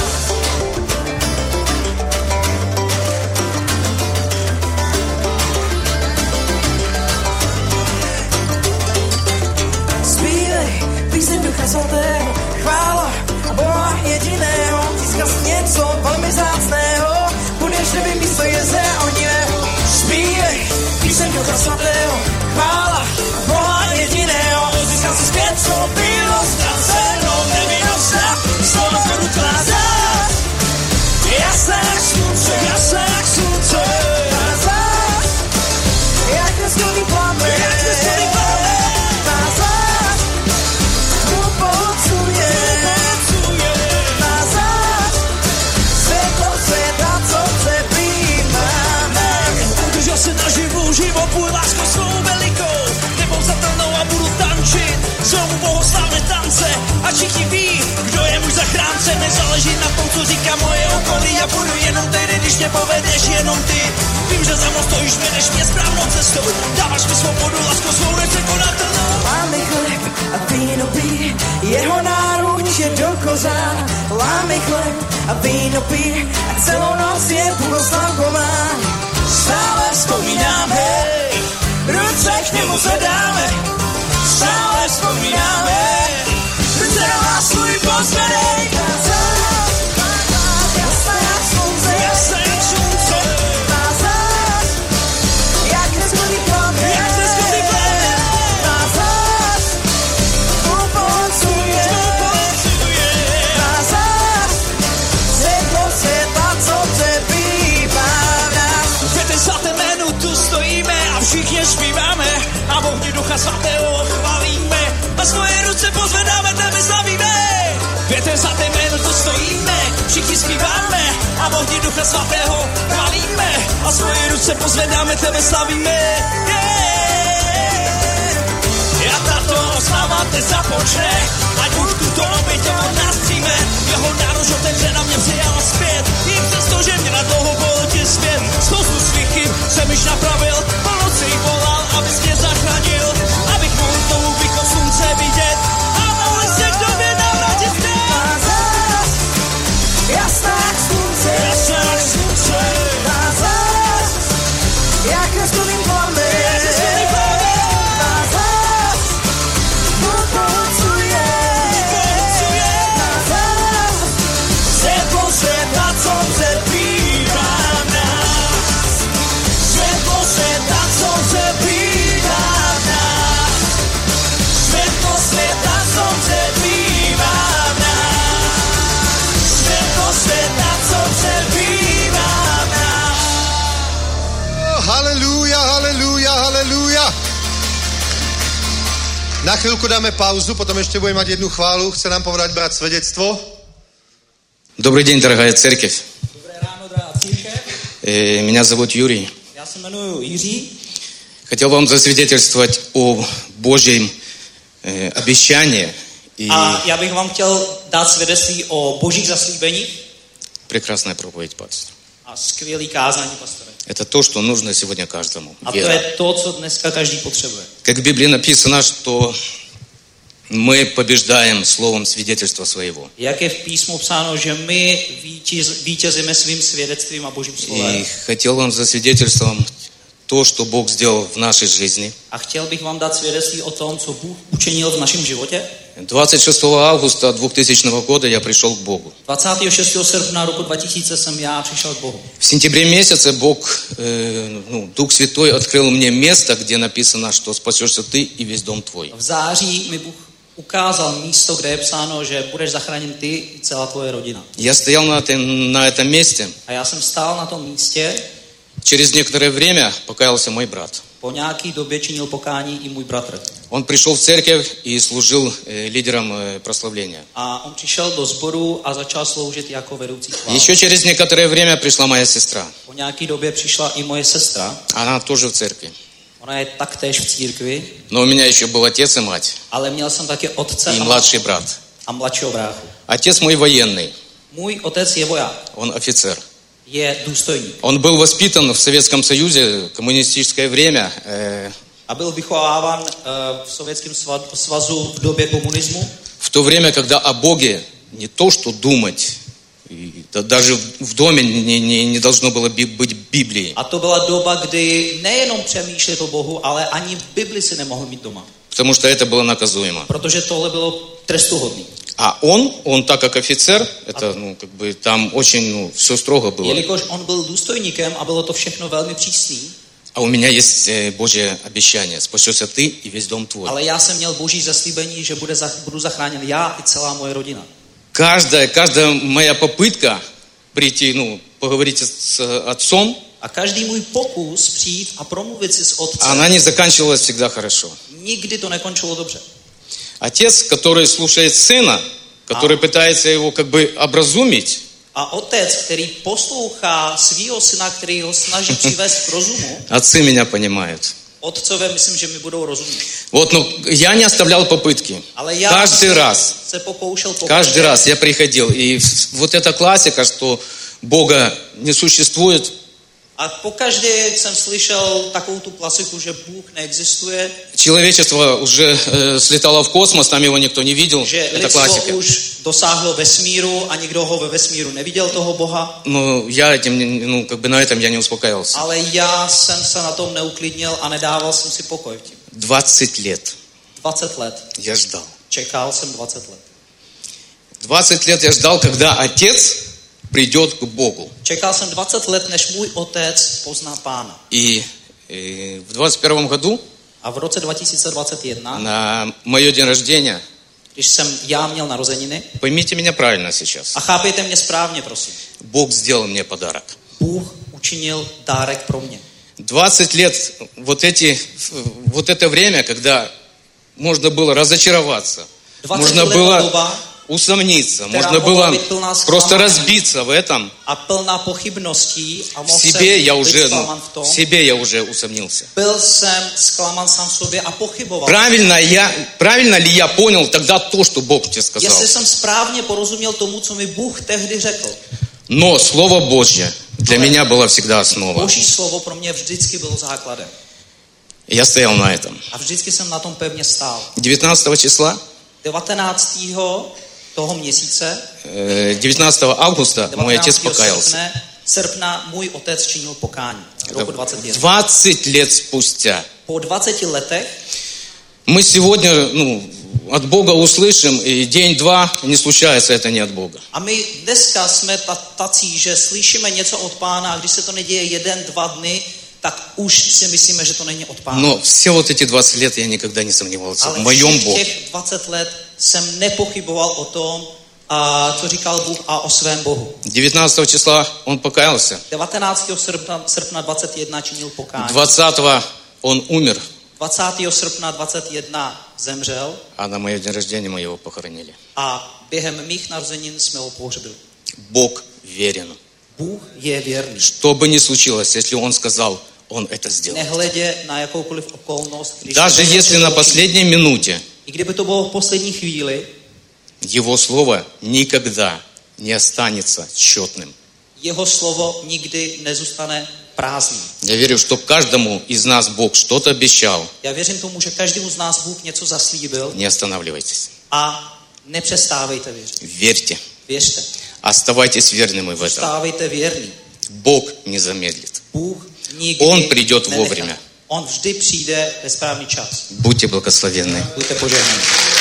[SPEAKER 3] Zpívej píseň Ducha Svatého, chvála Boha jediného, získal si něco velmi vzácného, budeš nebi místo jezera onivého. Zpívej píseň Ducha Svatého, chvála Boha jediného, získal si zpět, co bylo ztraceno, nevinnost a svobodu tvá zás, jasná jak slunce, jasná jak slunce, tvá zás, jak neskolný plamen, jak neskolný plamen, tvá zás, upolcuje, tvá zás, světlo světa, co přebýváme. Udržel se naživu, život tvůj lásko svou velikou, nepopsatelnou a budu tančit, znovu bohoslavné tance a všichni ví, kdo je můj zachránce, nezáleží na tom, co říká moje okolí, já budu jenom tehdy, když mě povedeš jenom ty, vím, že za mnou stojíš, vedeš mě správnou cestou, dáváš mi svobodu, láskou svou nepřekonatelnou. Lámy chleb a víno pí, jeho náruč je do kořán, lámy chleb a víno pí, a celou noc je blahoslavovány, stále vzpomínáme, ruce k němu zvedáme, stále vzpomínáme, ruce a hlas svůj pozvedej, jasná jak slunce, jasná jak slunce, má zás, jak neskolný plamen, jak neskolný plamen, má zás, upolcuje, má zás, světlo světa, co přebývá v nás. Ve ten svatém jménu tu stojíme a všichni zpíváme a v ohni Ducha Svatého chválíme a svoje ruce pozvedáme, tebe slavíme. V ten svatém jménu tu stojíme, všichni zpíváme a v ohni Ducha Svatého chválíme a svoje ruce pozvedáme, tebe slavíme. A tato oslava teď započne, ať už tuto oběť on nás přijme, jeho náruč otevře na mě přijala zpět, i přesto, že mě na dlouho bolotě svět, spoustu svých chyb jsem již napravil, po noci volal, abys mě zachránil, abych mohl tomu východ slunce vidět a mohli se k tobě navrátit zpět. Má zás, jasná jak slunce, jasná jak slunce, má zás, jak neskolný plamen, jak neskolný plamen, má zás, upolcuje, má zás, světlo světa, co přebývá v nás, světlo světa, co přebývá v nás, světlo světa, co přebývá v nás, světlo světa, co přebývá v nás.
[SPEAKER 4] Haleluja, haleluja, haleluja. Na chvíľku dáme pauzu, potom ešte budeme mať jednu chválu. Chce nám povedať brat svedectvo.
[SPEAKER 7] Добрый день, дорогая церковь.
[SPEAKER 2] Dobré ráno, drahá církev.
[SPEAKER 7] Э, Меня зовут Юрий.
[SPEAKER 2] Já se jmenuji Jiří.
[SPEAKER 7] Хотел вам засвидетельствовать о Божьем э, обещании и
[SPEAKER 2] A já bych vám chtěl dát svědectví o božích zaslíbeních
[SPEAKER 7] прекрасная проповедь, пастор.
[SPEAKER 2] a skvělý kázání pastore.
[SPEAKER 7] Это то, что нужно сегодня каждому.
[SPEAKER 2] A to
[SPEAKER 7] Вера.
[SPEAKER 2] je to, co dneska každý potřebuje.
[SPEAKER 7] Как в Библии написано, что мы побеждаем словом свидетельства своего.
[SPEAKER 2] Jak je v písmu psáno, že my vítěz, vítězíme svým svědectvím a božím slovem.
[SPEAKER 7] И хотел вам засвидетельствовать то, что Бог сделал в нашей жизни.
[SPEAKER 2] A chtěl bych vám dát svědectví o tom, co Bůh učinil v našem životě.
[SPEAKER 7] двадцать шестого августа двухтысячного года я пришел к Богу.
[SPEAKER 2] dvacátého šestého srpna roku dva tisíce jsem já přišel k Bohu.
[SPEAKER 7] В сентябре месяце Бог, э, ну, Дух Святой открыл мне место, где написано, что спасешься ты и весь дом твой.
[SPEAKER 2] V září mi Bůh ukázal místo, kde je psáno, že budeš zachráněn ty i celá tvoje rodina.
[SPEAKER 7] Я стоял на этом, na этом месте.
[SPEAKER 2] A já jsem stál na tom místě.
[SPEAKER 7] Через некоторое время покаялся мой брат.
[SPEAKER 2] Po nějaký době činil pokání i můj bratr.
[SPEAKER 7] Он пришел в церковь и служил э, лидером э, прославления.
[SPEAKER 2] A on přišel do sboru a začal sloužit jako vedoucí chvály.
[SPEAKER 7] Еще через некоторое время пришла моя сестра.
[SPEAKER 2] Po nějaký době přišla i moje sestra.
[SPEAKER 7] Она тоже в церкви.
[SPEAKER 2] Ona je taktéž v církvi.
[SPEAKER 7] Но у меня еще был отец и мать.
[SPEAKER 2] Ale měl jsem také otce
[SPEAKER 7] И
[SPEAKER 2] a,
[SPEAKER 7] младший брат.
[SPEAKER 2] a mladšího bráchu.
[SPEAKER 7] Отец мой военный.
[SPEAKER 2] Můj otec je voják.
[SPEAKER 7] Он офицер.
[SPEAKER 2] Je důstojník.
[SPEAKER 7] Он был воспитан в Советском Союзе, коммунистическое время. Э,
[SPEAKER 2] A byl vychováván uh, v Sovětském svazu v době komunismu.
[SPEAKER 7] в то время, когда о Боге не то, что думать, и, да, даже v доме не, не, не должно было быть Библии.
[SPEAKER 2] A to byla doba, kdy nejenom přemýšlet o Bohu, ale ani v Bibli si nemohl mít doma.
[SPEAKER 7] Потому что это было наказуемо.
[SPEAKER 2] Protože tohle bylo trestuhodný.
[SPEAKER 7] А он, он так как офицер, это, ну, как бы там очень, ну, все строго было.
[SPEAKER 2] Jelikož on byl důstojníkem a bylo to všechno velmi přísný.
[SPEAKER 7] А у меня есть Божье обещание. Спасешься ты и весь дом твой.
[SPEAKER 2] Ale já jsem měl Boží zaslíbení, že bude, budu zachráněn já i celá moje rodina.
[SPEAKER 7] Каждая, каждая моя попытка прийти, ну, поговорить с отцом,
[SPEAKER 2] a každý můj pokus přijít a promluvit si s otcem,
[SPEAKER 7] она не заканчивалась всегда хорошо.
[SPEAKER 2] Nikdy to nekončilo dobře.
[SPEAKER 7] Отец, который слушает сына, который пытается его как бы образумить,
[SPEAKER 2] a otec, který poslouchá svýho syna, který ho snaží přivést k rozumu,
[SPEAKER 7] отцы меня понимают.
[SPEAKER 2] Otcové, myslím, že mi budou rozumět.
[SPEAKER 7] Вот, ну, я не оставлял попытки.
[SPEAKER 2] Ale já
[SPEAKER 7] Каждый раз,
[SPEAKER 2] se pokoušel
[SPEAKER 7] каждый раз я приходил. И вот эта классика, что Бога не существует.
[SPEAKER 2] A pokaždé jsem slyšel takovou tu klasiku, že Bůh neexistuje.
[SPEAKER 7] Человечество уже э, слетало в космос, там его никто не видел.
[SPEAKER 2] Že
[SPEAKER 7] Это классика.
[SPEAKER 2] už dosáhlo vesmíru a nikdo ho ve vesmíru neviděl, toho Boha.
[SPEAKER 7] Но я этим, ну, как бы на этом я не успокаивался.
[SPEAKER 2] Ale já jsem se na tom neuklidnil a nedával jsem si pokoj v tím.
[SPEAKER 7] двадцать лет.
[SPEAKER 2] dvacet let.
[SPEAKER 7] Я ждал.
[SPEAKER 2] Čekal jsem dvacet let.
[SPEAKER 7] двадцать лет я ждал, когда отец придет к Богу.
[SPEAKER 2] Čekal jsem dvacet let, než můj otec pozná Pána.
[SPEAKER 7] И, и в двадцать первом году
[SPEAKER 2] a v roce dva tisíce dvacet jedna
[SPEAKER 7] на мое день рождения,
[SPEAKER 2] když jsem já měl narozeniny,
[SPEAKER 7] поймите меня правильно сейчас,
[SPEAKER 2] a chápejte mě správně, prosím.
[SPEAKER 7] Бог сделал мне подарок.
[SPEAKER 2] Bůh učinil dárek pro mě.
[SPEAKER 7] двадцать лет, вот, эти, вот это время, когда можно было разочароваться, можно было
[SPEAKER 2] doba,
[SPEAKER 7] усомниться, можно было просто разбиться в этом.
[SPEAKER 2] A plná pochybností a
[SPEAKER 7] в
[SPEAKER 2] mohl
[SPEAKER 7] себе я
[SPEAKER 2] jsem
[SPEAKER 7] уже,
[SPEAKER 2] být
[SPEAKER 7] ну,
[SPEAKER 2] zklaman v tom.
[SPEAKER 7] в себе я уже усомнился.
[SPEAKER 2] Byl jsem zklaman sám v sobě a pochyboval.
[SPEAKER 7] Правильно, я, правильно ли я понял тогда то, что Бог тебе сказал?
[SPEAKER 2] Jestli jsem správně porozuměl tomu, co mi Bůh tehdy řekl.
[SPEAKER 7] Но Слово Божье для меня было всегда основа.
[SPEAKER 2] Boží slovo pro mě vždycky bylo základem.
[SPEAKER 7] Я стоял на этом.
[SPEAKER 2] A vždycky jsem na tom pevně stál.
[SPEAKER 7] девятнадцатого числа,
[SPEAKER 2] devatenáctého toho měsíce,
[SPEAKER 7] девятнадцатого августа мой отец покаялся.
[SPEAKER 2] Srpne, srpna můj otec činil pokání. Roku dvacet jedna.
[SPEAKER 7] двадцать лет спустя.
[SPEAKER 2] Po dvaceti letech
[SPEAKER 7] Мы сегодня, ну, от Бога услышим, и день-два не случается, это не от Бога.
[SPEAKER 2] A my dneska jsme tací, že slyšíme něco od Pána a když se to neděje jeden, dva dny, tak už si myslíme, že to není od Pána.
[SPEAKER 7] Но все вот эти двадцать лет я никогда не сомневался
[SPEAKER 2] Ale
[SPEAKER 7] в моем
[SPEAKER 2] všech
[SPEAKER 7] Боге.
[SPEAKER 2] těch dvacet let jsem nepochyboval o tom, a co říkal Bůh a o svém Bohu.
[SPEAKER 7] девятнадцатого числа он покаялся.
[SPEAKER 2] devatenáctého srpna, srpna dvacet jedna činil pokání.
[SPEAKER 7] двадцатого он умер.
[SPEAKER 2] dvacátého srpna dvacet jedna zemřel.
[SPEAKER 7] А на мое день рождения мы его похоронили.
[SPEAKER 2] A během mých narozenin jsme ho pohřbili.
[SPEAKER 7] Бог верен.
[SPEAKER 2] Bůh je věrný.
[SPEAKER 7] Что бы ни случилось, если он сказал, он это сделает.
[SPEAKER 2] Nehledě na jakoukoliv okolnost, když
[SPEAKER 7] Даже если на последней минуте
[SPEAKER 2] i kdyby to bylo v poslední chvíli,
[SPEAKER 7] его слово никогда не останется тщетным.
[SPEAKER 2] jeho slovo nikdy nezůstane prázdný.
[SPEAKER 7] Я верю, что каждому из нас Бог что-то обещал.
[SPEAKER 2] Já věřím tomu, že každému z nás Bůh něco zaslíbil.
[SPEAKER 7] Не останавливайтесь.
[SPEAKER 2] A nepřestávejte věřit.
[SPEAKER 7] Верьте.
[SPEAKER 2] Věřte.
[SPEAKER 7] Оставайтесь верными в этом.
[SPEAKER 2] Zůstávejte věrný.
[SPEAKER 7] Бог не замедлит.
[SPEAKER 2] Bůh
[SPEAKER 8] Nikdy
[SPEAKER 7] Он придет
[SPEAKER 8] nenechá.
[SPEAKER 7] вовремя.
[SPEAKER 8] On vždy přijde ve správný čas.
[SPEAKER 7] Будьте благословенны.
[SPEAKER 8] Buďte požehnaní.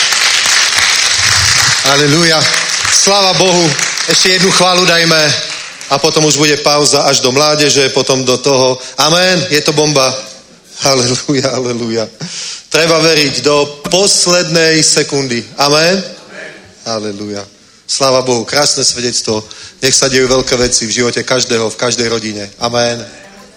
[SPEAKER 4] Aleluja. Sláva Bohu. Ešte jednu chválu dajme a potom už bude pauza až do mládeže, potom do toho. Amen. Je to bomba. Aleluja, aleluja. Treba veriť do poslednej sekundy. Amen. Aleluja. Sláva Bohu. Krásne svedectvo. Nech sa dejú veľké veci v živote každého, v každej rodine. Amen.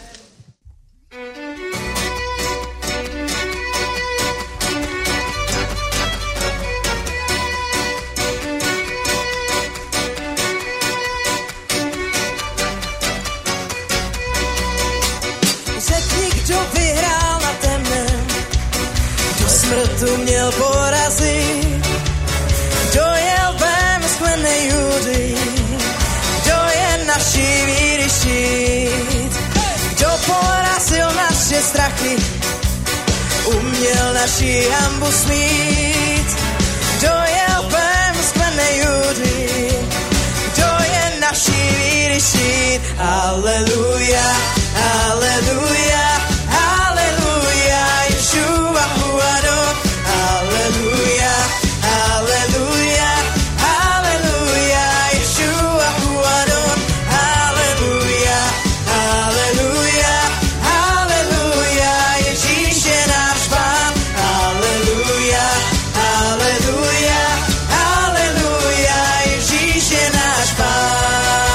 [SPEAKER 3] Smrtu měl porazit, kdo je lvem sklenej Judy, kdo je naší víry štít, kdo porazil naše strachy, uměl naši hanbu smít, kdo je lvem sklenej Judy, kdo je naší víry štít. Aleluja, aleluja, aleluja, Ješua Huadon. Aleluja, aleluja, aleluja, Ješua Huadon. Aleluja, aleluja, aleluja, Ježíš je náš Pán. Aleluja, aleluja, aleluja, Ježíš je náš Pán.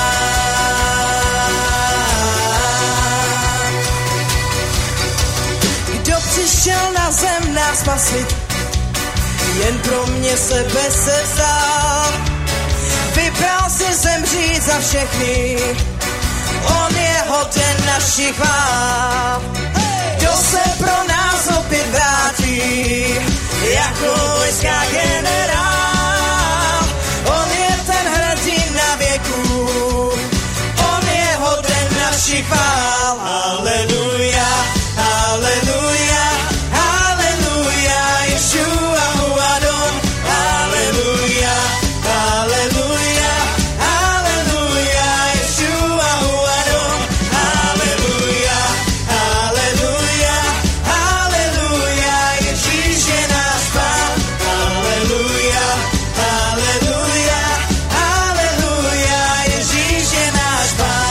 [SPEAKER 3] Kdo přišel na zem nás spasit, jen pro mě sebe se vzal. Vybral si zemřít za všechny, on je hoden našich chvál. Kdo se pro nás opět vrátí, jako vojská generál. On je ten hrdina věků, on je hoden našich chvál. Aleluja, aleluja, aleluja, Ješua Huadon. Aleluja, aleluja, aleluja, Ješua Huadon. Aleluja, aleluja, aleluja, Ježíš je náš Pán. Aleluja, aleluja, aleluja, Ježíš je náš Pán.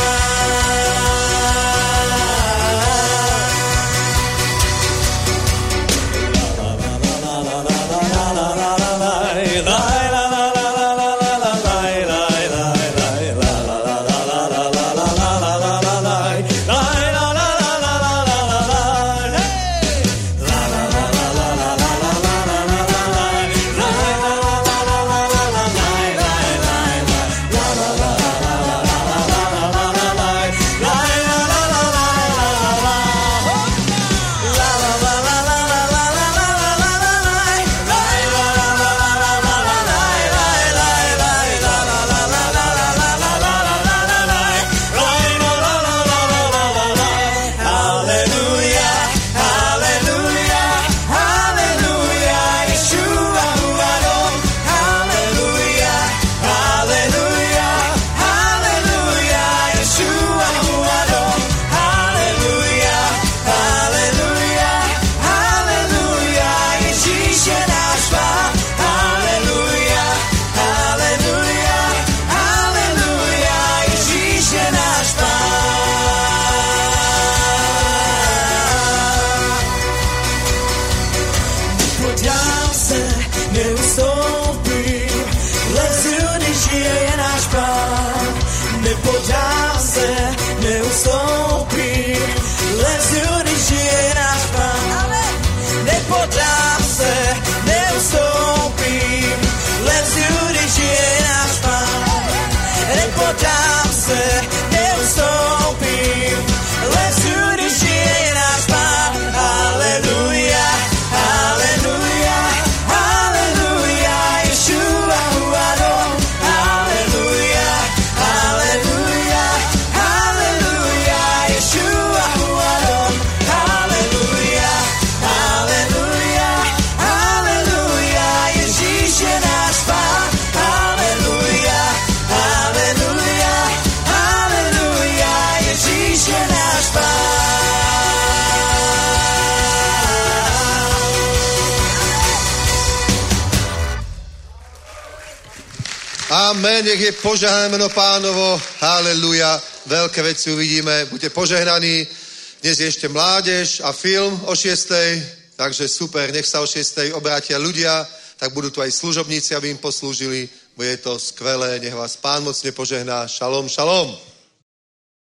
[SPEAKER 3] Nepodám se, neustoupím, lezu, když je náš Pán. Nepodám se, neustoupím, lezu, když je náš Pán. Nepodám se, neustoupím, lezu, když je náš Pán. Nepodám se, neustoupím, lezu, když je náš Pán. Aleluja, aleluja, aleluja, Ješua Huadon. Aleluja, aleluja, aleluja, Ješua Huadon. Aleluja, aleluja, aleluja, Ježíš je náš Pán. Aleluja, aleluja, aleluja,
[SPEAKER 4] Amen, nech je požehnané meno Pánovo. Haleluja. Veľké veci uvidíme. Buďte požehnaní. Dnes je ešte mládež a film o šiestej. Takže super, nech sa o šiestej obrátia ľudia. Tak budú tu aj služobníci, aby im poslúžili. Bude to skvelé. Nech vás Pán mocne požehná. Šalom, šalom.